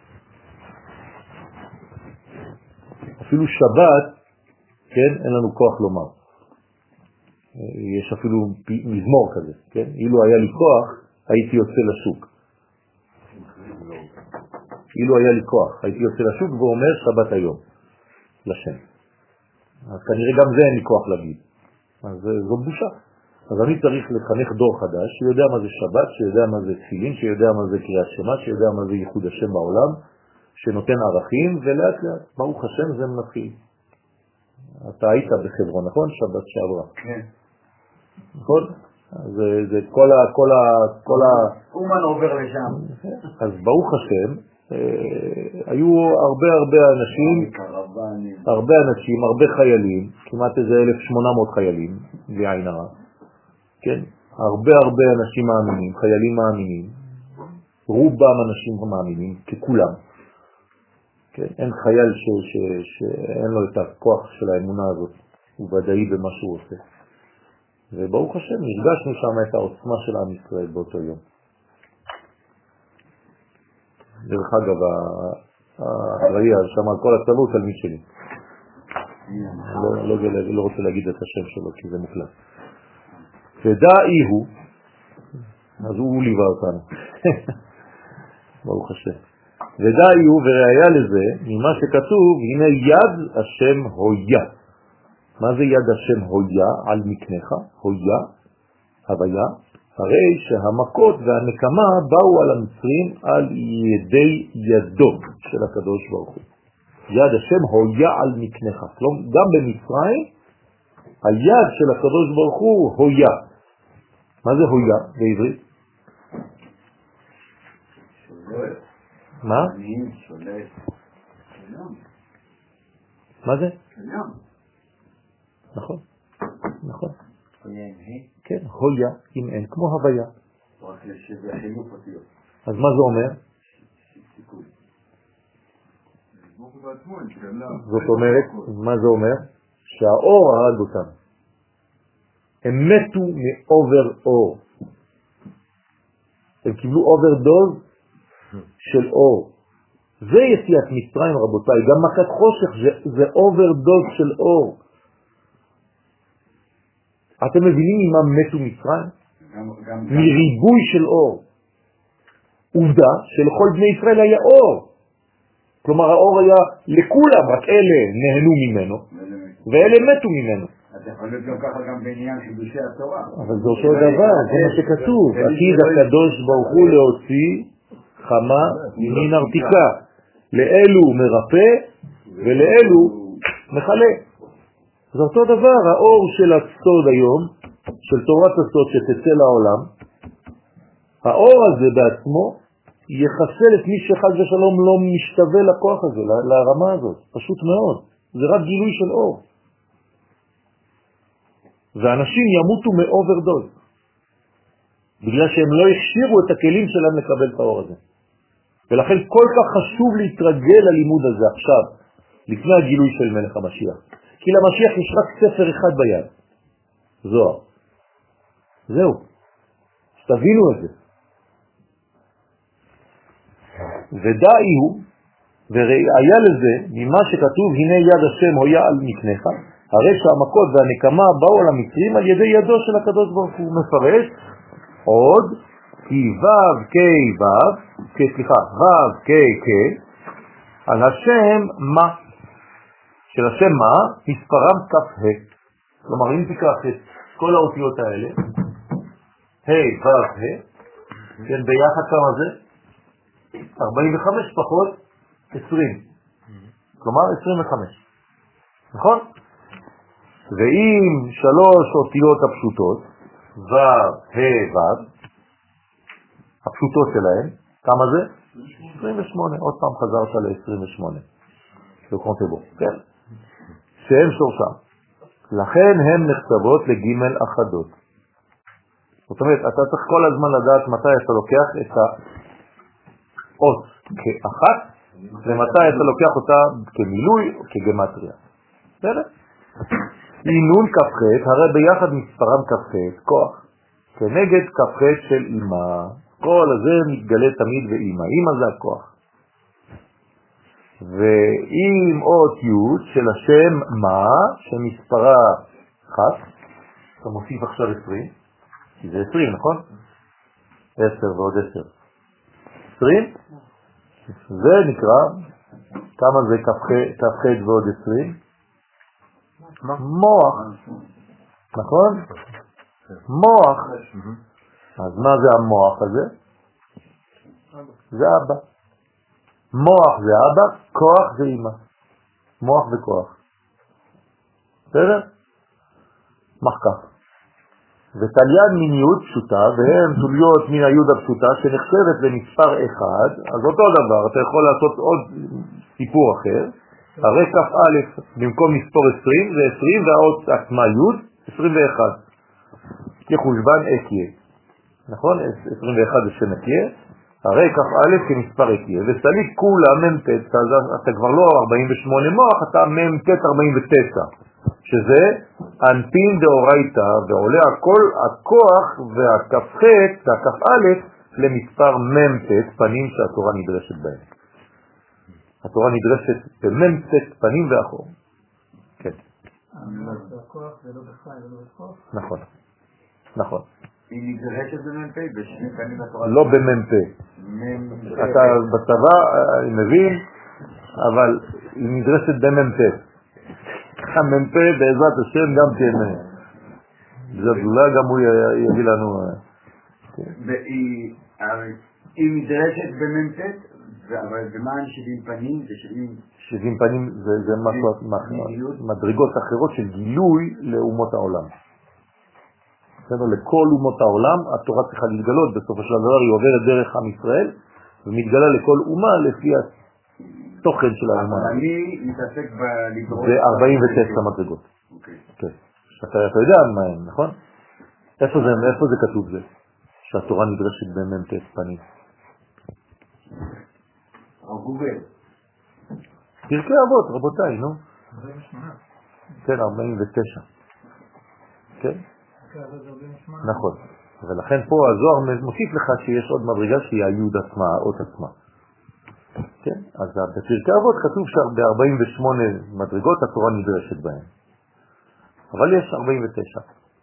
אפילו שבת, כן, אין לנו כוח לומר. יש אפילו מזמור כזה, כן? אילו היה לי כוח, הייתי יוצא לשוק. אילו היה לי כוח, הייתי יוצא לשוק ואומר שבת היום. לשם. אז כנראה גם זה אין לי כוח להגיד. אז זו בושה. אז אני צריך לחנך דור חדש, שיודע מה זה שבת, שיודע מה זה תפילין, שיודע מה זה קריאת שמע, שיודע מה זה ייחוד השם בעולם, שנותן ערכים, ולאט לאט, ברוך השם זה מתחיל. אתה היית בחברון, נכון? שבת שעברה. כן. נכון? זה, זה כל ה... כל ה... כל ה... אומן עובר לשם. אז ברוך השם, היו הרבה הרבה אנשים, הרבה אנשים, הרבה חיילים, כמעט איזה אלף ושמונה מאות חיילים, בעין הרע, כן? הרבה הרבה אנשים מאמינים, חיילים מאמינים, רובם אנשים מאמינים, ככולם. כן? אין חייל ש, ש, שאין לו את הכוח של האמונה הזאת, הוא ודאי במה שהוא עושה. וברוך השם, הרגשנו שם את העוצמה של עם ישראל באותו יום. דרך אגב, האחראי שם על כל הצבא תלמיד שלי. לא, לא, לא רוצה להגיד את השם שלו, כי זה מוקלט. ודאי הוא, אז הוא ליווה אותנו. ברוך השם. ודאי הוא, וראיה לזה, ממה שכתוב, הנה יד השם הויה. מה זה יד השם הויה על מקנך? הויה, הוויה. הרי שהמכות והנקמה באו על המצרים על ידי ידו של הקדוש ברוך הוא. יד השם הויה על מקנך. כלומר, גם במצרים, היד של הקדוש ברוך הוא הויה. מה זה הויה בעברית? שולט. מה? שולט. מה זה? שולם. נכון, נכון. כן, הויה עם אין, כמו הוויה. אז מה זה אומר? זאת אומרת, מה זה אומר? שהאור הרג אותם. הם מתו מאובר אור. הם קיבלו אוברדוז של אור. זה יציאת מצרים, רבותיי. גם מכת חושך זה אוברדוז של אור. אתם מבינים ממה מתו מצרים? מריבוי של אור. עובדה שלכל בני ישראל היה אור. כלומר האור היה לכולם, רק אלה נהנו ממנו, ואלה מתו ממנו. אתה יכול להיות גם ככה גם בעניין חידושי התורה. אבל זה אותו דבר, זה מה שכתוב. עתיד הקדוש ברוך הוא להוציא חמה מן ארתיקה. לאלו מרפא ולאלו מחלה. זה אותו דבר, האור של הסוד היום, של תורת הסוד שתצא לעולם, האור הזה בעצמו יחסל את מי שחד ושלום לא משתווה לכוח הזה, לרמה הזאת. פשוט מאוד. זה רק גילוי של אור. ואנשים ימותו מאוברדוז, בגלל שהם לא הכשירו את הכלים שלהם לקבל את האור הזה. ולכן כל כך חשוב להתרגל ללימוד הזה עכשיו, לפני הגילוי של מלך המשיח. כי למשיח יש רק ספר אחד ביד, זוהר. זהו. שתבינו את זה. ודאי הוא, וראיה לזה, ממה שכתוב, הנה יד השם הויה על מקנך, הרי שהמכות והנקמה באו על המצרים על ידי ידו של הקדוש ברוך הוא. מפרש עוד, כי וו קי וו, סליחה, וו קי קי, על השם מה? של השם מה? מספרם כף ה'. כלומר, אם תיקח את כל האותיות האלה, ה' וו ה', כן, ביחד כמה זה? ארבעים וחמש פחות עשרים. כלומר, עשרים וחמש. נכון? ואם שלוש אותיות הפשוטות, ו', ה', ו', הפשוטות שלהם, כמה זה? עשרים ושמונה. עוד פעם חזרת ל-עשרים ושמונה. בקונטבו, כן? שהם שורשם. לכן הן נחשבות לגימל אחדות. זאת אומרת, אתה צריך כל הזמן לדעת מתי אתה לוקח את האות כאחת, ומתי אתה לוקח אותה כמילוי או כגמטריה. בסדר? אינון כ"ח, הרי ביחד מספרם כ"ח, כוח, כנגד כ"ח של אמא. כל הזה מתגלה תמיד באמא. אמא זה הכוח. ואם אות י' של השם מה, שמספרה אחת, אתה מוסיף עכשיו עשרים, כי זה עשרים, נכון? עשר ועוד עשר. עשרים? זה נקרא, כמה זה כ"ח ועוד עשרים? מוח. נכון? מוח. אז מה זה המוח הזה? זה אבא. מוח זה אבא, כוח זה אמא. מוח וכוח. בסדר? מחקף. ותליין מיניות פשוטה, והן תוליות מן היוד הפשוטה שנחשבת למספר אחד, אז אותו דבר, אתה יכול לעשות עוד סיפור אחר, הרי כף א' במקום מספור עשרים זה עשרים והאות עצמה יוד, עשרים ואחת. כחושבן אקיה. נכון? עשרים ואחת זה שם אקיה, הרי כף א' כמספר אקיה, וסליק כולה ממתת, אתה כבר לא ארבעים ושמונה מוח, אתה ממתת ארבעים ותשע. שזה אנפין דאורייתא, ועולה הכל הכוח והכ"ח, הכ"א, למספר ממתת פנים שהתורה נדרשת בהם. התורה נדרשת בממתת פנים ואחור. כן. זה הכוח ולא בחי ולא בכוח? נכון. נכון. היא נדרשת במ"פ, בשני פנים התורה. לא במ"פ. אתה בצבא, אני מבין, אבל היא נדרשת במ"פ. המ"פ בעזרת השם גם כן, זאת אולי גם הוא יביא לנו. היא נדרשת במ"פ, אבל במה שבעים פנים זה שבעים פנים זה מדרגות אחרות של גילוי לאומות העולם. לכל אומות העולם התורה צריכה להתגלות, בסופו של דבר היא עוברת דרך עם ישראל ומתגלה לכל אומה לפי תוכן של האומה. אבל אני מתעסק בלדרוש... זה ארבעים ותשע מדרגות. אוקיי. כן. אתה יודע מה הם, נכון? איפה זה, איפה זה כתוב זה? שהתורה נדרשת במ"ט פנים. או גוגל. פרקי אבות, רבותיי, נו. ארבעים ושמונה. כן, ארבעים ותשע. כן? נכון. ולכן פה הזוהר מוסיף לך שיש עוד מדרגה שהיא היוד עצמה, האות עצמה. כן? אז בפרקי אבות כתוב שב-ארבעים ושמונה מדרגות התורה נדרשת בהן. אבל יש ארבעים ותשע.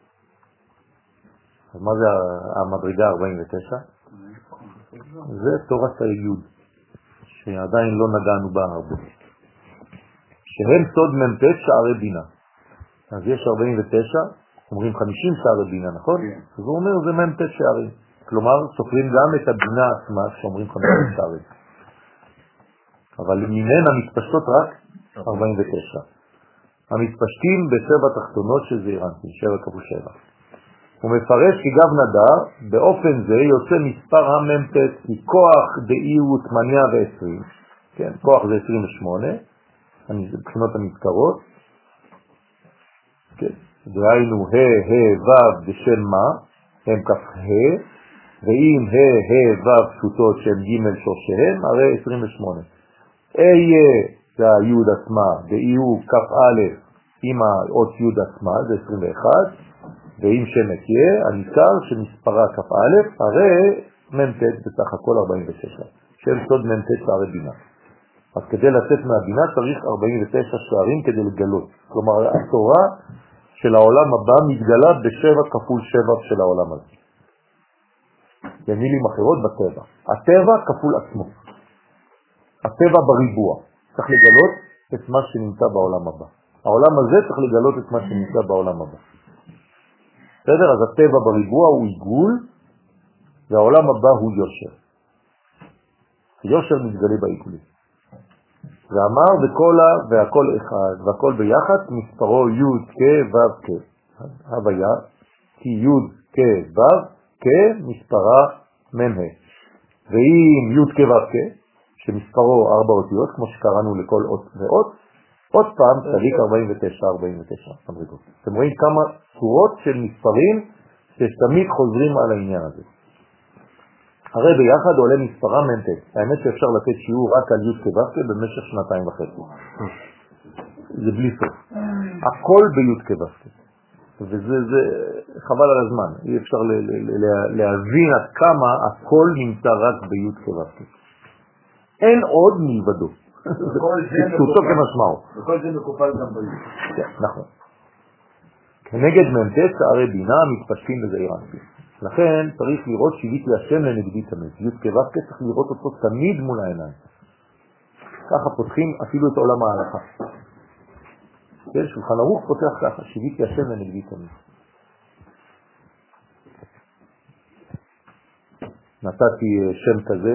אז מה זה המדרגה ארבעים ותשע? זה תורת היוד, שעדיין לא נגענו בה הרבה. שהם סוד מ"ט שערי בינה. אז יש ארבעים ותשע, אומרים חמישים שערי בינה, נכון? אז הוא אומר זה מ"ט שערים. כלומר, סופרים גם את הבינה עצמה שאומרים חמישים שערים. אבל ממנה מתפשטות רק ארבעים ותשע. המתפשטים בשבע תחתונות של זעירנטין, שבע כפול שבע. הוא מפרש כי גב נדר, באופן זה יוצא מספר המ"ט, כי כוח דאי הוא שמונה ועשרים, כן, כוח זה עשרים ושמונה, מבחינות המזכרות, כן, דהיינו ה' ה' ו' בשם מה, הם כף ה', ואם ה' ה' ו' פשוטות שהם ג' שורשיהם, הרי עשרים ושמונה. איה זה היוד עצמה, דאי הוא כף א' עם האות יוד עצמה, זה עשרים ואחת, ואם שם אקיה, הניכר שמספרה כף א', הרי מ"ט בסך הכל ארבעים ותשע, שם סוד מ"ט שערי בינה. אז כדי לצאת מהבינה צריך ארבעים ותשע שערים כדי לגלות. כלומר, התורה של העולם הבא מתגלה בשבע כפול שבע של העולם הזה. במילים אחרות בטבע. הטבע כפול עצמו. הטבע בריבוע. צריך לגלות את מה שנמצא בעולם הבא. העולם הזה צריך לגלות את מה שנמצא בעולם הבא. בסדר? אז הטבע בריבוע הוא עיגול, והעולם הבא הוא יושר. יושר מתגלה בעיגולים. ואמר וכל והכל אחד, והכל ביחד, מספרו י' כ' ו' כ'. הוויה, כי י' כ' ו' כ' מספרה מ"ה. ואם י' כ' ו' כ', שמספרו ארבע אותיות, כמו שקראנו לכל אות ואות, עוד פעם צדיק ארבעים ותשע ארבעים ותשע מדרגות. אתם רואים כמה צורות של מספרים שתמיד חוזרים על העניין הזה. הרי ביחד עולה מספרה מ"ט. האמת שאפשר לתת שיעור רק על י' כ' ו' כ' במשך שנתיים וחצי. זה בלי סוף. הכל בי' כ' ו' כ'. וזה זה, חבל על הזמן. אי אפשר ל- ל- ל- להבין עד כמה הכל נמצא רק בי' כ' ו' כ'. אין עוד מלבדו. פשוטו כמשמעו. וכל זה מקופל גם בי'. כן, נכון. כנגד מ"ט שערי בינה מתפשטים בזעיר אנפין. לכן צריך לראות שיביתי השם לנגדי תמיד. י' כ' ו' כ' צריך לראות אותו תמיד מול העיניים. ככה פותחים אפילו את עולם ההלכה. כן, שולחן ערוך פותח ככה, שיביתי השם לנגדי תמיד. נתתי שם כזה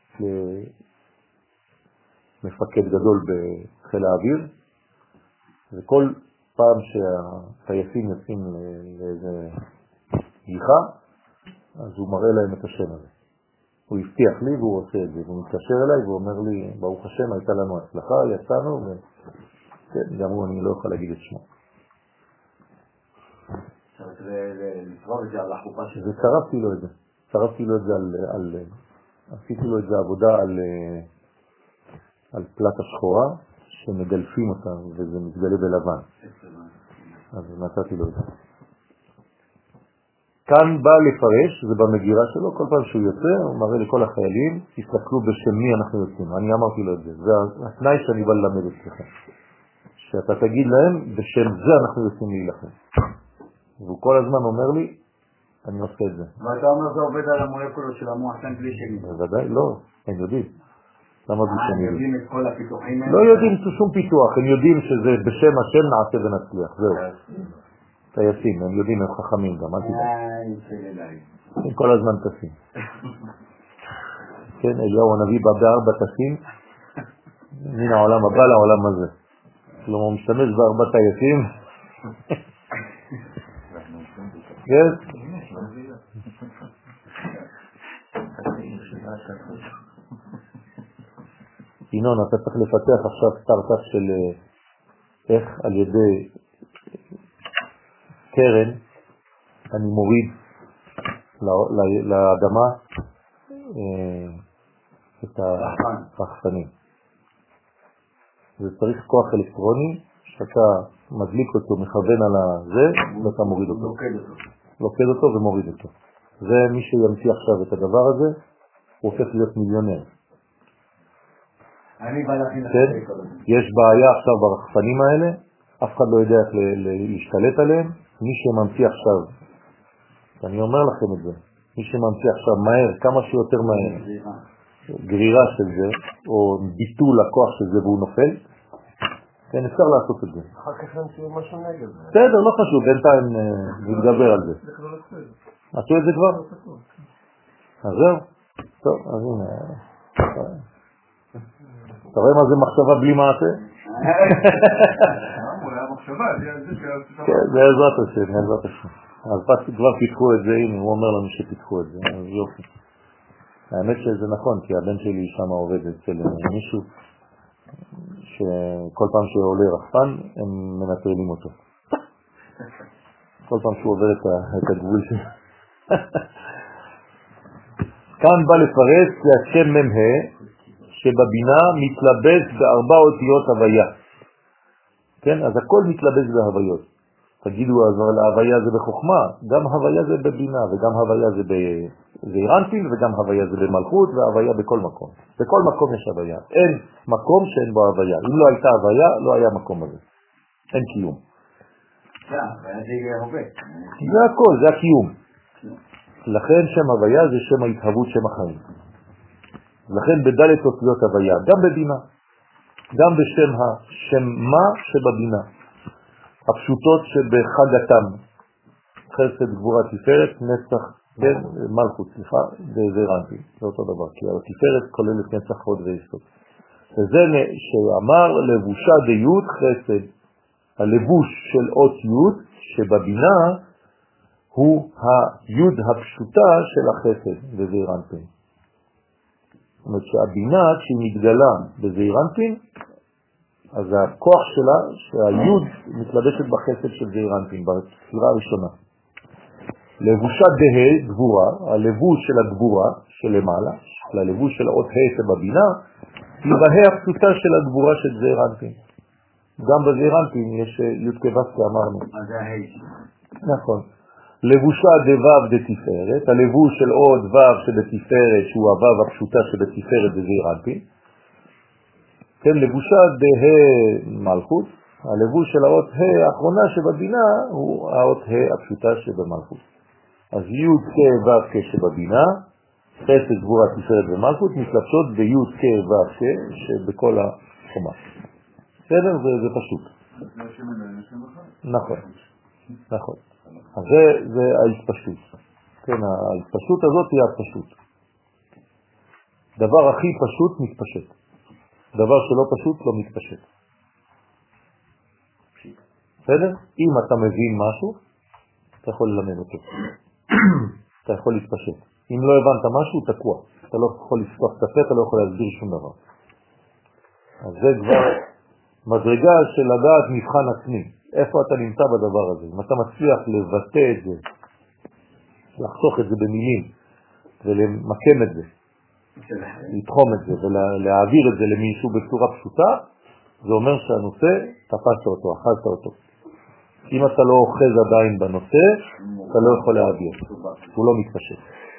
למפקד גדול בחיל האוויר, וכל פעם שהטייסים יוצאים לאיזה גיחה, אז הוא מראה להם את השם הזה. הוא הבטיח לי והוא עושה את זה, והוא מתקשר אליי והוא אומר לי, ברוך השם, הייתה לנו הצלחה, יצאנו, וכן, גם הוא, אני לא יכול להגיד את שמו. זה צרפתי לו את זה. צרפתי לו את זה על, על עשיתי לו את זה עבודה על, על פלטה שחורה, שמגלפים אותה, וזה מתגלה בלבן. אז נתתי לו את זה. כאן בא לפרש, זה במגירה שלו, כל פעם שהוא יוצא, הוא מראה לכל החיילים, תסתכלו בשם מי אנחנו יוצאים. אני אמרתי לו את זה, זה התנאי שאני בא ללמד אצלכם. שאתה תגיד להם, בשם זה אנחנו יוצאים להילחם. והוא כל הזמן אומר לי, אני עושה את זה. ואתה אומר זה עובד על המולקולות של המוח כאן בלי שני? בוודאי, לא, הם יודעים. למה בלי שני? הם יודעים את כל הפיתוחים האלה? לא יודעים שום פיתוח, הם יודעים שזה בשם השם נעשה ונצליח, זהו. טייסים, הם יודעים, הם חכמים גם, אל תדע. הם כל הזמן טסים. כן, אליהו הנביא בא בארבע טסים, מן העולם הבא לעולם הזה. כלומר, הוא משתמש בארבע טייסים. כן? ינון, אתה צריך לפתח עכשיו סטארט-אפ של איך על ידי קרן אני מוריד לאדמה את הרחפנים. זה צריך כוח אלקטרוני שאתה מדליק אותו, מכוון על זה, ואתה מוריד אותו. לוקד אותו ומוריד אותו. זה מי שימציא עכשיו את הדבר הזה, הוא הופך להיות מיליונר. כן? יש בעיה עכשיו ברחפנים האלה, אף אחד לא יודע איך להשתלט עליהם. מי שממציא עכשיו, אני אומר לכם את זה, מי שממציא עכשיו מהר, כמה שיותר מהר, גרירה של זה, או ביטול הכוח של זה והוא נופל, כן, אפשר לעשות את זה. אחר כך נמציא משהו נגד זה. בסדר, לא חשוב, בינתיים נתגבר על זה. עשו את זה כבר? אז זהו? טוב, אז הנה. אתה רואה מה זה מחשבה בלי מעשה? כן, זה עזרת השם, עזרת השם. אז כבר פיתחו את זה, הנה, הוא אומר לנו שפיתחו את זה, אז יופי. האמת שזה נכון, כי הבן שלי שם עובד אצל מישהו, שכל פעם שעולה רחפן, הם מנטרלים אותו. כל פעם שהוא עובר את הגבול שלו. כאן בא לפרש להשם ממה, שבבינה מתלבש בארבע אותיות הוויה. כן? אז הכל מתלבש בהוויות. תגידו, אז ההוויה זה בחוכמה, גם הוויה זה בבינה, וגם הוויה זה באירנטין, וגם הוויה זה במלכות, וההוויה בכל מקום. בכל מקום יש הוויה. אין מקום שאין בו הוויה. אם לא הייתה הוויה, לא היה מקום הזה. אין קיום. זה, זה יהיה הרבה. זה הכל, זה הקיום. לכן שם הוויה זה שם ההתהוות, שם החיים. לכן בדלת אותיות הוויה, גם בבינה, גם בשם השם מה שבבינה, הפשוטות שבחגתם, חסד, גבורה, תפארת, נצח, כן, מלכות, סליחה, זה רנטי, זה אותו דבר, כי התפארת כוללת נצח, הוד ויסוד. וזה שאמר לבושה דיות חסד, הלבוש של אות יוד שבבינה הוא היוד הפשוטה של החסד בזעיר אנפין. זאת אומרת שהבינה כשהיא מתגלה בזעיר אנפין, אז הכוח שלה שהיוד מתלבשת בחסד של זעיר אנפין, בספירה הראשונה. לבושה דה, גבורה, הלבוש של הגבורה שלמעלה, הלבוש של האות ה' שבבינה, היא בה' הפשוטה של הגבורה של זעיר אנפין. גם בזעיר אנפין יש י' כו' אמרנו. אז זה הה'. נכון. לבושה דוו דתפארת, הלבוש של עוד וו שבתפארת, שהוא הוו הפשוטה שבתפארת בזעיר אנפין. כן, לבושה דה מלכות, הלבוש של האות ה' האחרונה שבבינה הוא האות ה' הפשוטה שבמלכות. אז י' כ' ו' כ' שבבינה, חסד, גבורה, תפארת ומלכות מתלבשות בי' כ' ו' כ' שבכל החומה. בסדר? זה, זה פשוט. נכון, נכון. אז זה, זה ההתפשטות. כן, ההתפשטות הזאת היא הפשטות. דבר הכי פשוט מתפשט. דבר שלא פשוט לא מתפשט. בסדר? אם אתה מבין משהו, אתה יכול ללמד אותו. אתה יכול להתפשט. אם לא הבנת משהו, תקוע. אתה לא יכול לפתוח את הפה, אתה לא יכול להסביר שום דבר. אז זה כבר מדרגה של לדעת מבחן עצמי. איפה אתה נמצא בדבר הזה? אם אתה מצליח לבטא את זה, לחסוך את זה במילים, ולמקם את זה, לתחום את זה, ולהעביר את זה למישהו בצורה פשוטה, זה אומר שהנושא, תפסת אותו, אכלת אותו. אם אתה לא אוחז עדיין בנושא, אתה לא יכול להעביר. הוא לא מתפשט.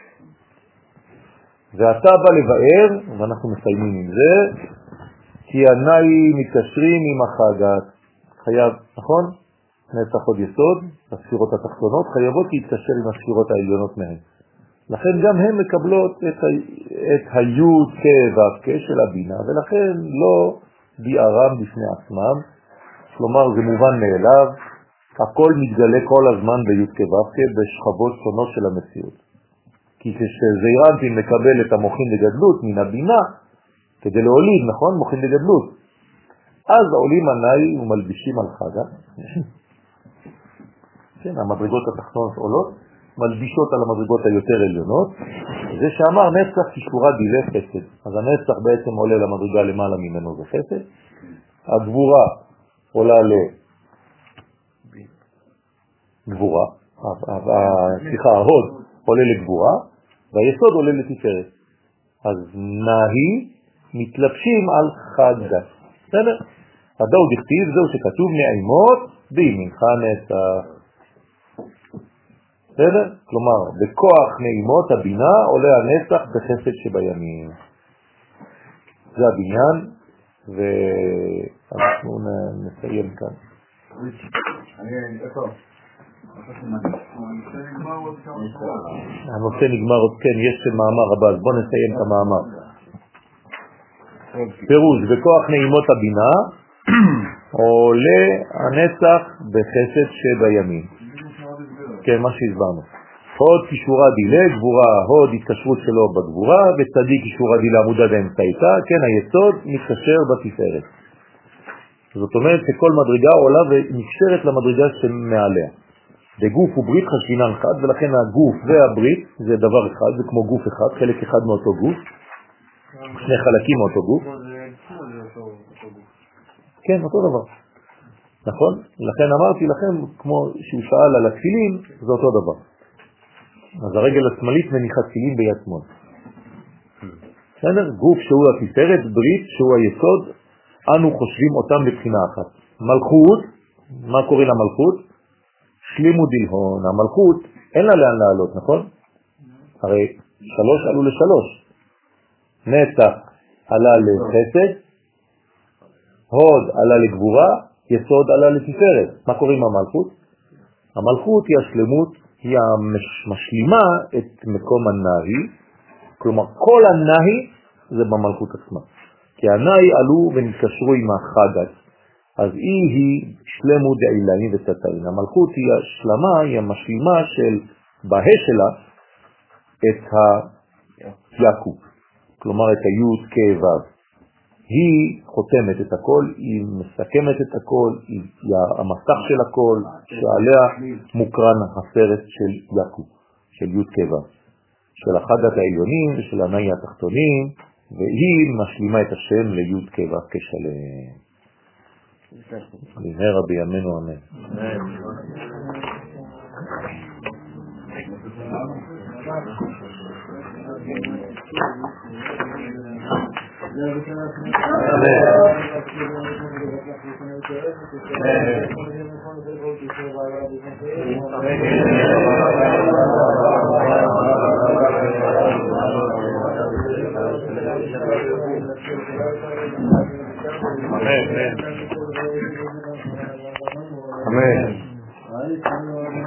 ואתה בא לבאר, ואנחנו מסיימים עם זה, כי עיניי מתקשרים עם החגת. חייב, נכון? נצח עוד יסוד, הספירות התחתונות, חייבות להתקשר עם הספירות העליונות מהן. לכן גם הן מקבלות את, ה... את היוד כו' של הבינה, ולכן לא ביארם בפני עצמם, כלומר זה מובן מאליו, הכל מתגלה כל הזמן ביוד כו' בשכבות שונות של המציאות. כי כשזעיר אנפין מקבל את המוחין לגדלות מן הבינה, כדי להוליד, נכון? מוחין לגדלות. אז עולים עיניי ומלבישים על חגה. כן, המדרגות התחתונות עולות, מלבישות על המדרגות היותר עליונות. זה שאמר נצח כשורה דילה חסד. אז הנצח בעצם עולה למדרגה למעלה ממנו זה חסד. הגבורה עולה לגבורה. סליחה, ההוד עולה לגבורה, והיסוד עולה לתפארת. אז נהי מתלבשים על חגה. בסדר? הדאו דכתיב זהו שכתוב נעימות בימינך נצח. בסדר? כלומר, בכוח נעימות הבינה עולה הנצח בחסד שבימים. זה הבניין, ואנחנו נסיים כאן. הנושא נגמר עוד, כן, יש מאמר הבא, אז בוא נסיים את המאמר. פירוש, בכוח נעימות הבינה עולה הנצח בחסד שבימים. כן, מה שהסברנו. הוד כשורה דילה, גבורה, הוד התקשרות שלו בגבורה, וצדיק כשורה דילה עמודה באמצעיתה, כן, היסוד מתקשר בתפארת. זאת אומרת שכל מדרגה עולה ונקשרת למדרגה שמעליה. בגוף וברית חשבינן אחד, ולכן הגוף והברית זה דבר אחד, זה כמו גוף אחד, חלק אחד מאותו גוף, שני חלקים מאותו גוף. כן, אותו דבר. נכון? לכן אמרתי לכם, כמו שהוא שאל על התפילין, זה אותו דבר. אז הרגל השמאלית מניחה תפילין ביד שמאל. בסדר? גוף שהוא התפארת, ברית שהוא היסוד, אנו חושבים אותם לבחינה אחת. מלכות, מה קוראים למלכות? שלימו דלהון. המלכות אין לה לאן לעלות, נכון? הרי שלוש עלו לשלוש. נצח עלה לחסד, הוד עלה לגבורה, יסוד עלה לתפארת. מה קוראים המלכות? המלכות היא השלמות, היא משלימה את מקום הנאי, כלומר כל הנאי זה במלכות עצמה. כי הנאי עלו ונתקשרו עם החגת, אז היא היא שלמות דעילאים ותתאים. המלכות היא השלמה, היא המשלימה של בה שלה את היקו, כלומר את היוד כבב. היא חותמת את הכל, היא מסכמת את הכל, היא המסך של הכל, שעליה מוקרן הסרט של יקו, של יוד כבב, של החגת העליונים ושל הנאי התחתונים, והיא משלימה את השם ליוד כבב כשלם. במהרה בימינו אמן. Amen. Amen.